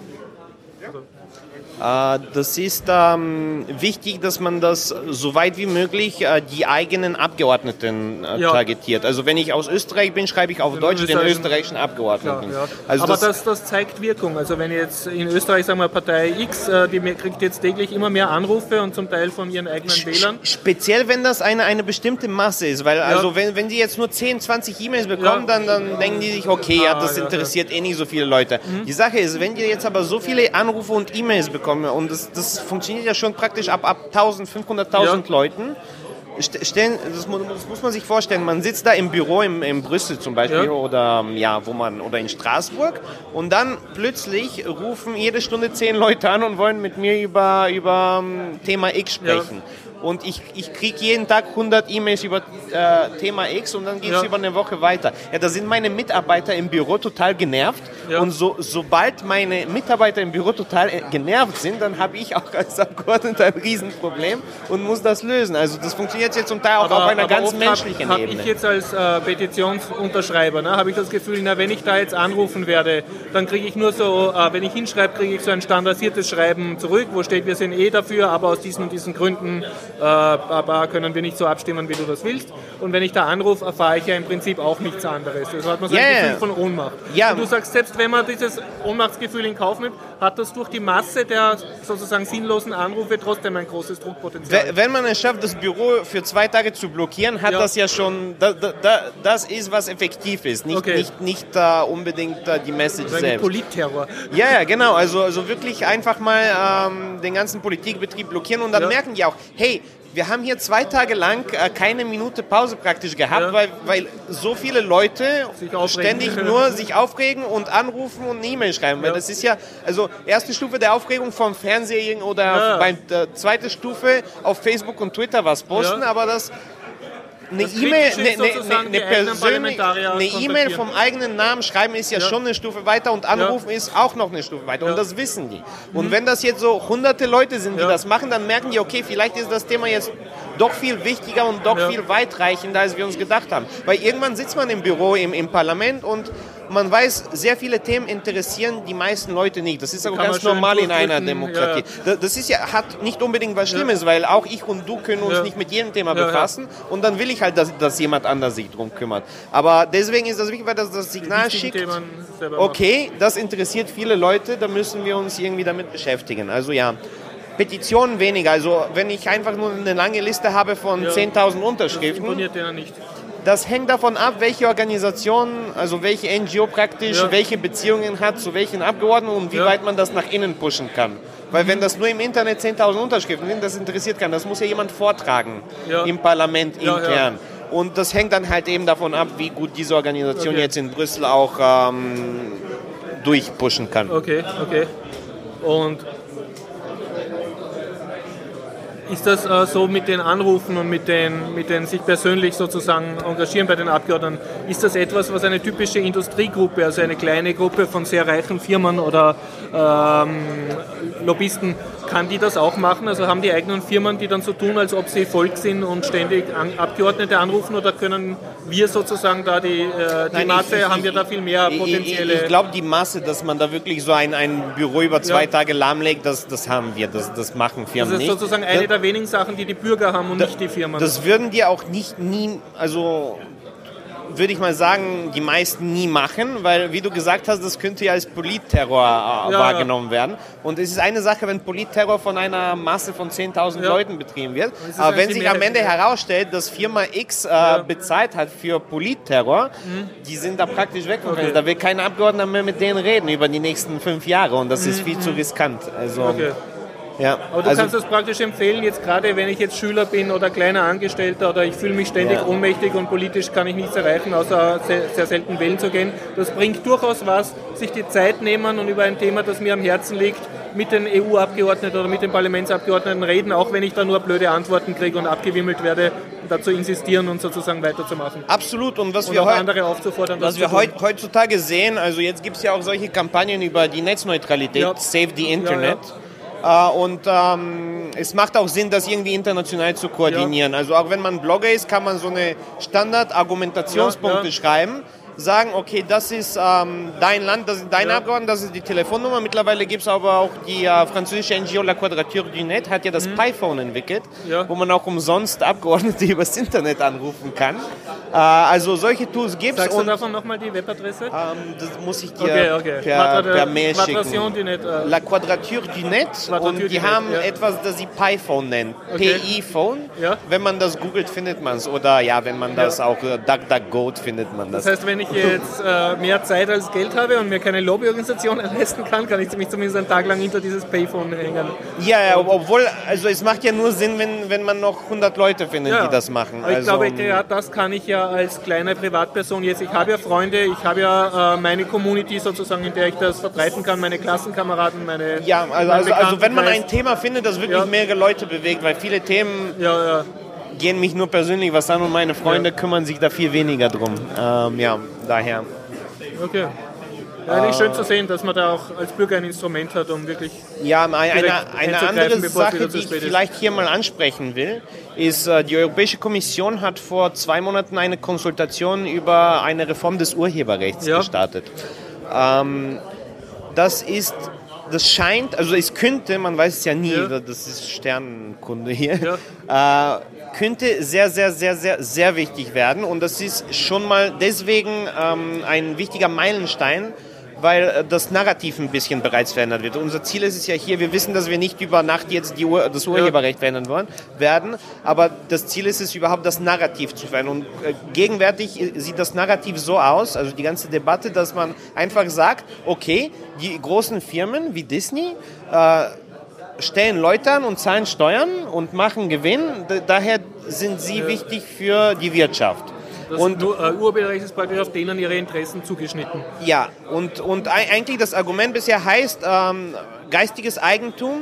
Uh, das ist ähm, wichtig, dass man das so weit wie möglich äh, die eigenen Abgeordneten äh, ja. targetiert. Also wenn ich aus Österreich bin, schreibe ich auf Deutsch den österreichischen Abgeordneten. Ja, ja. Also aber das, das, das zeigt Wirkung. Also wenn jetzt in Österreich, sagen wir Partei X, äh, die kriegt jetzt täglich immer mehr Anrufe und zum Teil von ihren eigenen Wählern. Speziell wenn das eine, eine bestimmte Masse ist, weil ja. also wenn, wenn die jetzt nur zehn, zwanzig E-Mails bekommen, ja. dann, dann denken die sich, okay, ja, das ah, interessiert ja, ja. eh nicht so viele Leute. Mhm. Die Sache ist, wenn die jetzt aber so viele Anrufe und E-Mails bekommen, und das, das funktioniert ja schon praktisch ab, ab eintausendfünfhunderttausend ja. Leuten. Stellen, das, das muss man sich vorstellen, man sitzt da im Büro in, in Brüssel zum Beispiel ja. oder, ja, wo man, oder in Straßburg und dann plötzlich rufen jede Stunde zehn Leute an und wollen mit mir über, über Thema X sprechen. Ja. Und ich, ich kriege jeden Tag hundert E-Mails über äh, Thema X und dann geht es ja. über eine Woche weiter. Ja, da sind meine Mitarbeiter im Büro total genervt. Ja. Und so, sobald meine Mitarbeiter im Büro total genervt sind, dann habe ich auch als Abgeordneter ein Riesenproblem und muss das lösen. Also das funktioniert jetzt zum Teil auch aber, auf einer ganz menschlichen hab, Ebene. Habe ich jetzt als äh, Petitionsunterschreiber, ne, habe ich das Gefühl, na, wenn ich da jetzt anrufen werde, dann kriege ich nur so, äh, wenn ich hinschreibe, kriege ich so ein standardisiertes Schreiben zurück, wo steht, wir sind eh dafür, aber aus diesen und diesen Gründen äh, aber können wir nicht so abstimmen, wie du das willst. Und wenn ich da anrufe, erfahre ich ja im Prinzip auch nichts anderes. Also hat man so yeah. ein Gefühl von Ohnmacht. Ja. Und du sagst, selbst selbst wenn man dieses Ohnmachtsgefühl in Kauf nimmt, hat das durch die Masse der sozusagen sinnlosen Anrufe trotzdem ein großes Druckpotenzial. Wenn man es schafft, das Büro für zwei Tage zu blockieren, hat ja. das ja schon, da, da, das ist, was effektiv ist, nicht, okay. nicht, nicht uh, unbedingt uh, die Message also selbst. Politterror. Ja, ja, genau, also, also wirklich einfach mal ähm, den ganzen Politikbetrieb blockieren und dann ja. merken die auch, hey, wir haben hier zwei Tage lang äh, keine Minute Pause praktisch gehabt, ja. weil, weil so viele Leute ständig nur sich aufregen und anrufen und eine E-Mail schreiben. Ja. Weil das ist ja, also erste Stufe der Aufregung vom Fernsehen oder ja. bei der zweite Stufe auf Facebook und Twitter was posten, ja. aber das eine E-Mail, eine, eine, eine persönliche, eine E-Mail vom eigenen Namen schreiben ist ja, ja schon eine Stufe weiter und anrufen ja. ist auch noch eine Stufe weiter ja. und das wissen die. Und mhm. wenn das jetzt so hunderte Leute sind, die ja. das machen, dann merken die, okay, vielleicht ist das Thema jetzt doch viel wichtiger und doch ja. viel weitreichender, als wir uns gedacht haben. Weil irgendwann sitzt man im Büro, im, im Parlament und man weiß, sehr viele Themen interessieren die meisten Leute nicht. Das ist auch ganz normal in einer Demokratie. Ja. Das ist ja, hat nicht unbedingt was Schlimmes, ja. weil auch ich und du können uns ja. nicht mit jedem Thema ja, befassen ja. und dann will ich halt, dass, dass jemand anders sich darum kümmert. Aber deswegen ist das wichtig, weil das das Signal schickt, okay, das interessiert viele Leute, da müssen wir uns irgendwie damit beschäftigen. Also ja, Petitionen weniger. Also wenn ich einfach nur eine lange Liste habe von ja. zehntausend Unterschriften, das imponiert denen nicht. Das hängt davon ab, welche Organisation, also welche N G O praktisch, ja. welche Beziehungen hat zu welchen Abgeordneten und wie ja. weit man das nach innen pushen kann. Weil mhm. wenn das nur im Internet zehntausend Unterschriften sind, das interessiert keinen. Das muss ja jemand vortragen ja. im Parlament ja, intern. Ja. Und das hängt dann halt eben davon ab, wie gut diese Organisation okay. jetzt in Brüssel auch ähm, durchpushen kann. Okay, okay. Und ist das äh, so mit den Anrufen und mit den, mit den sich persönlich sozusagen engagieren bei den Abgeordneten, ist das etwas, was eine typische Industriegruppe, also eine kleine Gruppe von sehr reichen Firmen oder ähm, Lobbyisten, kann die das auch machen? Also haben die eigenen Firmen, die dann so tun, als ob sie Volk sind und ständig an Abgeordnete anrufen, oder können wir sozusagen da die, äh, die Nein, Masse, ich, ich, haben wir da viel mehr potenzielle... Ich, ich glaube, die Masse, dass man da wirklich so ein, ein Büro über zwei ja. Tage lahmlegt, das, das haben wir, das, das machen Firmen nicht. Das ist sozusagen eine der wenigen Sachen, die die Bürger haben und da, nicht die Firmen. Das würden die auch nicht nie, also würde ich mal sagen, die meisten nie machen, weil, wie du gesagt hast, das könnte ja als Politterror äh, ja, wahrgenommen ja. werden. Und es ist eine Sache, wenn Politterror von einer Masse von zehntausend ja. Leuten betrieben wird. Aber wenn sich am Ende herausstellt, dass Firma X äh, ja. bezahlt hat für Politterror, mhm. die sind da praktisch weg. Okay. Da will kein Abgeordneter mehr mit denen reden über die nächsten fünf Jahre und das mhm. ist viel mhm. zu riskant. Also, okay. Ja, aber du also, kannst das praktisch empfehlen, jetzt gerade wenn ich jetzt Schüler bin oder kleiner Angestellter oder ich fühle mich ständig ja. ohnmächtig und politisch kann ich nichts erreichen, außer sehr, sehr selten wählen zu gehen. Das bringt durchaus was, sich die Zeit nehmen und über ein Thema, das mir am Herzen liegt, mit den E U-Abgeordneten oder mit den Parlamentsabgeordneten reden, auch wenn ich da nur blöde Antworten kriege und abgewimmelt werde, dazu insistieren und sozusagen weiterzumachen. Absolut. Und was und wir, heu- andere aufzufordern, was wir heut, heutzutage sehen, also jetzt gibt es ja auch solche Kampagnen über die Netzneutralität, ja. Save the Internet. Ja, ja. Und ähm, es macht auch Sinn, das irgendwie international zu koordinieren. Ja. Also auch wenn man Blogger ist, kann man so eine Standard-Argumentationspunkte ja, ja. schreiben, sagen, okay, das ist ähm, dein Land, das ist dein ja. Abgeordneter, das ist die Telefonnummer. Mittlerweile gibt es aber auch die äh, französische N G O La Quadrature du Net, hat ja das mhm. Pi-Phone entwickelt, ja. wo man auch umsonst Abgeordnete übers Internet anrufen kann. Äh, also solche Tools gibt es. Sagst du davon nochmal die Webadresse? Ähm, das muss ich dir okay, okay. Per, per Mail schicken. Du Net, äh La Quadrature du Net Quadrature und die haben Net, ja. etwas, das sie Pi-Phone nennen. Okay. P I-Phone. Ja. Wenn man das googelt, findet man es. Oder ja, wenn man das ja. auch äh, DuckDuckGo findet man das. Das heißt, wenn ich jetzt äh, mehr Zeit als Geld habe und mir keine Lobbyorganisation leisten kann, kann ich mich zumindest einen Tag lang hinter dieses Payphone hängen. Ja, ja, obwohl, also es macht ja nur Sinn, wenn, wenn man noch hundert Leute findet, ja. die das machen. Ich also, glaube, ja, das kann ich ja als kleine Privatperson jetzt. Ich habe ja Freunde, ich habe ja äh, meine Community sozusagen, in der ich das verbreiten kann, meine Klassenkameraden, meine Ja, also, also, also wenn man ein Thema findet, das wirklich ja. mehrere Leute bewegt, weil viele Themen... Ja, ja. gehen mich nur persönlich was an und meine Freunde ja. kümmern sich da viel weniger drum. Ähm, ja, daher. Okay. Ja, nicht schön zu sehen, dass man da auch als Bürger ein Instrument hat, um wirklich... Ja, eine, eine andere Sache, die ich vielleicht hier mal ansprechen will, ist, die Europäische Kommission hat vor zwei Monaten eine Konsultation über eine Reform des Urheberrechts ja. gestartet. Ähm, das ist... Das scheint, also es könnte, man weiß es ja nie, ja. das ist Sternenkunde hier, ja. äh, könnte sehr, sehr, sehr, sehr, sehr wichtig werden. Und das ist schon mal deswegen ähm, ein wichtiger Meilenstein, weil das Narrativ ein bisschen bereits verändert wird. Unser Ziel ist es ja hier, wir wissen, dass wir nicht über Nacht jetzt die Ur- das Urheberrecht verändern wollen, werden, aber das Ziel ist es überhaupt, das Narrativ zu verändern. Und äh, gegenwärtig sieht das Narrativ so aus, also die ganze Debatte, dass man einfach sagt, okay, die großen Firmen wie Disney äh, stellen Leute an und zahlen Steuern und machen Gewinn, D- daher sind sie ja. wichtig für die Wirtschaft. Das und uh, Urheberrecht ist praktisch auf denen ihre Interessen zugeschnitten. Ja, und, und eigentlich das Argument bisher heißt, ähm, geistiges Eigentum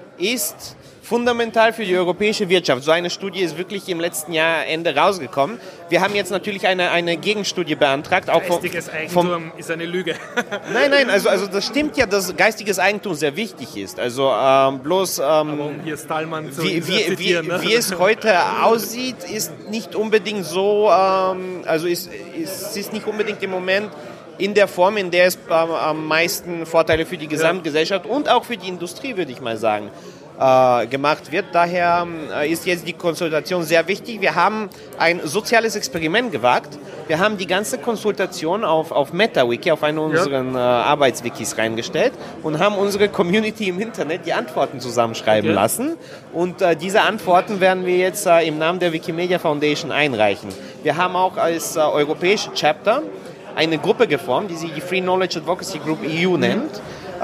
ist fundamental für die europäische Wirtschaft. So eine Studie ist wirklich im letzten Jahr Ende rausgekommen. Wir haben jetzt natürlich eine, eine Gegenstudie beantragt. Auch geistiges vom, Eigentum vom, ist eine Lüge. Nein, nein, also, also das stimmt ja, dass geistiges Eigentum sehr wichtig ist. Also ähm, bloß, ähm, Aber um hier Stallmann zu wie, wie, zitieren, wie, ne? wie es heute aussieht, ist nicht unbedingt so, ähm, also ist, ist, ist nicht unbedingt im Moment in der Form, in der es ähm, am meisten Vorteile für die Gesamtgesellschaft und auch für die Industrie, würde ich mal sagen, Äh, gemacht wird. Daher äh, ist jetzt die Konsultation sehr wichtig. Wir haben ein soziales Experiment gewagt. Wir haben die ganze Konsultation auf, auf MetaWiki, auf einen unseren ja. äh, Arbeitswikis reingestellt und haben unsere Community im Internet die Antworten zusammenschreiben okay. lassen. Und äh, diese Antworten werden wir jetzt äh, im Namen der Wikimedia Foundation einreichen. Wir haben auch als äh, europäische Chapter eine Gruppe geformt, die sich die Free Knowledge Advocacy Group E U nennt.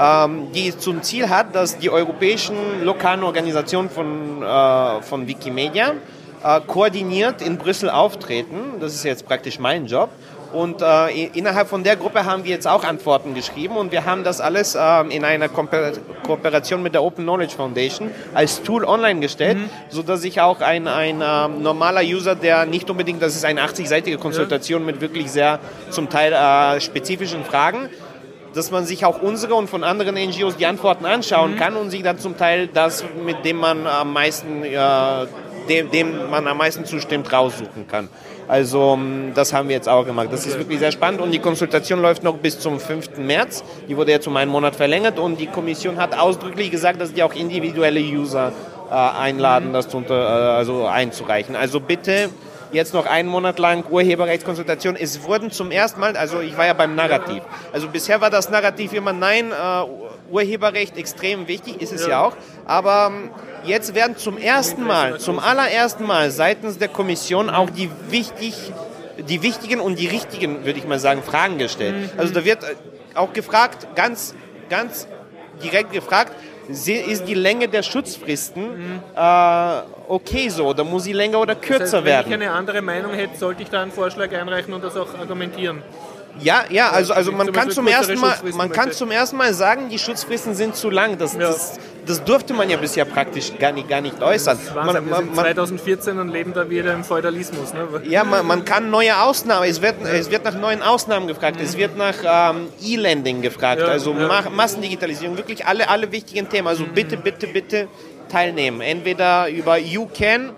Die zum Ziel hat, dass die europäischen lokalen Organisationen von, äh, von Wikimedia äh, koordiniert in Brüssel auftreten. Das ist jetzt praktisch mein Job. Und äh, innerhalb von der Gruppe haben wir jetzt auch Antworten geschrieben und wir haben das alles äh, in einer Ko- Kooperation mit der Open Knowledge Foundation als Tool online gestellt, mhm. sodass sich auch ein, ein äh, normaler User, der nicht unbedingt, das ist eine achtzig-seitige Konsultation ja. mit wirklich sehr zum Teil äh, spezifischen Fragen, dass man sich auch unsere und von anderen N G Os die Antworten anschauen mhm. kann und sich dann zum Teil das, mit dem man am meisten, äh, dem, dem man am meisten zustimmt, raussuchen kann. Also das haben wir jetzt auch gemacht. Das ist wirklich sehr spannend und die Konsultation läuft noch bis zum fünften März. Die wurde jetzt um einen Monat verlängert und die Kommission hat ausdrücklich gesagt, dass die auch individuelle User äh, einladen, mhm. das zu unter, äh, also einzureichen. Also bitte jetzt noch einen Monat lang Urheberrechtskonsultation. Es wurden zum ersten Mal, also ich war ja beim Narrativ, also bisher war das Narrativ immer, nein, äh, Urheberrecht extrem wichtig, ist es ja, ja auch, aber jetzt werden zum ersten Mal, zum allerersten Mal seitens der Kommission auch die, wichtig, die wichtigen und die richtigen, würde ich mal sagen, Fragen gestellt. Also da wird auch gefragt, ganz, ganz direkt gefragt, ist die Länge der Schutzfristen mhm. äh, okay so oder muss sie länger oder kürzer das heißt, wenn werden? Wenn ich eine andere Meinung hätte, sollte ich da einen Vorschlag einreichen und das auch argumentieren? Ja, ja, also, also man, kann zum, ersten Mal, man kann zum ersten Mal sagen, die Schutzfristen sind zu lang. Das, ja. das, das durfte man ja bisher praktisch gar nicht, gar nicht äußern. Man, man, wir sind zwanzig vierzehn und leben da wieder im Feudalismus. Ne? Ja, man, man kann neue Ausnahmen, es wird, es wird nach neuen Ausnahmen gefragt, mhm. es wird nach ähm, E-Lending gefragt, ja, also ja. Ma- Massendigitalisierung, wirklich alle, alle wichtigen Themen. Also mhm. bitte, bitte, bitte teilnehmen. Entweder über you can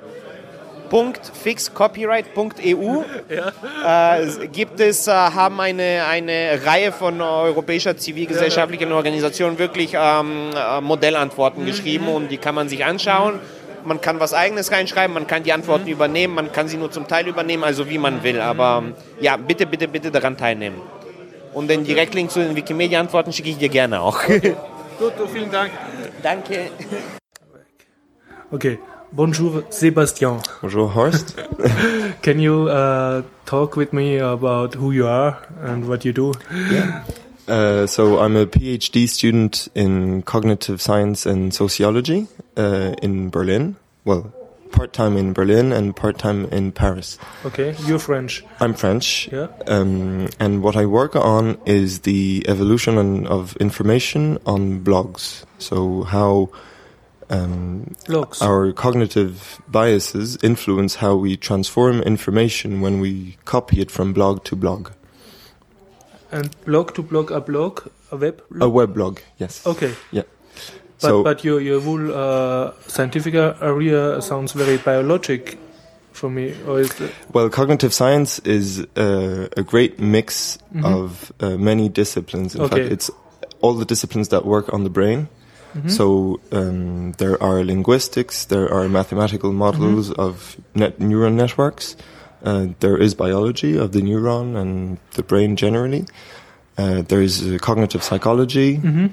fix copyright punkt e u ja. äh, gibt es, äh, haben eine, eine Reihe von europäischer zivilgesellschaftlichen Organisationen wirklich ähm, äh, Modellantworten mhm. geschrieben und die kann man sich anschauen. Man kann was Eigenes reinschreiben, man kann die Antworten mhm. übernehmen, man kann sie nur zum Teil übernehmen, also wie man will. Aber ja, bitte, bitte, bitte daran teilnehmen. Und den Direktlink zu den Wikimedia-Antworten schicke ich dir gerne auch. Okay. Gut, vielen Dank. Danke. Okay. Bonjour, Sebastian. Bonjour, Horst. Can you uh, talk with me about who you are and what you do? Yeah. Uh, so I'm a PhD student in cognitive science and sociology uh, in Berlin. Well, part-time in Berlin and part-time in Paris. Okay, you're French. I'm French. Yeah. Um, and what I work on is the evolution of information on blogs. So how Um, our cognitive biases influence how we transform information when we copy it from blog to blog. And blog to blog, a blog, a web blog? A web blog, yes. Okay. Yeah. But, so, but your, your whole uh, scientific area sounds very biologic for me. Or is it well, cognitive science is uh, a great mix mm-hmm. of uh, many disciplines. In okay. fact, it's all the disciplines that work on the brain. Mm-hmm. So um, there are linguistics, there are mathematical models mm-hmm. of net neuron networks, uh, there is biology of the neuron and the brain generally, Uh, there is uh, cognitive psychology. Mm-hmm.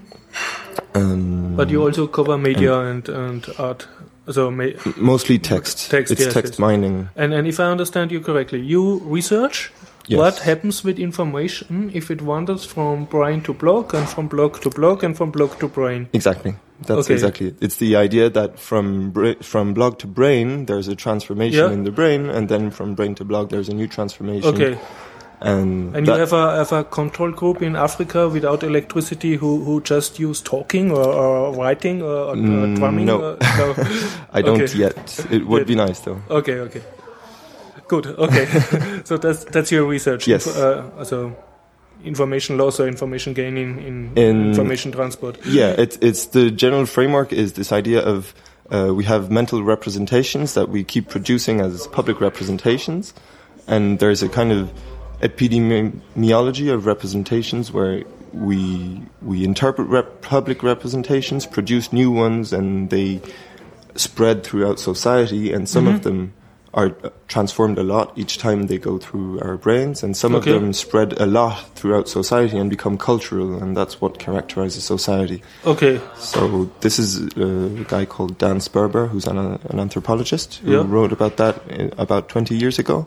Um, but you also cover media and, and, and art. So ma- mostly text. Text, it's yes, text yes. mining. And and if I understand you correctly, you research yes. what happens with information if it wanders from brain to blog and from blog to blog and from blog to brain. Exactly. That's okay. exactly it. It's the idea that from bra- from blog to brain, there's a transformation yeah. in the brain, and then from brain to blog, there's a new transformation. Okay. And, and you have a have a control group in Africa without electricity who, who just use talking or, or writing or, or mm, drumming? No, or, no. I don't okay. yet. It would yet. be nice though. Okay, okay, good. Okay, so that's that's your research. Yes. Inf- uh, so information loss or information gain in, in, in information transport. Yeah, it's it's the general framework is this idea of uh, we have mental representations that we keep producing as public representations, and there's a kind of epidemiology of representations where we we interpret rep- public representations, produce new ones, and they spread throughout society, and some mm-hmm. of them are transformed a lot each time they go through our brains, and some okay. of them spread a lot throughout society and become cultural, and that's what characterizes society. Okay. So this is a guy called Dan Sperber, who's an, an anthropologist, who yeah. wrote about that in, about twenty years ago.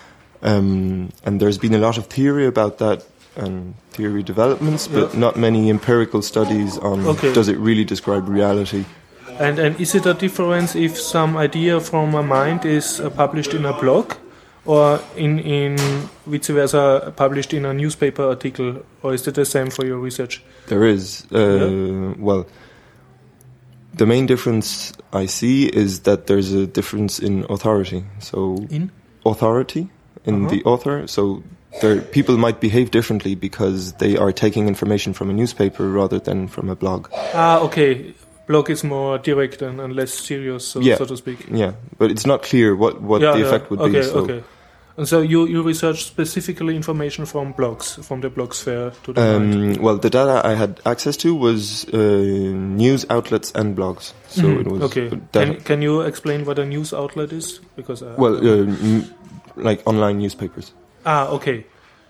Um, and there's been a lot of theory about that and theory developments, but yeah. not many empirical studies on okay. does it really describe reality. And and is it a difference if some idea from a mind is uh, published in a blog or in, in vice versa published in a newspaper article, or is it the same for your research? There is. Uh, yeah. Well, the main difference I see is that there's a difference in authority. So in? Authority. In uh-huh. the author, so there, people might behave differently because they are taking information from a newspaper rather than from a blog. Ah, okay. Blog is more direct and, and less serious, so, yeah. so to speak. Yeah, but it's not clear what, what yeah, the yeah. effect would okay, be. So. Okay, and so you, you research specifically information from blogs, from the blog sphere to the um, mind? Well, the data I had access to was uh, news outlets and blogs. So mm-hmm. it was. Okay. Can, can you explain what a news outlet is? Because uh, well. Uh, m- like online newspapers. Ah, okay.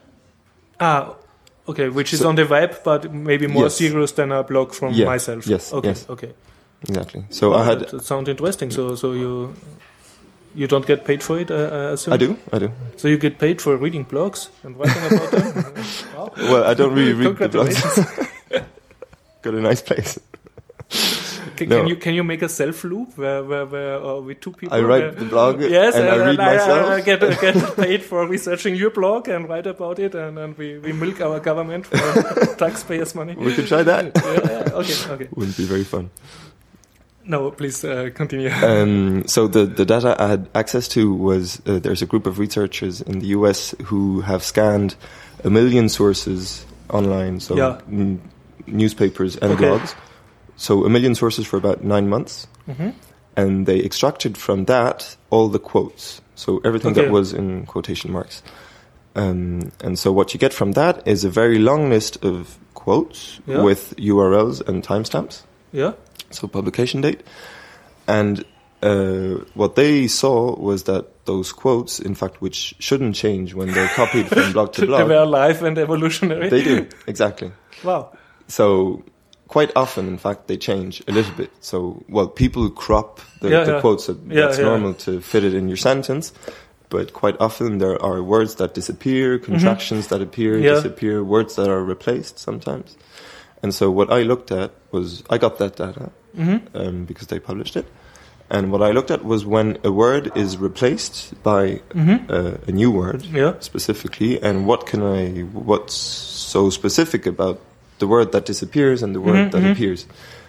Ah, okay, which is so, on the web, but maybe more yes. serious than a blog from yeah. myself. Yes. Okay. Yes. Okay. Exactly. So oh, I had. That, that sounds interesting. So, so you you don't get paid for it? Uh, I assume? I do. I do. So you get paid for reading blogs and writing about them? Wow. Well, I don't really read the blogs. Got a nice place. Can, no. can you can you make a self loop where where, where uh, with two people? I write the blog yes, and, and I read I, myself. I, I get uh, get paid for researching your blog and write about it, and, and we, we milk our government for taxpayers' money. We could try that. yeah, yeah, okay, okay. Wouldn't be very fun. No, please uh, continue. Um, so the the data I had access to was uh, there's a group of researchers in the U S who have scanned a million sources online, so yeah. n- newspapers and okay. blogs. So a million sources for about nine months, mm-hmm. and they extracted from that all the quotes. So everything okay. that was in quotation marks. Um, and so what you get from that is a very long list of quotes yeah. with U R Ls and timestamps. Yeah. So publication date. And uh, what they saw was that those quotes, in fact, which shouldn't change when they're copied from blog to blog. They were alive and evolutionary. They do, exactly. Wow. So quite often, in fact, they change a little bit. So, well, people crop the, yeah, the yeah. quotes. That, yeah, that's yeah. normal to fit it in your sentence. But quite often there are words that disappear, contractions mm-hmm. that appear, yeah. disappear, words that are replaced sometimes. And so what I looked at was, I got that data mm-hmm. um, because they published it. And what I looked at was when a word is replaced by mm-hmm. uh, a new word yeah. specifically, and what can I, what's so specific about the word that disappears and the word mm-hmm, that mm-hmm. appears.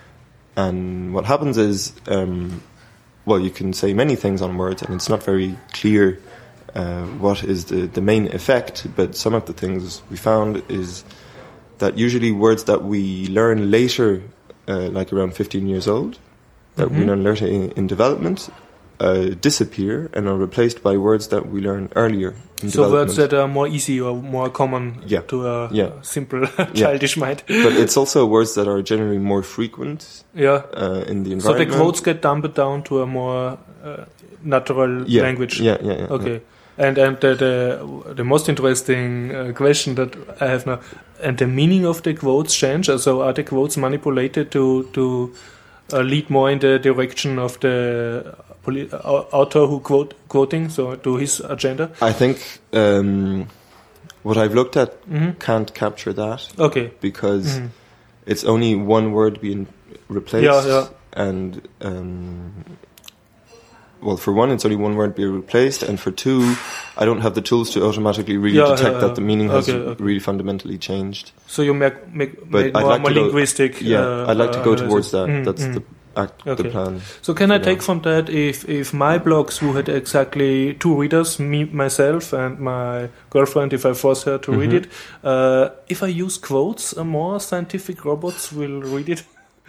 And what happens is, um, well, you can say many things on words, and it's not very clear uh, what is the, the main effect, but some of the things we found is that usually words that we learn later, uh, like around fifteen years old, that mm-hmm. we learn later in, in development, uh, disappear and are replaced by words that we learn earlier in so development. words that are more easy or more common yeah. to a yeah. simple childish yeah. mind. But it's also words that are generally more frequent yeah. uh, in the environment. So the quotes get dumbed down to a more uh, natural yeah. language. Yeah, yeah, yeah. Okay. Yeah. And and the the, the most interesting uh, question that I have now, and the meaning of the quotes change. So are the quotes manipulated to to uh, lead more in the direction of the poli- author who quote quoting, so to his agenda? I think um, what I've looked at mm-hmm. can't capture that. Okay. Because mm-hmm. it's only one word being replaced. Yeah, yeah. And um, well, for one, it's only one word being replaced, and for two, I don't have the tools to automatically really yeah, detect yeah, that the meaning has okay, okay. really fundamentally changed. So you make make, but make I'd more, like more to go, linguistic. Yeah, uh, I'd like to go analysis. towards that. Mm, That's mm. the act, okay. the plan. So can I yeah. take from that if if my blogs who had exactly two readers, me myself and my girlfriend, if I force her to mm-hmm. read it, uh, if I use quotes, uh, more scientific robots will read it.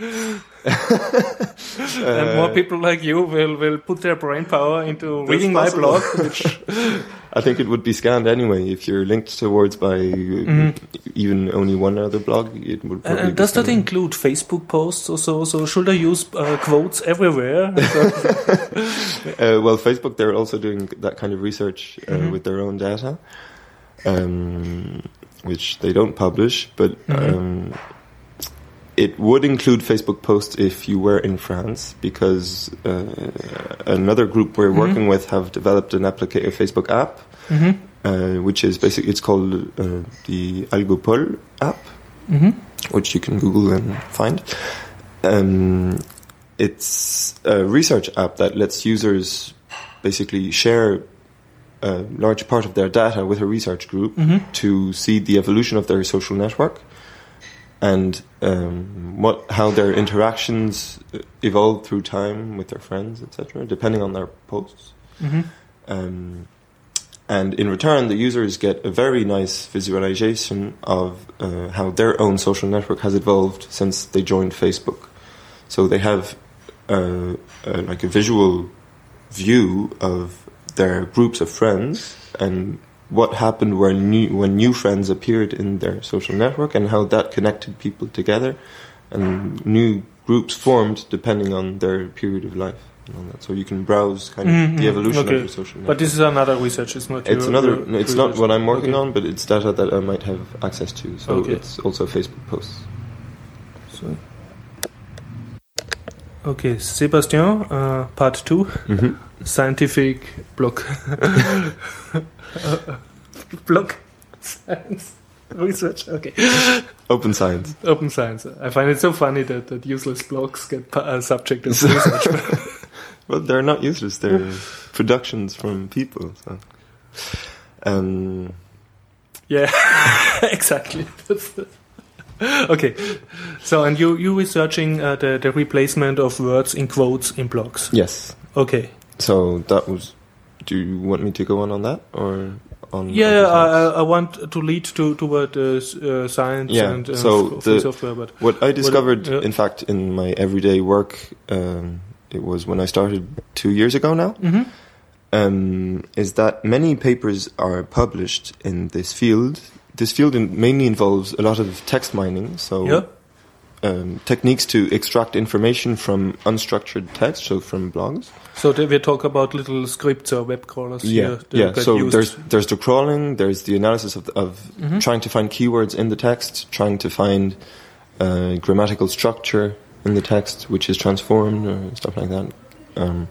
And more people like you will, will put their brain power into reading my blog. Which I think it would be scanned anyway if you're linked towards by mm-hmm. even only one other blog. It would. Probably and be does scanned. that include Facebook posts or so? So should I use uh, quotes everywhere? uh, well, Facebook, they're also doing that kind of research uh, mm-hmm. with their own data, um, which they don't publish, but. Mm-hmm. Um, It would include Facebook posts if you were in France, because uh, another group we're mm-hmm. working with have developed an applica- a Facebook app, mm-hmm. uh, which is basically, it's called uh, the Algopol app, mm-hmm. which you can Google and find. Um, it's a research app that lets users basically share a large part of their data with a research group mm-hmm. to see the evolution of their social network. And um, what how their interactions evolve through time with their friends, et cetera, depending on their posts. Mm-hmm. Um, and in return, the users get a very nice visualization of uh, how their own social network has evolved since they joined Facebook. So they have uh, uh, like a visual view of their groups of friends and what happened when new, when new friends appeared in their social network and how that connected people together, and new groups formed depending on their period of life. And all that. So you can browse kind of mm-hmm. the evolution okay. of your social network. But this is another research. It's not. It's your, another. your no, it's research. not what I'm working okay. on, but it's data that I might have access to. So okay. it's also Facebook posts. So. Okay, Sebastian, uh, part two, mm-hmm. scientific block. Block science research. Okay. Open science. Open science. I find it so funny that, that useless blogs get uh, subject of research. Well, they're not useless. They're productions from people. So. Um. Yeah, exactly. Okay, so and you you researching uh, the the replacement of words in quotes in blogs? Yes. Okay. So that was. Do you want me to go on on that or on? Yeah, I, I want to lead to toward uh, uh, science yeah, and uh, so f- the, software. But what I discovered, what, uh, in fact, in my everyday work, um, it was when I started two years ago now. Mm-hmm. Um, is that many papers are published in this field. This field in mainly involves a lot of text mining, so yeah. um, techniques to extract information from unstructured text, so from blogs. So we talk about little scripts or web crawlers. Yeah, here that yeah. get So used. there's there's the crawling, there's the analysis of of mm-hmm. trying to find keywords in the text, trying to find uh, grammatical structure in the text, which is transformed or stuff like that. Um,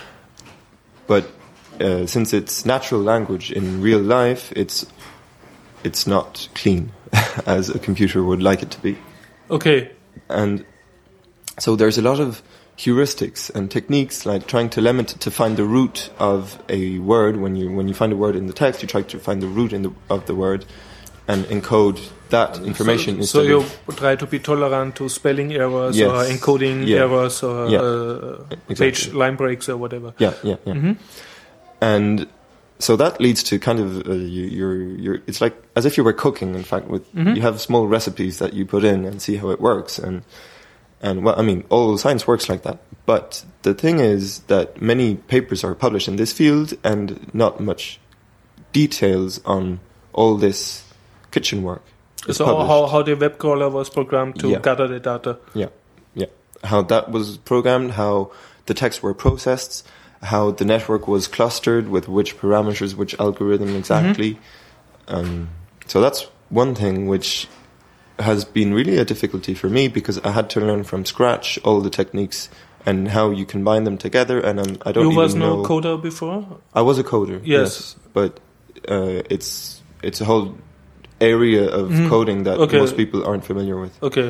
but uh, since it's natural language in real life, it's it's not clean as a computer would like it to be. Okay. And so there's a lot of heuristics and techniques like trying to limit to find the root of a word. When you when you find a word in the text, you try to find the root in the, of the word and encode that information. So, so you try to be tolerant to spelling errors yes. or encoding yeah. errors or yeah. uh, exactly. page line breaks or whatever. Yeah, yeah, yeah. Mm-hmm. And so that leads to kind of uh, you, you're you're. It's like as if you were cooking. In fact, with mm-hmm. you have small recipes that you put in and see how it works. And and well, I mean, all science works like that. But the thing is that many papers are published in this field, and not much details on all this kitchen work. So how how the web crawler was programmed to yeah. gather the data. Yeah, yeah. How that was programmed, how the texts were processed, how the network was clustered with which parameters, which algorithm exactly. Mm-hmm. Um, so that's one thing which has been really a difficulty for me, because I had to learn from scratch all the techniques and how you combine them together. And um, I don't you even was know. no coder before? I was a coder. Yes, yes but uh, it's it's a whole area of mm-hmm. coding that okay. most people aren't familiar with. Okay.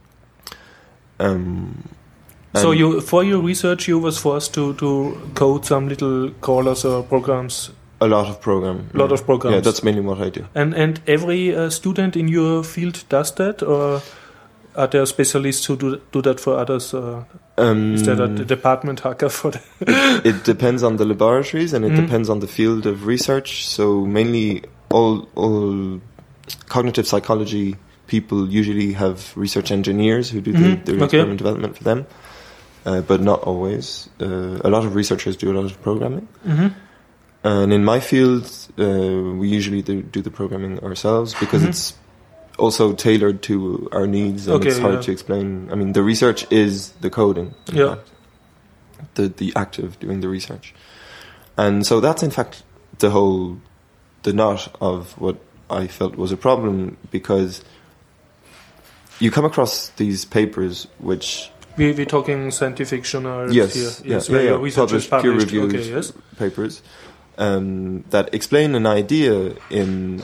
Um. So you, for your research, you was forced to, to code some little crawlers or programs. A lot of program. A lot yeah. of programs. Yeah, that's mainly what I do. And and every uh, student in your field does that, or are there specialists who do do that for others? Uh, um, is there a department hacker for that? it, it depends on the laboratories, and it mm. depends on the field of research. So mainly all all cognitive psychology people usually have research engineers who do mm-hmm. the, the okay. experiment development for them. Uh, but not always. Uh, a lot of researchers do a lot of programming. Mm-hmm. And in my field, uh, we usually do, do the programming ourselves, because mm-hmm. it's also tailored to our needs, and okay, it's hard yeah. to explain. I mean, the research is the coding, in yeah. fact. The, the act of doing the research. And so that's, in fact, the whole, the knot of what I felt was a problem, because you come across these papers which... We, we're talking scientific journals yes, here. Yes, yeah, yeah, yeah. Published, peer-reviewed okay, yes. papers um, that explain an idea in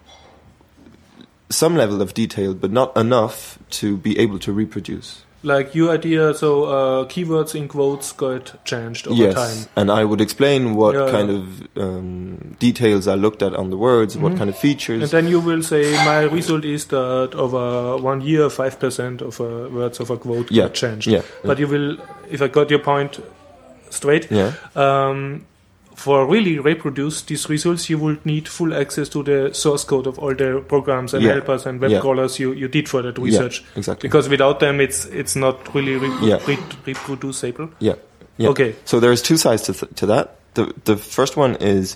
some level of detail, but not enough to be able to reproduce. Like your idea, so uh, keywords in quotes got changed over yes, time. And I would explain what yeah, kind yeah. of um, details I looked at on the words, mm-hmm. what kind of features. And then you will say, my result is that over one year, five percent of uh, words of a quote yeah, got changed. Yeah, but yeah. you will, if I got your point straight, yeah. um, for really reproduce these results, you would need full access to the source code of all the programs and yeah. helpers and web yeah. crawlers you, you did for that research. Yeah, exactly. Because without them, it's it's not really re- yeah. re- reproducible. Yeah. yeah. Okay. So there's two sides to th- to that. The the first one is,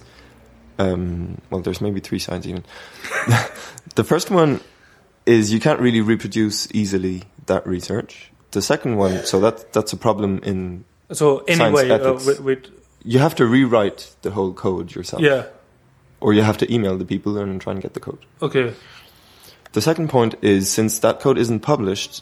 um, well, there's maybe three sides even. The first one is you can't really reproduce easily that research. The second one, so that that's a problem in so anyway science uh, ethics. with, with you have to rewrite the whole code yourself. Yeah. Or you have to email the people and try and get the code. Okay. The second point is, since that code isn't published,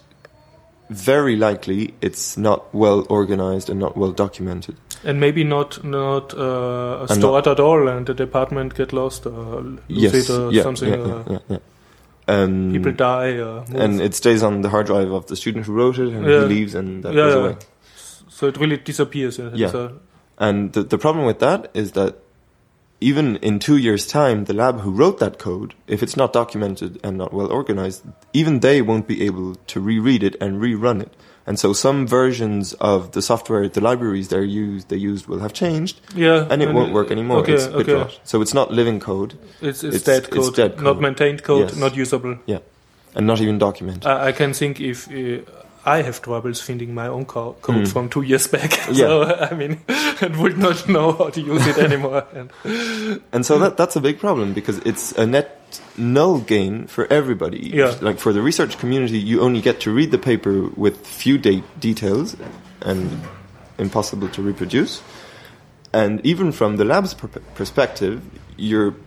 very likely it's not well organized and not well documented. And maybe not not uh, stored at all, and the department get lost or lose yes, it or yeah, something. Yeah, yeah, yeah, yeah. Um, people die. Or and it stays on the hard drive of the student who wrote it, and yeah. he leaves, and that yeah, goes yeah. away. So it really disappears. Yeah. yeah. So and the, the problem with that is that even in two years' time, the lab who wrote that code, if it's not documented and not well organized, even they won't be able to reread it and rerun it. And so some versions of the software, the libraries they used, they used will have changed, yeah, and it and won't work anymore. Okay, it's okay. BitRot. So it's not living code. It's, it's, it's dead code, it's dead code. Not maintained code, yes. not usable. Yeah, and not even documented. I, I can think if uh, I have troubles finding my own co- code mm. from two years back. Yeah. So, I mean, I would not know how to use it anymore. and, and so that that's a big problem, because it's a net null gain for everybody. Yeah. Like for the research community, you only get to read the paper with few date details and impossible to reproduce. And even from the lab's per- perspective, you're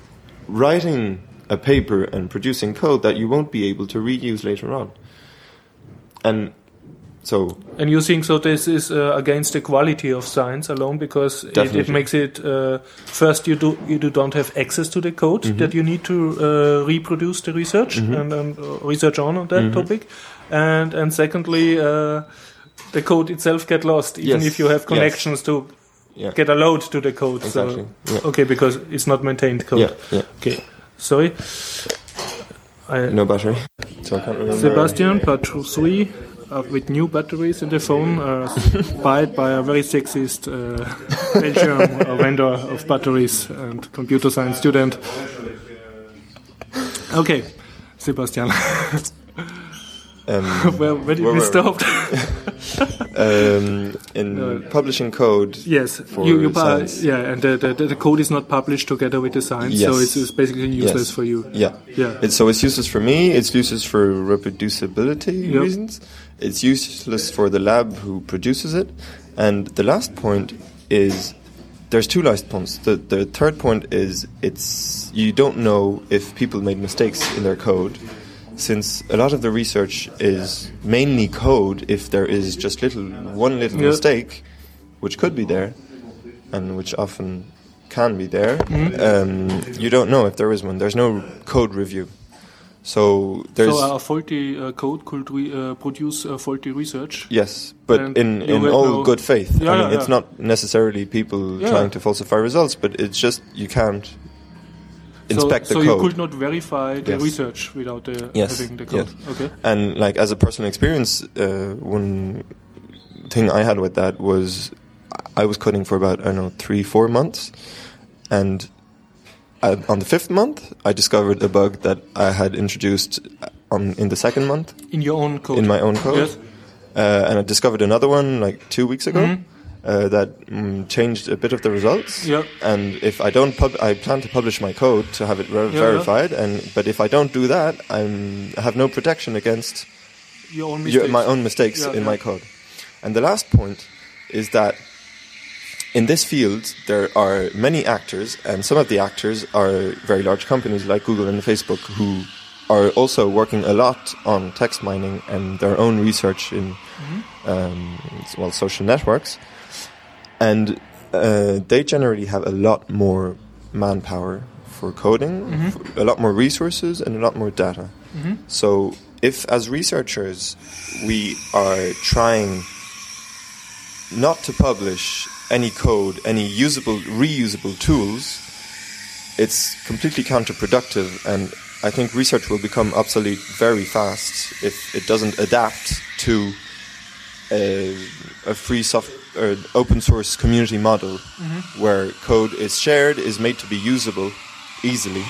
writing a paper and producing code that you won't be able to reuse later on. And so... And you think so this is uh, against the quality of science alone, because it, it makes it... Uh, first, you do you do don't have access to the code mm-hmm. that you need to uh, reproduce the research mm-hmm. and, and uh, research on, on that mm-hmm. topic. And and secondly, uh, the code itself get lost, even yes. if you have connections yes. to yeah. get a load to the code. Exactly. So, yeah. Okay, because it's not maintained code. Yeah. Yeah. Okay, sorry. I no battery. So I can't remember. Sebastian, part three, uh, with new batteries in the phone, uh, bought by a very sexist uh, Belgium uh, vendor of batteries and computer science student. Okay, Sebastian. Um, where, where did where we stop? um, in uh, publishing code. Yes, for you, you science. Yeah, and the, the the code is not published together with the science, yes. so it's, it's basically useless yes. for you. Yeah, yeah. It's, so it's useless for me. It's useless for reproducibility yep. reasons. It's useless for the lab who produces it. And the last point is there's two last points. The the third point is it's you don't know if people made mistakes in their code, since a lot of the research is mainly code. If there is just little one little yeah. mistake, which could be there, and which often can be there, mm-hmm. um, you don't know if there is one. There's no code review. So there's so a faulty uh, code could re- uh, produce uh, faulty research. Yes, but in, in all no good faith. Yeah, I mean, yeah, it's yeah. not necessarily people yeah. trying to falsify results, but it's just you can't inspect so, the so code. So you could not verify the yes. research without the, yes. having the code. Yes. Okay. And like as a personal experience, uh, one thing I had with that was I was coding for about I don't know three, four months, and Uh, on the fifth month, I discovered a bug that I had introduced on in the second month. In your own code? In my own code. Yes. Uh, and I discovered another one like two weeks ago mm-hmm. uh, that mm, changed a bit of the results. Yep. And if I don't, pub- I plan to publish my code to have it ver- yeah, verified. Yeah. And but if I don't do that, I'm, I have no protection against your own mistakes. Your, my own mistakes yeah, in yeah. my code. And the last point is that in this field, there are many actors, and some of the actors are very large companies like Google and Facebook, who are also working a lot on text mining and their own research in mm-hmm. um, well social networks, and uh, they generally have a lot more manpower for coding, mm-hmm. for a lot more resources, and a lot more data. Mm-hmm. So, if as researchers we are trying not to publish any code, any usable, reusable tools, it's completely counterproductive, and I think research will become obsolete very fast if it doesn't adapt to a, a free soft, or open source community model mm-hmm. where code is shared, is made to be usable easily,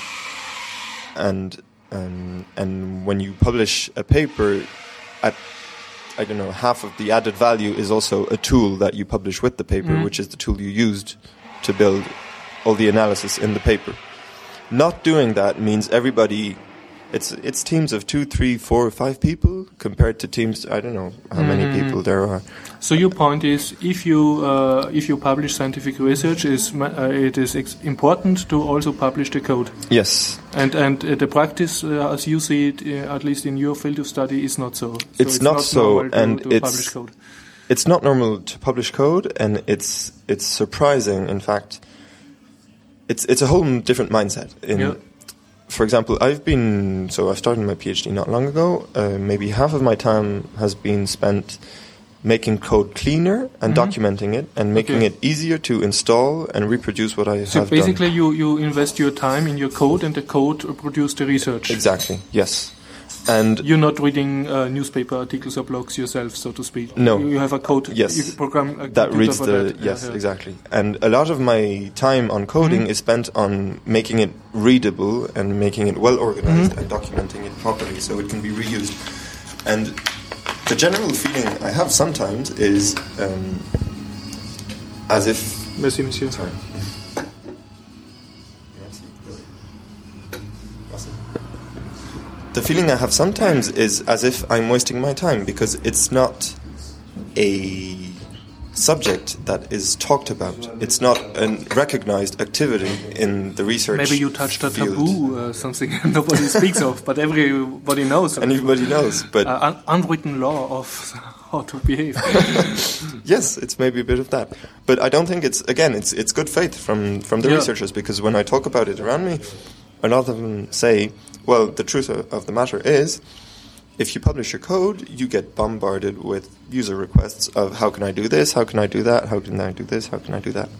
and um, and when you publish a paper at I don't know, half of the added value is also a tool that you publish with the paper, mm. which is the tool you used to build all the analysis in the paper. Not doing that means everybody, it's it's teams of two, three, four, five people compared to teams, I don't know how mm. many people there are. So your point is, if you uh, if you publish scientific research, is uh, it is ex- important to also publish the code. Yes. And and uh, the practice, uh, as you see it, uh, at least in your field of study, is not so. so it's, it's not, not so, to, and to it's publish code. It's not normal to publish code, and it's it's surprising. In fact, it's it's a whole different mindset. In, yeah. For example, I've been so I started my PhD not long ago. Uh, maybe half of my time has been spent making code cleaner and mm-hmm. documenting it and making okay. it easier to install and reproduce what I so have done. So basically done. you, you invest your time in your code and the code produces the research. Exactly, yes. And you're not reading uh, newspaper articles or blogs yourself, so to speak. No. You have a code yes. you program a that reads the that. yes, yeah, yeah. exactly. And a lot of my time on coding mm-hmm. is spent on making it readable and making it well organized mm-hmm. and documenting it properly so it can be reused. And the general feeling I have sometimes is um, as if... Merci, monsieur. Sorry. The feeling I have sometimes is as if I'm wasting my time because it's not a subject that is talked about. It's not a recognized activity in the research Maybe you touched a field. taboo, uh, something nobody speaks of, but everybody knows. Everybody knows, but uh, un- unwritten law of how to behave. Yes, it's maybe a bit of that, but I don't think it's again. It's it's good faith from from the yeah. researchers because when I talk about it around me, a lot of them say, well, the truth of the matter is, if you publish your code, you get bombarded with user requests of how can I do this, how can I do that, how can I do this, how can I do that.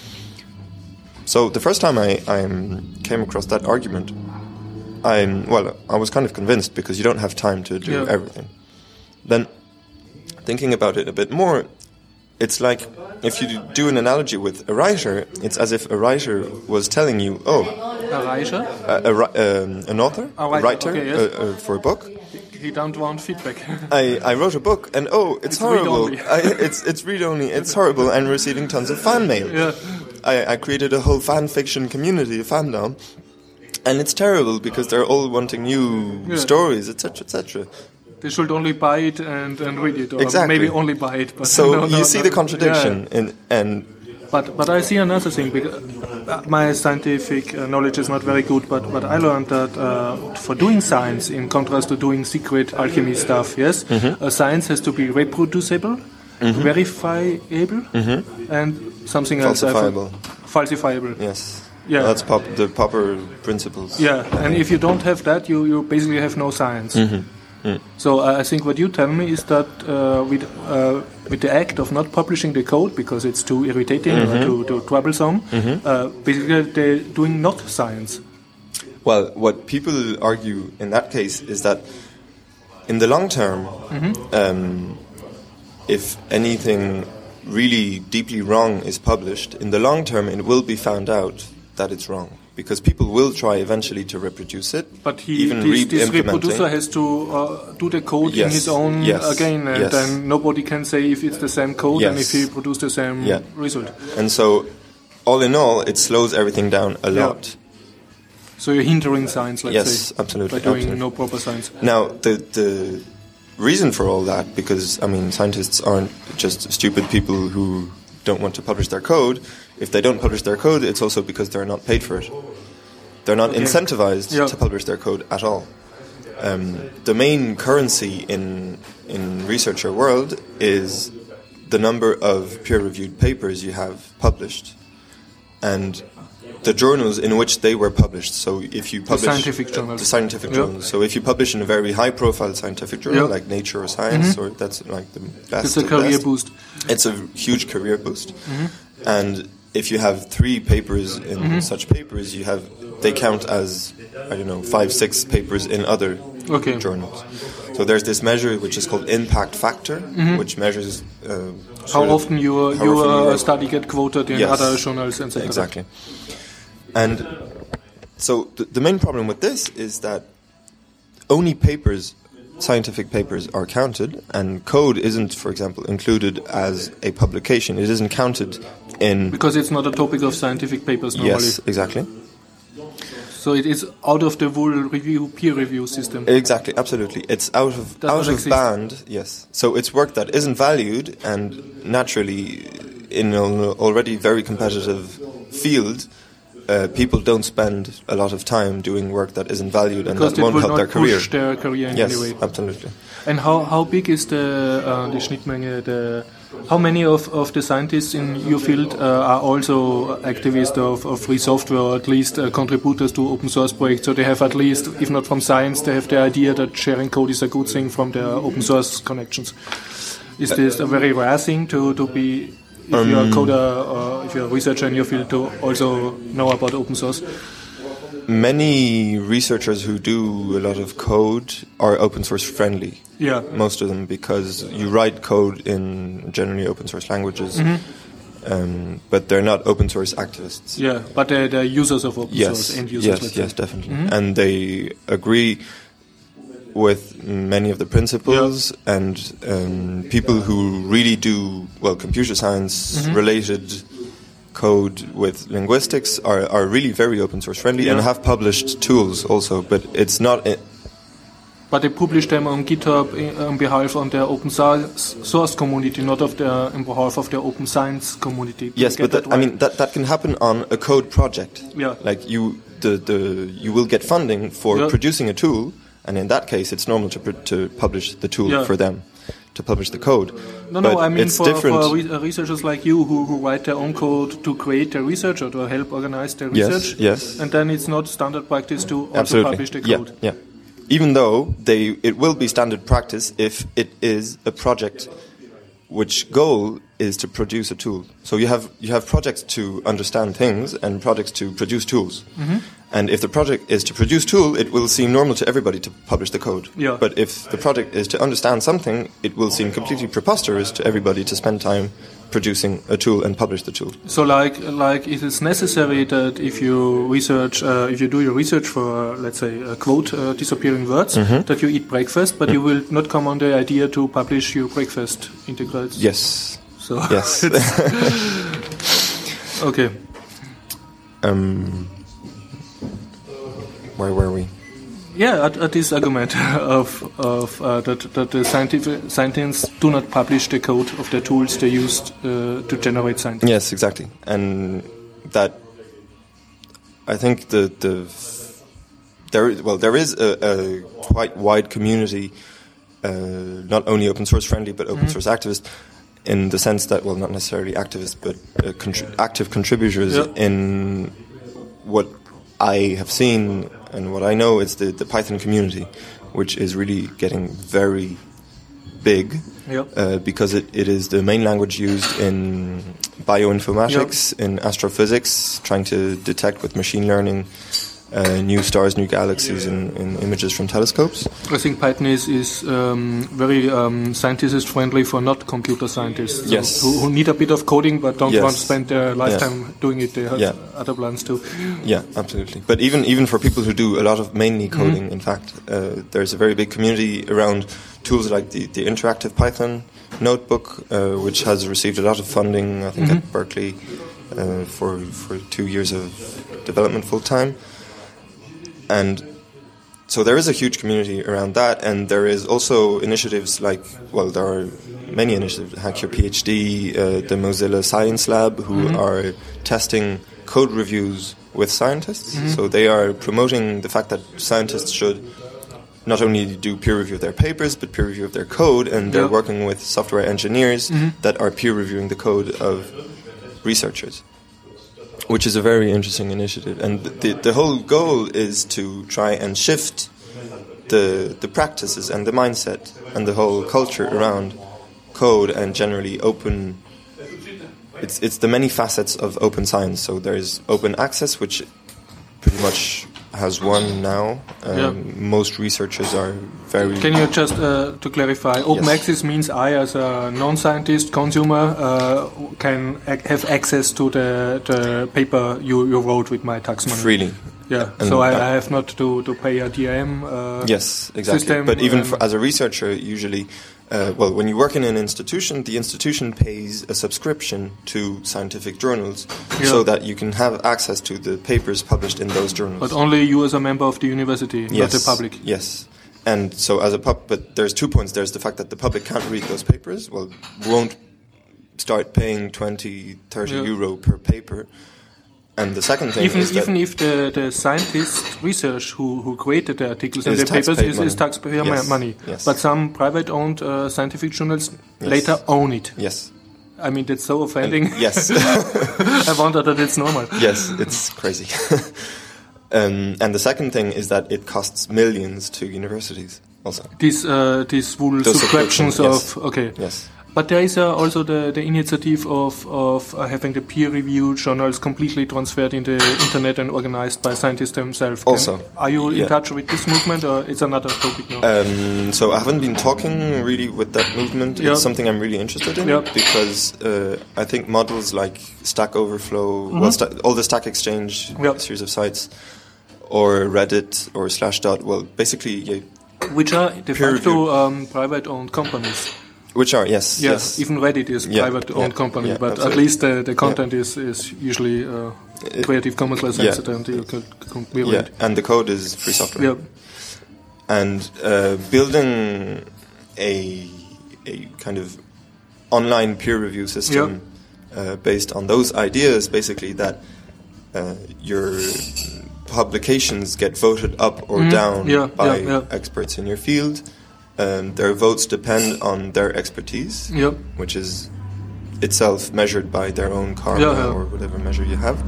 So the first time I, I came across that argument, I'm well, I was kind of convinced because you don't have time to do yeah. everything. Then, thinking about it a bit more, it's like if you do an analogy with a writer, it's as if a writer was telling you, oh, a writer, a, a, um, an author, a writer, a writer okay, yes. uh, uh, for a book. He don't want feedback. I, I wrote a book and oh, it's, it's horrible. Read I, it's it's read only. It's horrible and receiving tons of fan mail. Yeah. I, I created a whole fan fiction community, a fandom, and it's terrible because they're all wanting new yeah. stories, et cetera, et cetera. They should only buy it and, and read it, or exactly. maybe only buy it. But so no, no, you see no. the contradiction, yeah. in, and But but I see another thing. Because my scientific knowledge is not very good, but, but I learned that uh, for doing science, in contrast to doing secret alchemy stuff, yes, mm-hmm. uh, science has to be reproducible, mm-hmm. verifiable, mm-hmm. and something else. Falsifiable. Falsifiable. Yes. Yeah. That's pop, the Popper principles. Yeah, and if you don't have that, you, you basically have no science. Mm-hmm. Mm. So uh, I think what you tell me is that uh, with uh, with the act of not publishing the code because it's too irritating mm-hmm. or too, too troublesome, mm-hmm. uh, basically they're doing not science. Well, what people argue in that case is that in the long term, mm-hmm. um, if anything really deeply wrong is published, in the long term it will be found out that it's wrong. Because people will try eventually to reproduce it. But he, even this, this reproducer has to uh, do the code yes, in his own yes, again, and yes. then nobody can say if it's the same code yes. and if he produced the same yeah. result. And so, all in all, it slows everything down a yeah. lot. So you're hindering science, let's yes, say. Yes, absolutely. By doing absolutely. no proper science. Now, the the reason for all that, because, I mean, scientists aren't just stupid people who don't want to publish their code. If they don't publish their code, it's also because they're not paid for it. They're not okay. incentivized yeah. to publish their code at all. Um, the main currency in in researcher world is the number of peer-reviewed papers you have published, and the journals in which they were published. So if you publish the scientific journals, the scientific yeah. journals. So if you publish in a very high-profile scientific journal yeah. like Nature or Science, mm-hmm. or that's like the best. It's a career best, boost. It's a huge career boost, mm-hmm. and if you have three papers in mm-hmm. such papers, you have they count as I don't know five, six papers in other okay. journals. So there's this measure which is called impact factor, mm-hmm. which measures uh, how often your your study get quoted in yes, other journals and et cetera. Exactly. And so th- the main problem with this is that only papers, scientific papers, are counted, and code isn't, for example, included as a publication. It isn't counted in... Because it's not a topic of scientific papers normally. Yes, exactly. So it is out of the full review, peer review system. Exactly, absolutely. It's out of Does out of exist. band, yes. So it's work that isn't valued, and naturally, in an already very competitive field, uh, people don't spend a lot of time doing work that isn't valued and because that won't help their career. Push their career in yes, any way. absolutely. And how how big is the uh, the Schnittmenge? The how many of, of the scientists in your field uh, are also activists of, of free software, or at least uh, contributors to open source projects? So they have at least, if not from science, they have the idea that sharing code is a good thing from their open source connections. Is this a very rare thing to, to be, if um, you're a coder or if you're a researcher in your field, to also know about open source? Many researchers who do a lot of code are open source friendly. Yeah. Most of them, because you write code in generally open source languages, mm-hmm. um, but they're not open source activists. Yeah, but they're, they're users of open yes, source, end users. Yes, yes, definitely. Mm-hmm. And they agree with many of the principles, yeah. and um, people who really do, well, computer science mm-hmm. related code with linguistics are, are really very open source friendly, yeah. and have published tools also, but it's not... I- but they publish them on GitHub on behalf of their open source community, not of their, on behalf of their open science community. Yes, but that, that I mean that, that can happen on a code project. Yeah. Like you, the, the you will get funding for yeah. producing a tool, and in that case, it's normal to pr- to publish the tool yeah. for them, to publish the code. No, but no, I mean it's for, different. for re- researchers like you who, who write their own code to create their research or to help organize their research. Yes, yes. And then it's not standard practice to also Absolutely. publish the code. Yeah, yeah. Even though they, it will be standard practice if it is a project which goal is to produce a tool. So you have you have projects to understand things and projects to produce tools. Mm-hmm. And if the project is to produce tool, it will seem normal to everybody to publish the code. Yeah. But if the project is to understand something, it will seem completely preposterous to everybody to spend time producing a tool and publish the tool. So, like, like it is necessary that if you research, uh, if you do your research for, uh, let's say, a quote uh, disappearing words, mm-hmm. that you eat breakfast, but mm-hmm. you will not come on the idea to publish your breakfast integrals. Yes. So yes. Okay. Um. Where were we? Yeah, at, at this argument of of uh, that that the scientific scientists do not publish the code of the tools they used uh, to generate science. Yes, exactly, and that I think the the there well there is a, a quite wide community, uh, not only open source friendly but open mm-hmm. source activist, in the sense that well not necessarily activists but uh, contri- active contributors yep. in what I have seen. And what I know is the, the Python community, which is really getting very big yep. uh, because it, it is the main language used in bioinformatics, yep. in astrophysics, trying to detect with machine learning uh, new stars, new galaxies, and, and images from telescopes. I think Python is, is um, very um, scientist-friendly for not computer scientists, so yes. who, who need a bit of coding but don't yes. want to spend their lifetime yeah. doing it. They have yeah. other plans too. Yeah, absolutely. But even even for people who do a lot of mainly coding, mm-hmm. in fact, uh, there's a very big community around tools like the, the interactive Python notebook, uh, which has received a lot of funding, I think, mm-hmm. at Berkeley uh, for for two years of development full-time. And so there is a huge community around that, and there is also initiatives like, well, there are many initiatives, Hack Your PhD, uh, the Mozilla Science Lab, who mm-hmm. are testing code reviews with scientists. Mm-hmm. So they are promoting the fact that scientists should not only do peer review of their papers, but peer review of their code, and they're yep. working with software engineers mm-hmm. that are peer reviewing the code of researchers, which is a very interesting initiative. And the the whole goal is to try and shift the the practices and the mindset and the whole culture around code and generally open. It's it's the many facets of open science. So there's open access, which pretty much has won now. Um, yeah. Most researchers are very... Can you just, uh, to clarify, open yes. access means I, as a non-scientist consumer, uh, can ac- have access to the, the paper you, you wrote with my tax money. Freely. Yeah, and so I, I have not to, to pay a D R M uh, yes, exactly. system. But even for, as a researcher, usually, uh, well, when you work in an institution, the institution pays a subscription to scientific journals yeah. so that you can have access to the papers published in those journals. But only you as a member of the university, yes, not the public. Yes. And so as a pub, but there's two points. There's the fact that the public can't read those papers, well, won't start paying twenty, thirty yeah. euro per paper. And the second thing even is that even if the, the scientist research who, who created the articles and the papers is, is taxpayer yes. money, yes. but some private-owned uh, scientific journals yes. later own it. Yes, I mean that's so offending. And yes, I wonder that it's normal. Yes, it's crazy. um, and the second thing is that it costs millions to universities. Also, these uh, these full Those subscriptions yes. of okay. Yes. But there is uh, also the, the initiative of, of uh, having the peer-reviewed journals completely transferred in the internet and organized by scientists themselves. Can, also. Are you yeah. in touch with this movement, or it's another topic now? Um, so I haven't been talking really with that movement. Yeah. It's something I'm really interested in yeah. because uh, I think models like Stack Overflow, mm-hmm. well, sta- all the Stack Exchange yeah. series of sites, or Reddit or Slashdot, well, basically... Yeah, which are de facto um, private-owned companies. Which are, yes. Yeah, yes. even Reddit is a yeah, private-owned yeah, company, yeah, but absolutely. at least the, the content yeah. is, is usually uh, Creative Commons licensed yeah. and you can, can be yeah. read. And the code is free software. Yeah. And uh, building a, a kind of online peer review system yeah. uh, based on those ideas, basically that uh, your publications get voted up or mm, down yeah, by yeah, yeah. experts in your field. Um, their votes depend on their expertise, yep. which is itself measured by their own karma yeah, yeah. or whatever measure you have.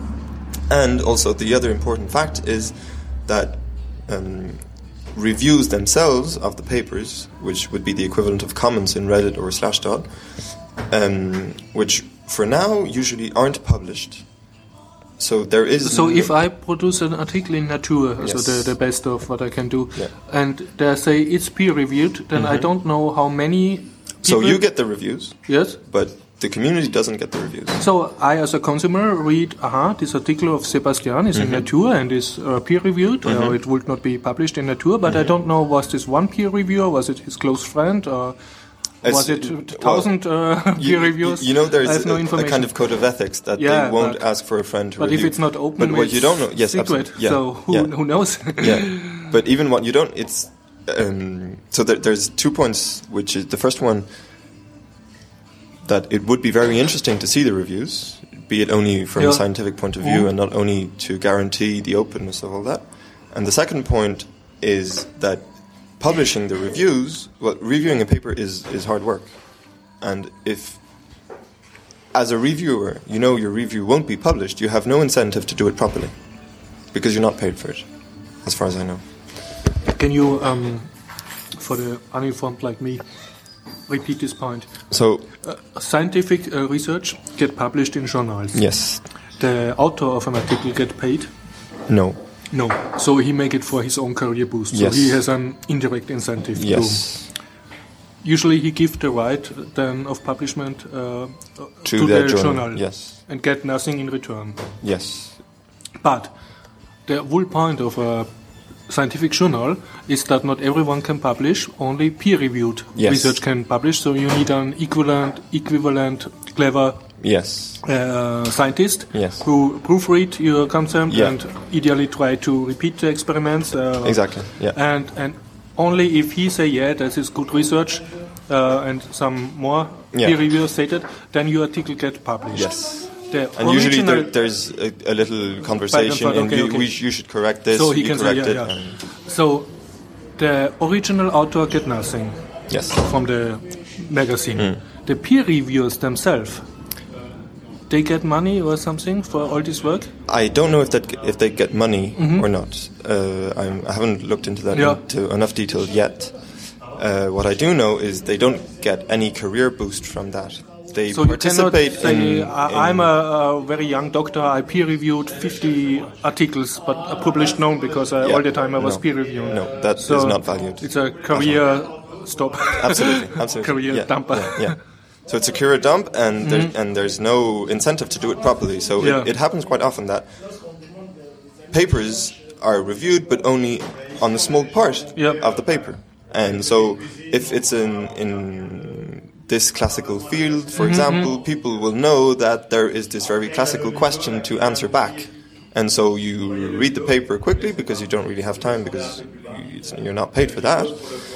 And also the other important fact is that um, reviews themselves of the papers, which would be the equivalent of comments in Reddit or Slashdot, um, which for now usually aren't published. So there is. So if I produce an article in Nature, yes. so the, the best of what I can do, yeah. and they say it's peer reviewed, then mm-hmm. I don't know how many. People so you get the reviews. Yes. But the community doesn't get the reviews. So I, as a consumer, read, aha, this article of Sebastian is mm-hmm. in Nature and is uh, peer reviewed, mm-hmm. or it would not be published in Nature, but mm-hmm. I don't know, was this one peer reviewer, was it his close friend, or was it a thousand well, uh, peer reviews? You know, there's no a, a kind of code of ethics that yeah, they won't ask for a friend to but review. But if it's not open, but what it's you don't know, yes, secret. Yeah, so who, yeah. who knows? yeah. but even what you don't, it's um, so there, there's two points. Which is the first one, that it would be very interesting to see the reviews, be it only from yeah. a scientific point of view mm. and not only to guarantee the openness of all that. And the second point is that publishing the reviews, well, reviewing a paper is, is hard work. And if, as a reviewer, you know your review won't be published, you have no incentive to do it properly, because you're not paid for it, as far as I know. Can you, um, for the uninformed like me, repeat this point? So, uh, scientific uh, research get published in journals. Yes. The author of an article get paid? No. No. So he make it for his own career boost. Yes. So he has an indirect incentive. Yes. To, usually he gives the right then of publishment uh, to, to the journal. journal. Yes. And get nothing in return. Yes. But the whole point of a scientific journal is that not everyone can publish, only peer-reviewed yes. research can publish, so you need an equivalent, equivalent clever yes. uh, scientist yes. who proofread your concept yeah. and ideally try to repeat the experiments. Uh, exactly, yeah. And, and only if he say, yeah, this is good research, uh, and some more yeah. peer reviewers stated, then your article get published. Yes. The and usually there, there's a, a little conversation, okay, and you, okay. we, you should correct this, so he you can correct say, yeah, it. Yeah. So the original author get nothing yes. from the magazine. Mm. The peer reviewers themselves, they get money or something for all this work? I don't know if that if they get money mm-hmm. or not. Uh, I'm, I haven't looked into that yeah. into enough detail yet. Uh, what I do know is they don't get any career boost from that. They so participate you cannot say, in, I'm a, a very young doctor, I peer-reviewed fifty articles, but I published none because I, yeah, all the time I was no, peer-reviewing. No, that so is not valued. It's a career stop. Absolutely, absolutely. Career yeah, dumper. Yeah, yeah. So it's a career dump, and, mm-hmm. there, and there's no incentive to do it properly. So yeah. it, it happens quite often that papers are reviewed, but only on a small part yep. of the paper. And so if it's in... in this classical field, for mm-hmm. example, people will know that there is this very classical question to answer back. And so you read the paper quickly because you don't really have time because you're not paid for that.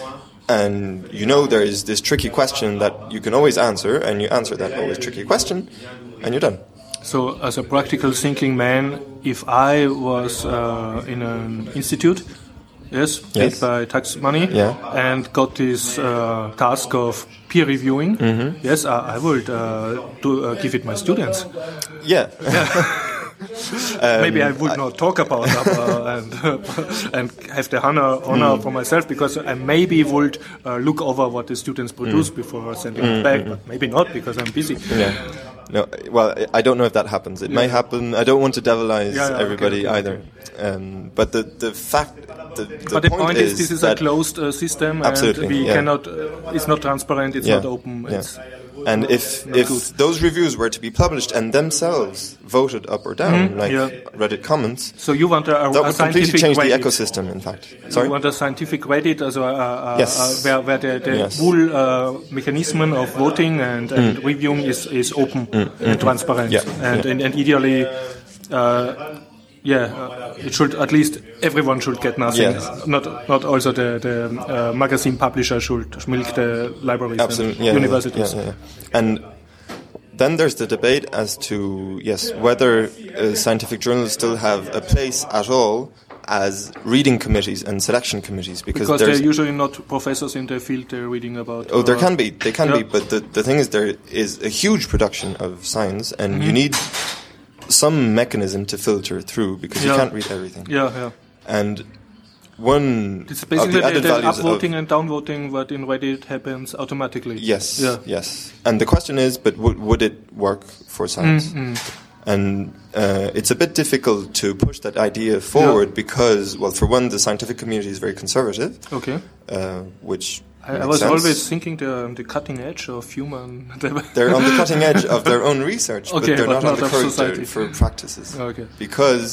And you know there is this tricky question that you can always answer, and you answer that always tricky question, and you're done. So as a practical thinking man, if I was uh, in an institute, Yes, paid yes. by tax money, yeah. and got this uh, task of peer reviewing. Mm-hmm. Yes, I, I would uh, do, uh, give it my students. Yeah. yeah. um, Maybe I would I not talk about that uh, and uh, and have the honor honor mm. for myself, because I maybe would uh, look over what the students produce mm. before sending mm-hmm. it back, but maybe not because I'm busy. Yeah. No, well, I don't know if that happens. It yeah. may happen. I don't want to devilize yeah, yeah, everybody okay, okay, either. okay. Um, but the the fact, the, the, but the point, point is, is this is a closed uh, system, absolutely, and we yeah. cannot. Uh, it's not transparent. It's yeah. not open. Yeah. It's and if not if good. those reviews were to be published and themselves voted up or down, mm-hmm. like yeah. Reddit comments, so you want a, a, that a would completely change Reddit. the ecosystem. In fact, sorry, you want a scientific Reddit, also a, a, yes. a, where where the, the yes. whole uh, mechanism of voting and, and mm. reviewing is is open mm. and mm-hmm. transparent, yeah. and, yeah. and and ideally. Uh, Yeah, uh, it should at least everyone should get nothing. Yes. Not not also the the uh, magazine publisher should milk the libraries Absolutely. and yeah, universities. Yeah, yeah, yeah. And then there's the debate as to yes whether uh, scientific journals still have a place at all as reading committees and selection committees, because, because they're usually not professors in the field they're reading about. Oh, there can be, they can yeah. be, but the the thing is there is a huge production of science, and mm-hmm. you need some mechanism to filter through, because yeah. you can't read everything. Yeah, yeah. And one it's basically of the added the, the values upvoting of, and downvoting, what in Reddit happens automatically. Yes, yeah. yes. And the question is, but w- would it work for science? Mm-hmm. And uh, it's a bit difficult to push that idea forward yeah. because, well, for one, the scientific community is very conservative. Okay. Uh, which I, I was sense. always thinking they're on the cutting edge of human. They're on the cutting edge of their own research, okay, but they're but not, not on the current society. for practices. Okay. Because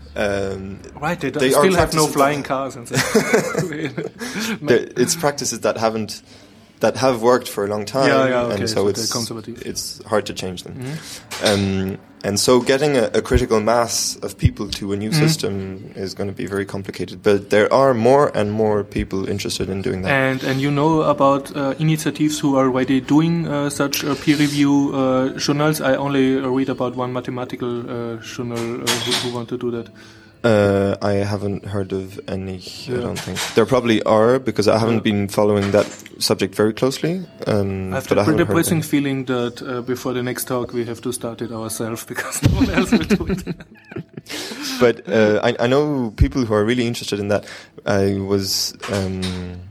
um, right, they, they still have no flying cars and stuff. It's practices that haven't that have worked for a long time, yeah, yeah, okay, and so, so it's it's hard to change them. Mm-hmm. Um, and so getting a, a critical mass of people to a new mm-hmm. system is going to be very complicated. But there are more and more people interested in doing that. And and you know about uh, initiatives who are already doing uh, such uh, peer review uh, journals. I only read about one mathematical uh, journal uh, who, who want to do that. Uh, I haven't heard of any, yeah. I don't think. There probably are, because I haven't yeah. been following that subject very closely. Um, I have the depressing feeling that uh, before the next talk we have to start it ourselves, because no one else will do it. But uh, I, I know people who are really interested in that. I was... Um,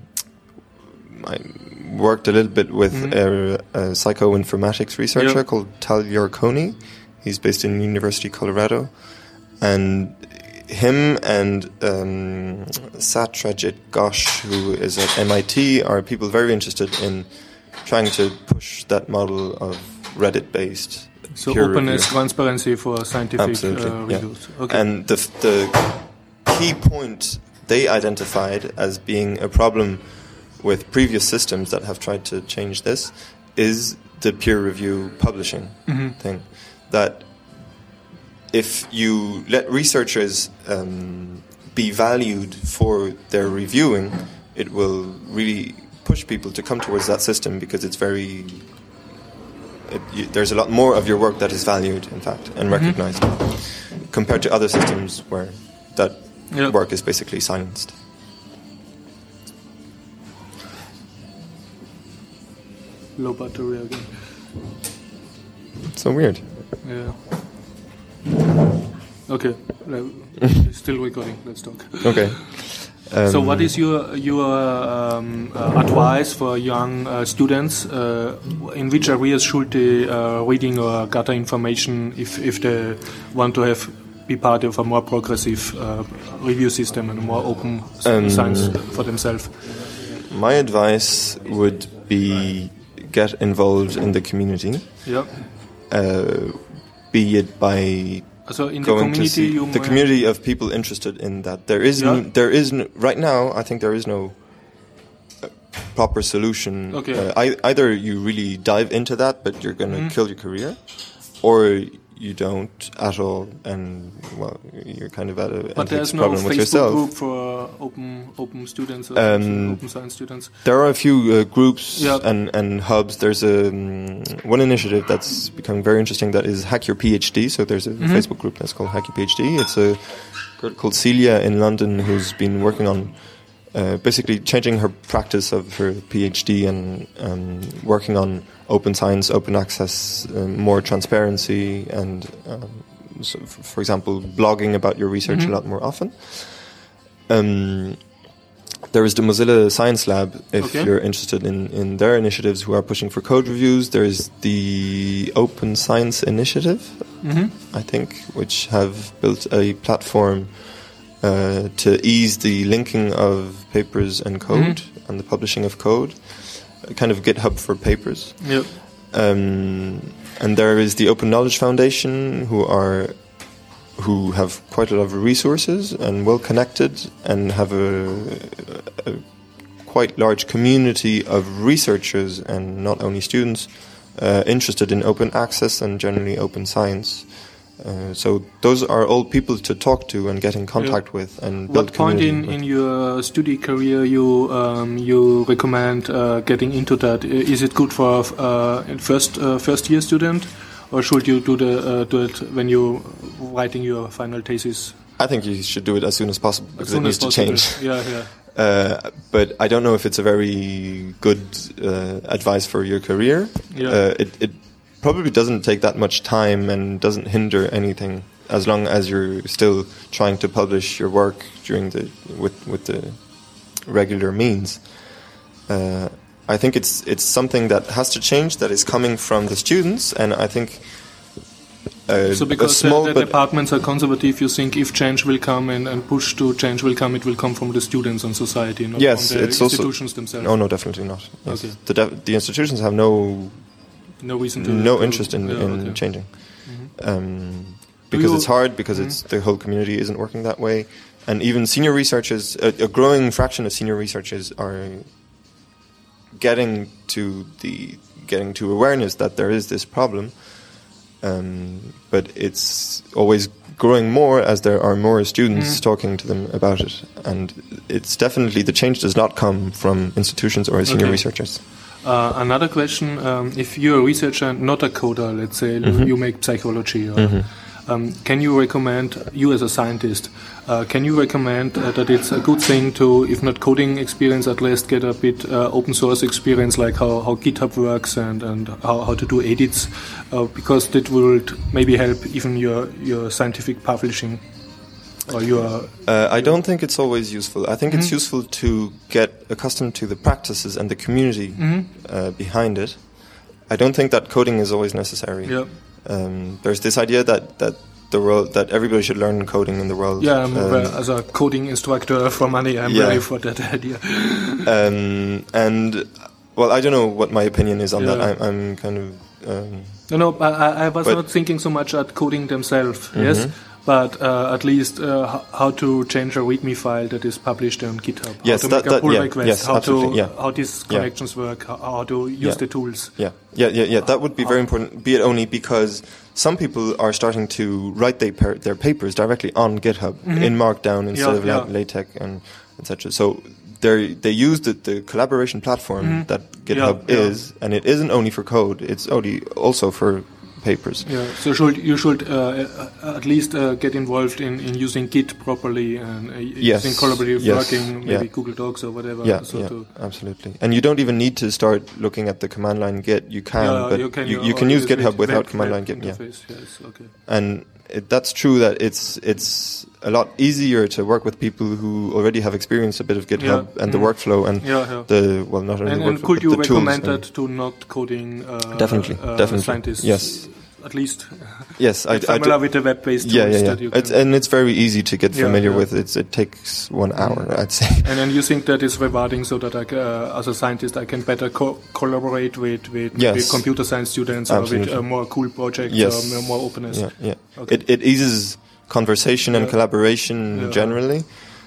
I worked a little bit with mm-hmm. a, a psychoinformatics researcher yeah. called Tal Yarkoni. He's based in University of Colorado. And... him and um, Satrajit Ghosh, who is at M I T, are people very interested in trying to push that model of Reddit-based so peer openness, review. Transparency for scientific Absolutely, uh, reviews. Yeah. Okay. And the, the key point they identified as being a problem with previous systems that have tried to change this is the peer review publishing mm-hmm. thing. That if you let researchers um, be valued for their reviewing, it will really push people to come towards that system, because it's very... It, you, there's a lot more of your work that is valued, in fact, and recognized, mm-hmm. compared to other systems where that yep. work is basically silenced. Low battery again. So weird. Yeah. Okay, still recording. Let's talk. Okay. Um, so, what is your your um, uh, advice for young uh, students? Uh, in which areas should they uh, reading or gather information if if they want to have be part of a more progressive uh, review system and a more open um, science for themselves? My advice would be get involved in the community. Yeah. Uh, be it by so in the community, you the community of people interested in that. There is yeah. n- there is n- right now. I think there is no uh, proper solution. Okay. Uh, I, either you really dive into that, but you're going to mm. kill your career, or you don't at all, and well, you're kind of at a but there's no problem with Facebook yourself. Group for open open students, or um, open science students. There are a few uh, groups yeah. and, and hubs. There's a um, one initiative that's becoming very interesting. That is Hack Your PhD. So there's a mm-hmm. Facebook group that's called Hack Your PhD. It's a girl called Celia in London who's been working on uh, basically changing her practice of her PhD and um, working on open science, open access, um, more transparency, and um, so f- for example, blogging about your research mm-hmm. a lot more often. Um, there is the Mozilla Science Lab, if okay. you're interested in, in their initiatives who are pushing for code reviews. There is the Open Science Initiative, mm-hmm. I think, which have built a platform uh, to ease the linking of papers and code mm-hmm. and the publishing of code. Kind of GitHub for papers. Yep. Um, and there is the Open Knowledge Foundation, who are who have quite a lot of resources and well connected, and have a, a quite large community of researchers and not only students uh, interested in open access and generally open science. Uh, so those are all people to talk to and get in contact yeah. with and build what point in, with. in your study career you um, you recommend uh, getting into that? Is it good for uh, first uh, first year student, or should you do the uh, do it when you writing your final thesis? I think you should do it as soon as possible, because it needs to change. Yeah, yeah. Uh, but I don't know if it's a very good uh, advice for your career. Yeah. Uh, it, it probably doesn't take that much time and doesn't hinder anything, as long as you're still trying to publish your work during the with with the regular means. Uh, I think it's it's something that has to change, that is coming from the students, and I think. Uh, so because small the, the departments are conservative, you think if change will come and, and push to change will come, it will come from the students and society, not yes, from the it's institutions also, themselves? No, no, definitely not. Yes. Okay. The, def- the institutions have no no reason to no to, interest in, yeah, in okay. changing, mm-hmm. um, because it's hard, because mm-hmm. it's the whole community isn't working that way, and even senior researchers, a, a growing fraction of senior researchers are getting to the getting to awareness that there is this problem. Um, but it's always growing more as there are more students mm. talking to them about it, and it's definitely the change does not come from institutions or senior okay. researchers. Uh, another question: um, if you're a researcher, not a coder, let's say mm-hmm. you make psychology, or, mm-hmm. um, can you recommend you as a scientist? Uh, can you recommend uh, that it's a good thing to, if not coding experience, at least get a bit uh, open source experience, like how, how GitHub works and, and how, how to do edits, uh, because that will maybe help even your, your scientific publishing or your... Uh, I don't think it's always useful. I think mm-hmm. it's useful to get accustomed to the practices and the community mm-hmm. uh, behind it. I don't think that coding is always necessary. Yeah. Um, there's this idea that, that the world that everybody should learn coding in the world. Yeah, um, as a coding instructor for money, I'm yeah. ready for that idea. um, and well, I don't know what my opinion is on yeah. that. I'm, I'm kind of um, no, no. I, I was not thinking so much at coding themselves. Mm-hmm. Yes. But uh, at least uh, how to change a README file that is published on GitHub. Yes, how to that, make a pull yeah, request. Yes, how absolutely, to yeah. how these connections yeah. work. How, how to use yeah. the tools. Yeah, yeah, yeah, yeah. That would be very important. Be it only because some people are starting to write they per- their papers directly on GitHub mm-hmm. in Markdown instead yeah, of yeah. LaTeX and et cetera. So they they use the, the collaboration platform mm-hmm. that GitHub yeah, is, yeah. and it isn't only for code. It's only also for papers. Yeah, so should, you should uh, at least uh, get involved in, in using Git properly and uh, yes. using collaborative yes. working, maybe yeah. Google Docs or whatever. Yeah, so yeah to absolutely. And you don't even need to start looking at the command line Git. You can, yeah, but you can, you, you can use GitHub web, without web, command line web Git. Yeah. Yes, okay. And it, that's true that it's it's a lot easier to work with people who already have experienced a bit of GitHub yeah. and mm. the workflow and yeah, yeah. the well not only and, the and workflow could but you the recommend tools that to not coding uh, definitely uh, definitely scientists? Yes. At least, yes, I, familiar I do, with the web-based tools. Yeah, yeah, yeah. That you it's, and it's very easy to get familiar yeah, yeah. with. It's, it takes one hour, I'd say. And then you think that is rewarding, so that I, uh, as a scientist, I can better co- collaborate with with, yes. with computer science students Absolutely. or with uh, more cool projects yes. or more openness. Yeah, yeah. Okay. It it eases conversation and yeah. collaboration yeah. generally,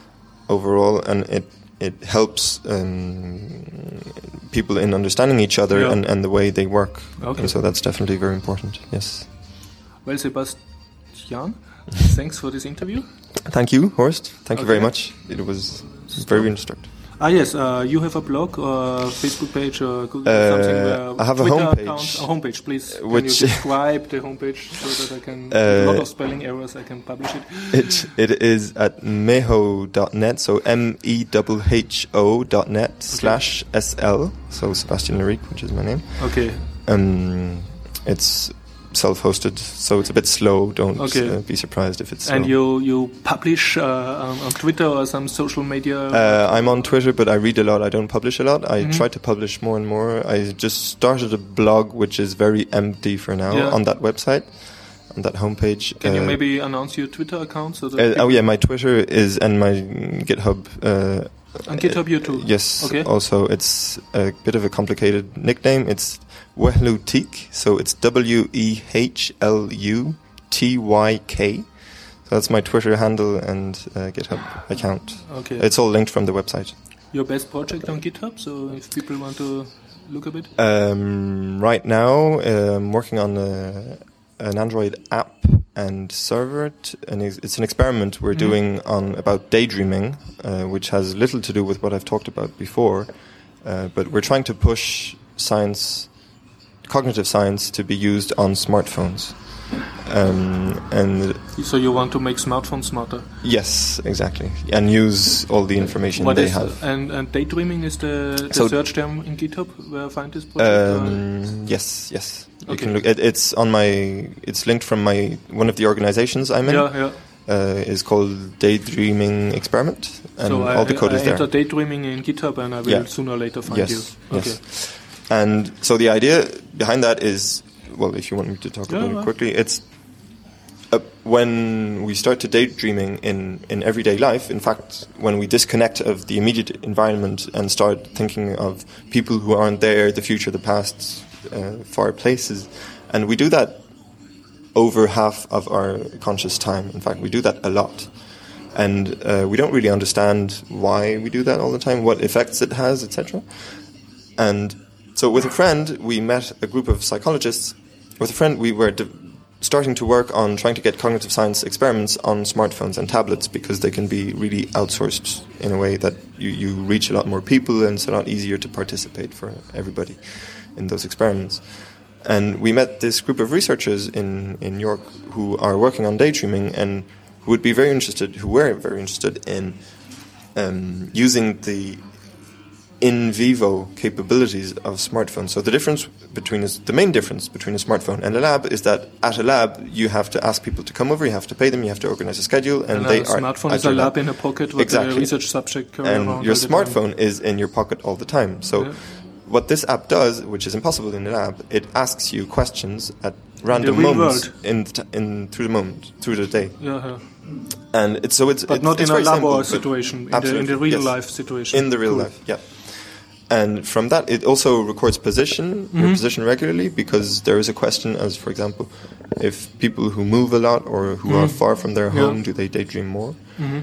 overall, and it it helps um, people in understanding each other yeah. and, and the way they work. Okay. And so that's definitely very important. Yes. Well, Sebastian, thanks for this interview. Thank you, Horst. Thank okay. you very much. It was very instructive. Ah yes, uh, you have a blog or Facebook page or Google uh, something. Uh, I have a Twitter homepage. Account, a homepage, please. Which can you describe the homepage so that I can? Uh, a lot of spelling errors. I can publish it. It it is at meho dot net. So m e h h o dot net okay. slash s l. So Sebastian Larique, which is my name. Okay. Um, it's self-hosted, so it's a bit slow. Don't okay. uh, be surprised if it's slow. And you you publish uh, on, on Twitter or some social media? Uh, I'm on Twitter, but I read a lot. I don't publish a lot. I mm-hmm. try to publish more and more. I just started a blog, which is very empty for now, yeah. on that website, on that homepage. Can uh, you maybe announce your Twitter account? So that uh, oh yeah, my Twitter is and my GitHub. Uh, on GitHub, you too? Yes. Okay. Also, it's a bit of a complicated nickname. It's Wehlutyk, so it's W E H L U T Y K. So that's my Twitter handle and uh, GitHub account. Okay. It's all linked from the website. Your best project on GitHub, so if people want to look a bit? Um, right now, uh, I'm working on a, an Android app and server, t- and it's an experiment we're mm-hmm. doing on about daydreaming, uh, which has little to do with what I've talked about before, uh, but we're trying to push science, cognitive science, to be used on smartphones. Um, and so you want to make smartphones smarter? Yes, exactly, and use all the information what they is, have. And, and daydreaming is the, the so search term in GitHub where I find this project? Um, yes, yes. Okay. You can look. It, it's on my. It's linked from my one of the organizations I'm in. Yeah, yeah. Uh, is called Daydreaming Experiment, and so all I, the code I is there. enter daydreaming in GitHub, and I will yeah. sooner or later find yes, you. Okay. Yes. And so the idea behind that is, well, if you want me to talk yeah, about well. it quickly, it's uh, when we start to daydreaming in, in everyday life. In fact, when we disconnect of the immediate environment and start thinking of people who aren't there, the future, the past, uh, far places, and we do that over half of our conscious time. In fact, we do that a lot. And uh, we don't really understand why we do that all the time, what effects it has, et cetera. And so with a friend, we met a group of psychologists. With a friend, we were de- starting to work on trying to get cognitive science experiments on smartphones and tablets because they can be really outsourced in a way that you, you reach a lot more people and it's a lot easier to participate for everybody in those experiments. And we met this group of researchers in, in York who are working on daydreaming and who would be very interested, who were very interested in um, using the in vivo capabilities of smartphones. So the difference between a, the main difference between a smartphone and a lab is that at a lab you have to ask people to come over, you have to pay them, you have to organize a schedule, and, and they a are. Smartphone is a lab in a pocket with exactly. a research subject carrying and around your all the smartphone time. is in your pocket all the time. So yeah. what this app does, which is impossible in a lab, it asks you questions at random in moments world. in, the t- in through the moment through the day. Yeah, yeah. And it's so it's but it's, not it's in a very labo simple, situation, in the, in the real yes. life situation. In the real cool. life, yeah. And from that, it also records position, mm-hmm. your position regularly, because there is a question as, for example, if people who move a lot or who mm-hmm. are far from their home, yeah. do they daydream more? Mm-hmm.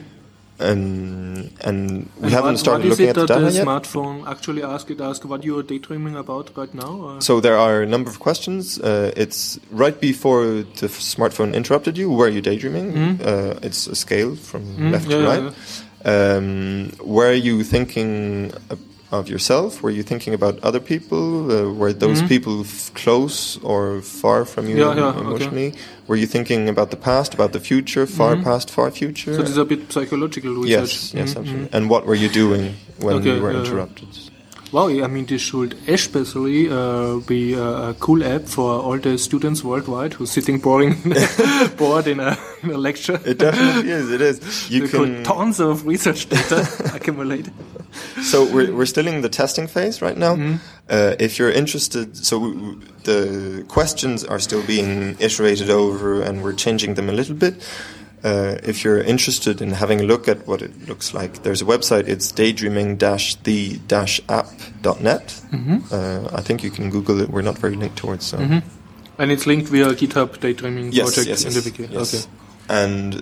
And and we and haven't what, started what looking at the data yet. What is it yet. that the smartphone actually asks? It asks what you are daydreaming about right now? Or? So there are a number of questions. Uh, it's right before the f- smartphone interrupted you. Were you daydreaming? Mm-hmm. Uh, it's a scale from mm-hmm. left yeah, to right. Yeah, yeah. Um, were you thinking of yourself? Were you thinking about other people? Uh, were those mm-hmm. people f- close or far from you yeah, yeah, emotionally? Okay. Were you thinking about the past, about the future, far mm-hmm. past, far future? So this is a bit psychological research. Yes, yes, mm-hmm. absolutely. And what were you doing when okay, you were uh, interrupted? Wow, I mean, this should especially uh, be a, a cool app for all the students worldwide who's sitting boring, bored in a, in a lecture. It definitely is. It is. You can tons of research data accumulated. So we're we're still in the testing phase right now. Mm-hmm. Uh, if you're interested, so w- w- the questions are still being iterated over, and we're changing them a little bit. Uh, if you're interested in having a look at what it looks like, there's a website. It's daydreaming dash the dash app dot net. Mm-hmm. Uh, I think you can Google it. We're not very linked towards. So. Mm-hmm. And it's linked via GitHub Daydreaming yes, project yes, in yes, the wiki. Yes. Okay. And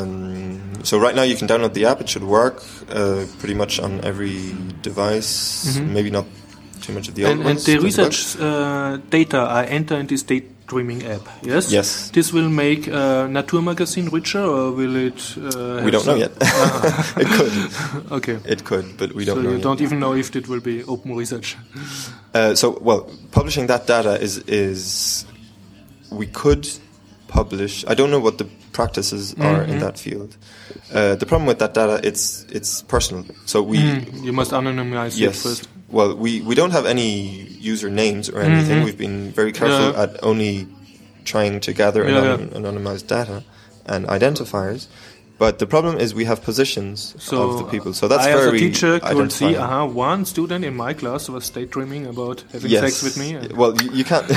um, so right now you can download the app. It should work uh, pretty much on every device. Mm-hmm. Maybe not too much of the old and, ones. And the research uh, data I enter in this daydreaming app, yes? Yes. This will make uh, Nature magazine richer, or will it... Uh, we don't know yet. Uh-huh. It could. Okay. It could, but we don't so know you yet. don't even know if it will be open research. Uh, so, well, publishing that data is... is we could publish... I don't know what the practices are mm-hmm. in that field. Uh, the problem with that data, it's it's personal. So we mm, you must anonymize yes, it first. Well, we, we don't have any user names or anything. Mm-hmm. We've been very careful yeah. at only trying to gather yeah, anon- yeah. anonymized data and identifiers. But the problem is we have positions so of the people. So that's I, very as a teacher, could see, uh-huh, one student in my class was daydreaming about having yes. sex with me. Well, you, you can't...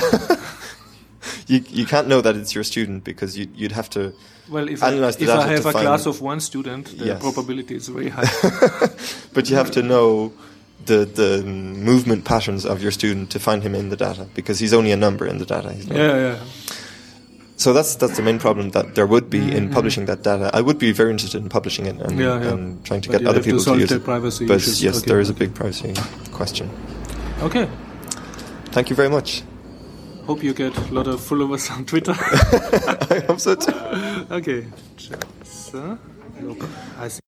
You you can't know that it's your student because you, you'd have to well, if analyze I, the if data I have to a find class of one student, the yes. probability is very high. But you have to know the the movement patterns of your student to find him in the data because he's only a number in the data. He's not. Yeah, yeah. So that's that's the main problem that there would be mm-hmm. in publishing that data. I would be very interested in publishing it and, yeah, yeah. and trying to but get other people to, to use it. Privacy but issues. yes, okay, there is okay. a big privacy question. Okay. Thank you very much. Hope you get a lot of followers on Twitter. I hope so too. Okay. So, I see.